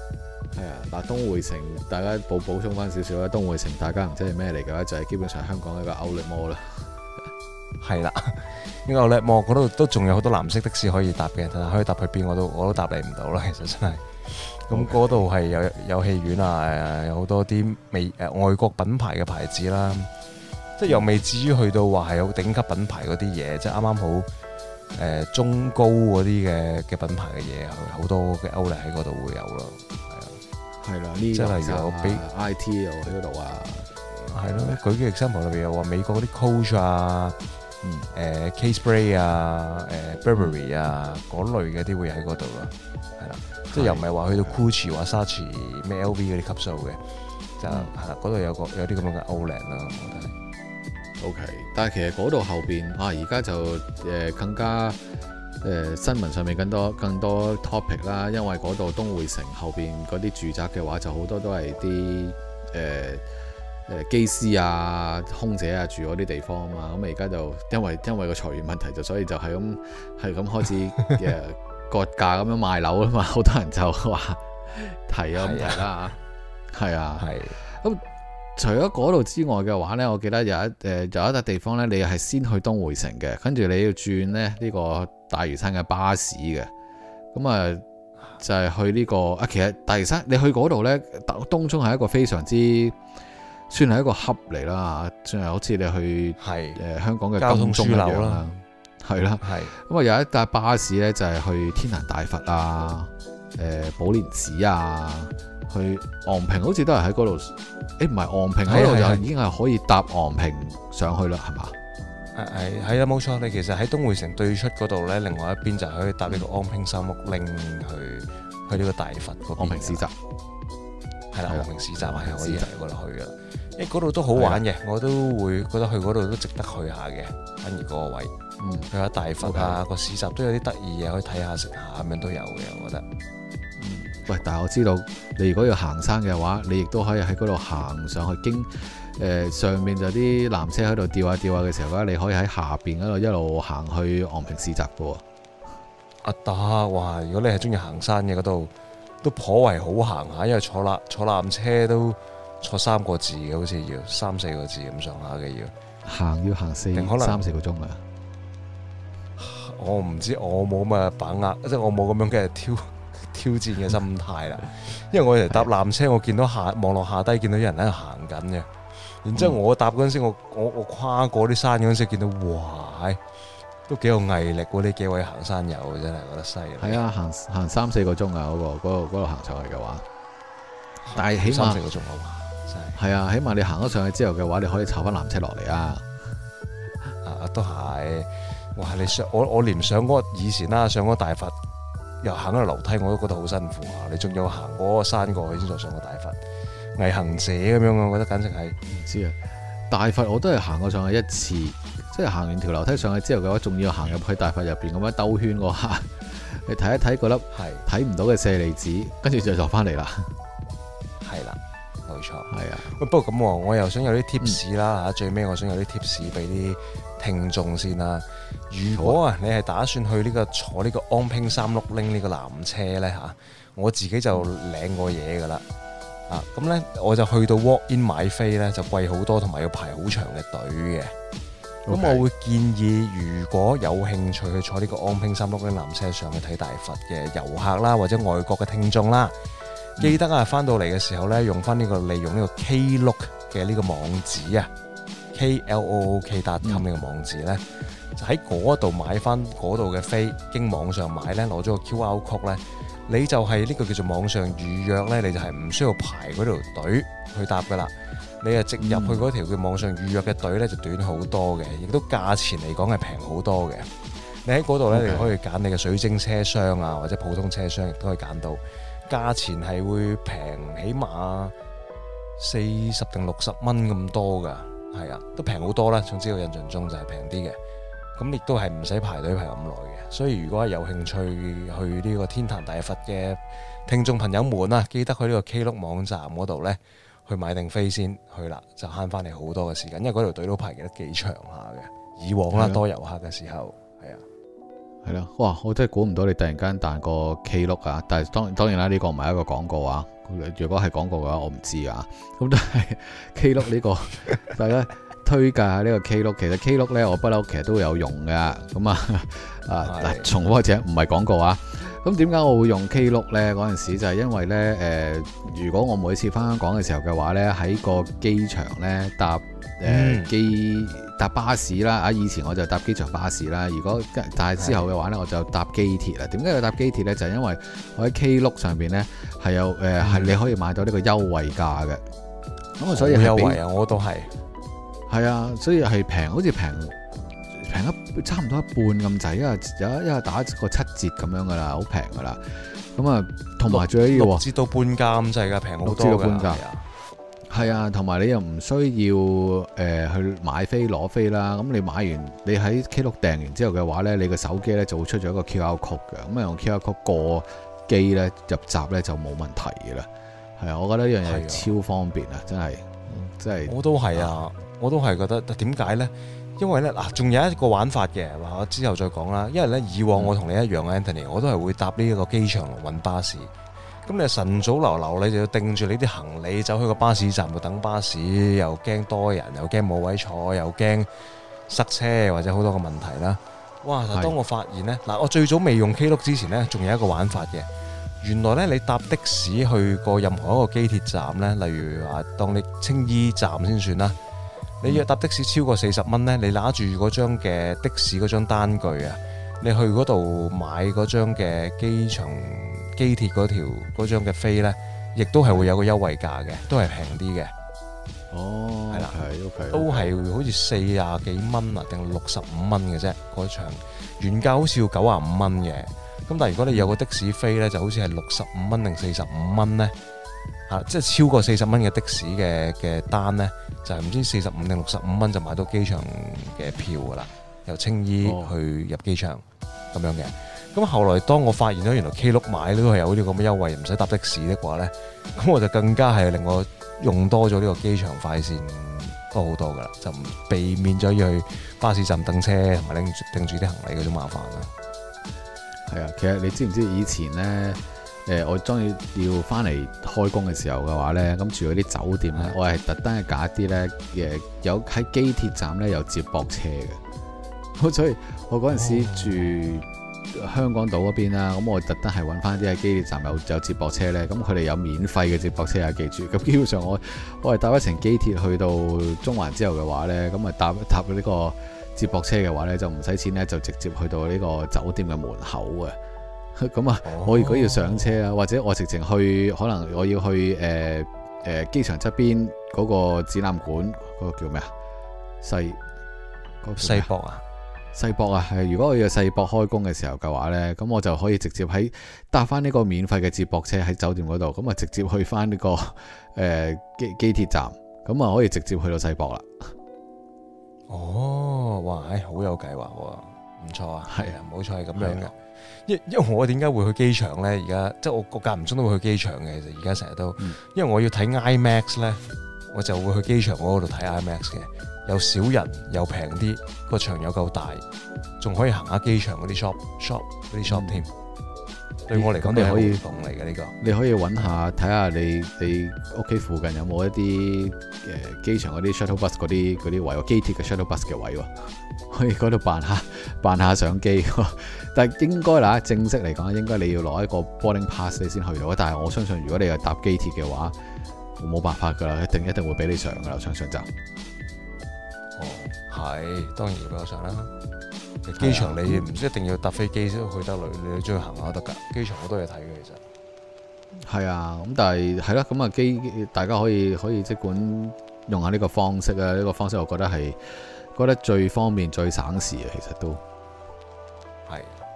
係啊，嗱，東匯城大家補充翻少少啦。東匯城大家唔知係咩嚟嘅話，就係基本上香港一個 Outlet Mall 啦。 係啦，呢個 Outlet Mall嗰度都仲有好多藍色的士可以搭嘅，但係可以搭去邊我都答你唔到啦。其實真係，咁嗰度係有戲院啊，有好多啲外國品牌嘅牌子啦，即係又未至於去到話係有頂級品牌嗰啲嘢，即係啱啱好。中高嗰啲嘅品牌嘅嘢，好多嘅 Outlet 喺嗰度會有咯， 係啦，呢即係例如有俾 IT 又喺嗰度啊， 係咯，舉個 example 裏邊又話美國嗰啲 Coach 啊，K-Spray 啊，Burberry 啊嗰類嘅啲會喺嗰度咯，係啦，即係又唔係話去到 Gucci 或 Saatchi 咩 LV 嗰啲級數嘅，就係啦，嗰度有啲咁樣嘅 Outlet 咯，我覺得。 OK， 但係其實嗰度後邊而家就更加新聞上面更多 topic 啦，因為嗰度東匯城後邊嗰啲住宅嘅話，就好多都係啲機師啊、空姐啊住嗰啲地方啊嘛，咁而家就因為個裁員問題，就所以就係咁開始割價咁樣賣樓啊嘛，好多人就話提啊問題啦，係啊，咁。除咗嗰度之外嘅話呢，我記得有一笪地方呢，你係先去東匯城嘅，跟住你要轉呢個大嶼山嘅巴士嘅，咁啊就係去呢個其實大嶼山你去嗰度呢，東涌係一個非常之算係一個 hub 嚟啦，算係好似你去香港嘅金鐘一樣啦，係啦，咁啊有一笪巴士呢，就係去天壇大佛啊、寶蓮寺啊。去昂坪好似都係喺嗰度，唔係昂坪嗰度就已經係可以搭昂坪上去啦，係嘛？ 係啦，冇錯。你其實喺東匯城對出嗰度咧，另外一邊就可以搭呢個昂坪三六零去呢個大佛嗰邊。昂坪市集係啦，昂坪市集係可以喺嗰度去嘅，因為嗰度都好玩嘅，我都會覺得去嗰度都值得去下嘅。反而嗰個位，去下大佛啊，個市集都有啲得意嘢可以睇下食下咁樣都有嘅，我覺得。 喂，但係我知道你如果要行山嘅話，你亦都可以喺嗰度行上去經上面就啲纜車喺度吊下嘅時候咧，你可以喺下邊嗰度一路行去昂坪市集嘅喎。 得哇！如果你係中意行山嘅，嗰度都頗為好行下，因為坐纜車都坐3個字嘅，好似要3-4個字咁上下嘅要行3-4個鐘啊！我唔知，我冇咁嘅把握，即係我冇咁樣嘅挑戰嘅心態啦，因為我嚟搭纜車，我見到望落下低見到有人喺度行緊嘅，然之後我搭嗰陣時，我跨過啲山嗰陣時，見到哇，都幾有毅力喎！呢幾位行山友真係覺得犀利。係啊， 行3-4個鐘啊，嗰度行上去嘅話，但係起碼3-4個鐘啊嘛，真係。係啊，起碼你行咗上去之後嘅話，你可以坐翻纜車落嚟啊。 都係，哇！你我連上嗰個以前啦，上嗰個大佛。又行嗰個樓梯我都覺得好辛苦啊！你仲要行嗰個山過去先再上個大佛，毅行者咁樣啊！我覺得簡直係唔知啊！大佛我都係行過上去一次，即係行完條樓梯上去之後嘅話，仲要行入去大佛入邊咁樣兜圈嗰下，你睇一睇嗰粒睇唔到嘅舍利子，跟住就落翻嚟啦。係啦，冇錯，係啊。不過咁我又想有啲 tips 啦嚇，最尾我想有啲 tips 俾啲聽眾先啦。如果你係打算去坐呢個昂坪360呢個纜車呢，嚇，我自己就領過嘢㗎啦。咁呢，我就去到 walk in 買飛呢，就貴好多，同埋要排好長嘅隊嘅。咁我會建議，如果有興趣去坐呢個昂坪360纜車上去睇大佛嘅遊客啦，或者外國嘅聽眾啦，記得啊，翻到嚟嘅時候呢，利用呢個 Klook 嘅呢個網址啊，KLOOK.com 呢個網址呢。就喺嗰度買翻嗰度嘅飛，經網上買呢，攞咗個 QR code 呢，你就係呢個叫做網上預約呢，你就係唔需要排嗰條隊去搭噶啦，你係直入去嗰條叫網上預約嘅隊呢，就短好多嘅，亦都價錢嚟講係平好多嘅。你喺嗰度呢，你可以揀你嘅水晶車廂啊，或者普通車廂亦都可以揀到，價錢係會平起碼40定60蚊咁多噶，係啊，都平好多啦。總之我印象中就係平啲嘅。咁亦都係唔使排隊排咁耐嘅，所以如果係有興趣去呢個天壇大佛嘅聽眾朋友們啊，記得去呢個 Klook 網站嗰度呢，去買定飛先去啦，就慳翻你好多嘅時間，因為嗰條隊都排得幾長下嘅。以往啦，多遊客嘅時候，係啊，哇！我真係估唔到你突然間彈個 Klook 啊，但係當然啦，呢個唔係一個廣告啊， 如果係廣告嘅話，我唔知啊。咁但係 Klook 呢個大家推介下呢個 Klook，其實 Klook 咧我不嬲其實都有用嘅。咁嗱，重複者唔係廣告啊。咁點解我會用 Klook 咧？嗰陣時就係因為咧如果我每次翻香港嘅時候嘅話咧，喺個機場咧搭巴士啦，以前我就搭機場巴士啦。但係之後嘅話咧，我就搭機鐵啦。點解要搭機鐵咧？就係因為我喺 Klook 上邊咧係有係你可以買到呢個優惠價嘅。咁所以係優惠啊，我都係啊，所以係平，好似平差唔多一半咁滯，因為打個7折咁樣噶啦，好平噶啦。咁啊，同埋最緊要6折到半價咁滯㗎，平好多㗎。係啊，同埋你又唔需要去買飛攞飛啦。咁你買完，你喺 Klook 訂完之後嘅話咧，你個手機咧就會出咗一個 QR code 嘅。咁啊用 QR code 過機咧入閘咧就冇問題嘅啦。係啊，我覺得呢樣嘢係超方便啊，真係。我都係啊，我都係覺得點解咧？因為咧嗱，仲有一個玩法嘅，我之後再講啦。因為咧以往我同你一樣，Anthony，我都係會搭呢一個機場龍運巴士。咁你晨早流流，你就要定住你啲行李走去個巴士站度等巴士，又驚多人，又驚冇位坐，又驚塞車或者好多個問題啦。哇！但當我發現呢，嗱，我最早未用 Klook 之前呢，仲有一個玩法嘅。原來呢，你搭的士去過任何一個機鐵站呢，例如話當你青衣站先算啦，你要搭的士超過40蚊呢，你拿住嗰張嘅的士嗰張單據啊，你去嗰度買嗰張嘅機鐵嗰張嘅飛呢，亦都係會有個優惠價嘅，都係平啲嘅。哦，係啦，係 OK，都係好似40幾蚊啊，定65蚊嘅啫。嗰場原價好似要95蚊嘅。咁但係如果你有個的士飛呢，就好似係65蚊定45蚊呢。即係超過40蚊嘅的士嘅單呢，就係唔知45定65蚊就買到機場嘅票噶啦，由青衣去入機場咁樣嘅。咁後來當我發現咗原來 Klook 買都係有呢個咁嘅優惠，唔使搭的士的話呢，咁我就更加係令我用多咗呢個機場快線多好多噶啦，就唔避免咗要去巴士站等車同埋拎住啲行李嗰種麻煩啦。係啊，其實你知唔知以前呢，我當然要翻嚟開工嘅時候嘅話呢，咁住嗰啲酒店呢，我係特登係揀一啲呢，有喺機鐵站呢有接駁車嘅，所以我嗰陣時住香港島嗰邊啦，咁我特登係揾翻啲喺機鐵站有接駁車呢。咁佢哋有免費嘅接駁車啊，記住。咁基本上我係搭一程機鐵去到中環之後嘅話呢，咁啊搭呢個接駁車嘅話呢，就唔使錢呢，就直接去到呢個酒店嘅門口啊。咁啊，我如果要上車啊，或者我直情去，可能我要去機場側邊嗰個展覽館，嗰個叫咩啊？世博啊？世博啊，係如果我要世博開工嘅時候嘅話呢，咁我就可以直接搭翻呢個免費嘅接駁車喺酒店嗰度，咁啊直接去翻呢個機鐵站，咁啊可以直接去到世博啦。哦，哇，好有計劃喎，唔錯啊，係啊，冇錯係咁樣嘅。因為我點解會去機場呢？而家即係我間唔中都會去機場嘅，其實而家成日都，因為我要睇 IMAX 呢，我就會去機場嗰度睇 IMAX 嘅。又少人又平啲，個場又夠大，仲可以行下機場嗰啲 shop 添。對我嚟講都係活動嚟嘅呢個。你可以揾下睇下你屋企附近有冇一啲機場嗰啲 shuttle bus 嗰啲位喎，機鐵嘅 shuttle bus 嘅位喎，可以嗰度扮下上機。但係應該啦，正式嚟講應該你要攞一個 boarding pass 你先去到。但係我相信如果你係搭機鐵嘅話，冇辦法㗎啦，一定會俾你上㗎啦，上就。係，當然要俾我上啦。機場你唔一定要搭飛機先去得你中意行下都得㗎。機場好多嘢睇嘅其實。係啊，咁但係啦，咁啊大家可以即管用下呢個方式啊。呢個方式我覺得最方便最省時啊，其實都係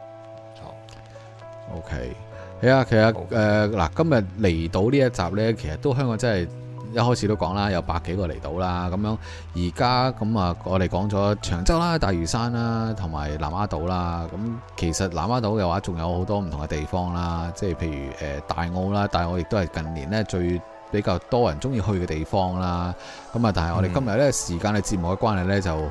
錯。OK， 係啊，其實嗱，今日嚟到呢一集咧，其實都香港真係。一開始都講啦，有100幾個嚟到啦，咁樣而家咁啊，我哋講咗長洲啦、大嶼山啦，同埋南丫島啦。咁其實南丫島嘅話，仲有好多唔同嘅地方啦，即係譬如大澳啦，大澳亦都係近年呢最比較多人中意去嘅地方啦。咁啊，但係我哋今日呢時間嘅節目嘅關係呢，就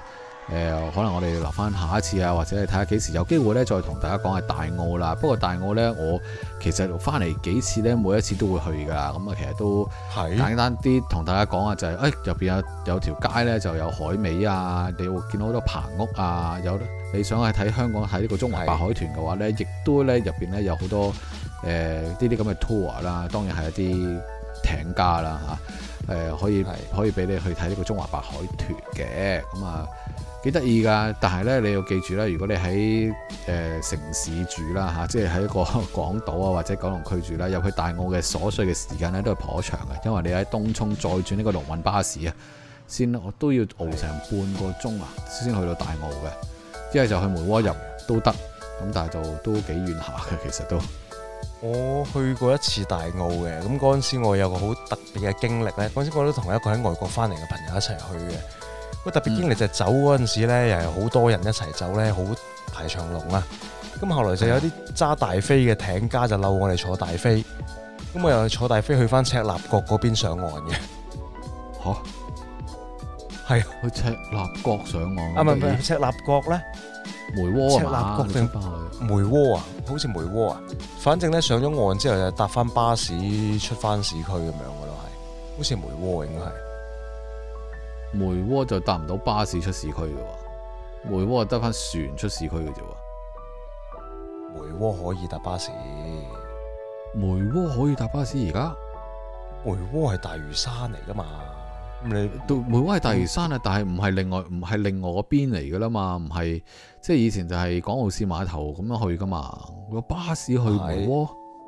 可能我哋留翻下一次啊，或者係睇下幾時有機會呢，再同大家講下大澳啦。不過大澳呢，我其實翻嚟幾次呢，每一次都會去㗎。咁啊，其實都簡單啲同大家講啊，就係入邊有條街呢，就有海味啊，你會見到好多棚屋啊。有你想去睇香港睇呢個中華白海豚嘅話呢，亦都呢入邊呢有好多呢啲咁嘅 tour 啦，當然係一啲艇家啦嚇，可以俾你去睇呢個中華白海豚嘅。咁啊幾得意㗎，但係咧你要記住啦，如果你喺城市住啦嚇，即係喺一個港島啊或者九龍區住啦，入去大澳嘅所需嘅時間咧都係頗長嘅，因為你喺東涌再轉呢個龍運巴士啊，我都要熬成半個鐘啊先去到大澳嘅，一係就去梅窩入都得，咁但係就都幾遠下嘅其實都。 我去過一次大澳嘅，咁嗰陣時我有個好特別嘅經歷咧，嗰陣時我都同一個喺外國翻嚟嘅朋友一齊去嘅。個特別經歷就係走嗰陣時咧，又係好多人一齊走咧，好排長龍啊！咁後來就有啲揸大飛嘅艇家就嬲我哋坐大飛，咁我又坐大飛去翻赤鱲角嗰邊上岸嘅。 嚇？係去赤鱲角上岸？啊唔係赤鱲角咧， 梅窩赤鱲角定梅窩啊？好似梅窩啊！反正咧上咗岸之後就搭翻巴士出翻市區咁樣嘅咯，係好似梅窩應該係。 梅窩就搭唔到巴士出市區嘅喎，梅窩得翻船出市區嘅啫喎。 梅窩可以搭巴士， 梅窩可以搭巴士而家？ 梅窩係大嶼山嚟噶嘛？咁你到梅窩係大嶼山啊，但係唔係另外嗰邊嚟噶啦嘛？唔係即係以前就係港澳市碼頭咁樣去噶嘛？個巴士去梅窩？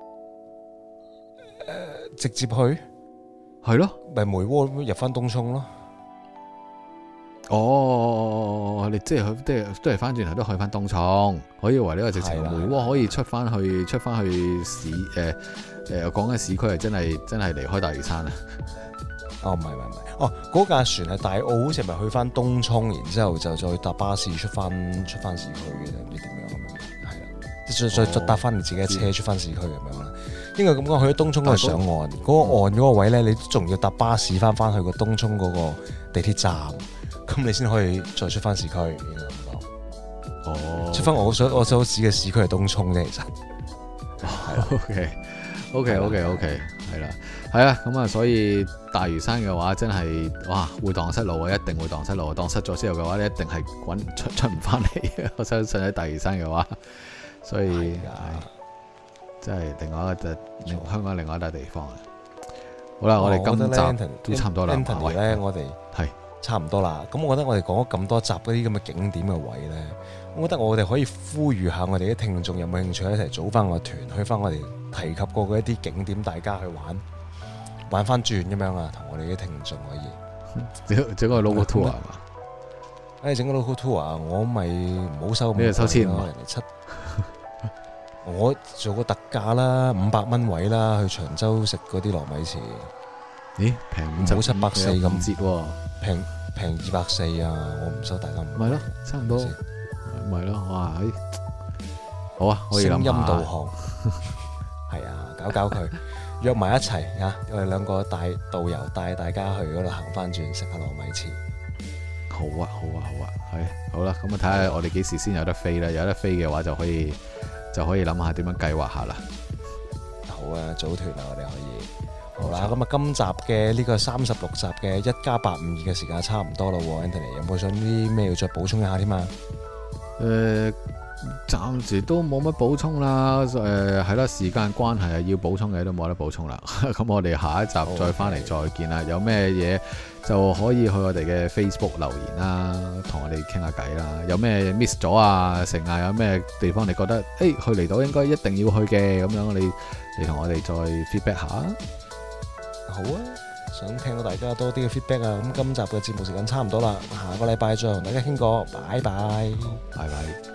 直接去？ 係咯， 咪梅窩入翻東涌咯。 哦，你即係都係翻轉頭都去翻東涌，我以為呢個直情梅窩可以出翻去市講緊市區係真係離開大嶼山啊！ 哦，唔係，哦，嗰架船係大澳，好似咪去翻東涌，然之後就再搭巴士出翻市區嘅，唔知點樣咁樣，係啦，再搭翻你自己嘅車出翻市區咁樣啦。應該咁講，去咗東涌嗰度上岸，嗰個岸嗰個位咧，你仲要搭巴士翻去個東涌嗰個地鐵站。咁你先可以再出翻市區，應該咁講。哦，出翻我所指嘅市區係東涌啫，其實。 OK，係啦，係啊，咁啊，所以大嶼山嘅話真係哇，會蕩失路啊，一定會蕩失路。蕩失咗之後嘅話咧，一定係出唔翻嚟嘅。我相信喺大嶼山嘅話，所以真係另外一個香港另外一笪地方啊。好啦，我哋今集都差唔多啦。 Anthony 咧，我哋係。差唔多啦，咁我覺得我哋講咗咁多集嗰啲咁嘅景點嘅位呢，我覺得我哋可以呼籲下我哋啲聽眾有冇興趣一齊組翻個團，去翻我哋提及過嘅一啲景點，大家去玩翻轉咁樣啊，同我哋啲聽眾可以整個 local tour 係嘛？ 整個 local tour 啊，我咪唔好收咁貴，收錢咯，人哋我做個特價啦，500蚊位啦，去長洲食嗰啲糯米糍。 咦，平唔好740咁折喎， 平240啊！我唔收大家唔係咯，差唔多，咪咯，哇！好啊，可以諗下。聲音導航係啊，搞佢約埋一齊啊！我哋兩個帶導遊帶大家去嗰度行翻轉食下糯米糍。 好啊，係好啦，咁啊睇下我哋幾時先有得飛啦？有得飛嘅話就可以諗下點樣計劃下啦。 好啊，組團啊，我哋可以。好啦，咁啊，今集嘅呢個36集嘅1+852嘅時間差唔多啦喎 ，Anthony 有冇想啲咩要再補充一下添啊？ 暫時都冇乜補充啦，係啦，時間關係啊，要補充嘅都冇得補充啦。咁我哋下一集再翻嚟再見啦。有咩嘢就可以去我哋嘅 Facebook 留言啦，同我哋傾下偈啦。有咩 miss 咗啊？成啊？有咩地方你覺得去離島應該一定要去嘅咁樣，你同我哋再 feedback 下。 好啊，想聽到大家多啲嘅 feedback 啊！咁今集嘅節目時間差唔多啦，下個禮拜再同大家傾過，拜拜， 拜拜。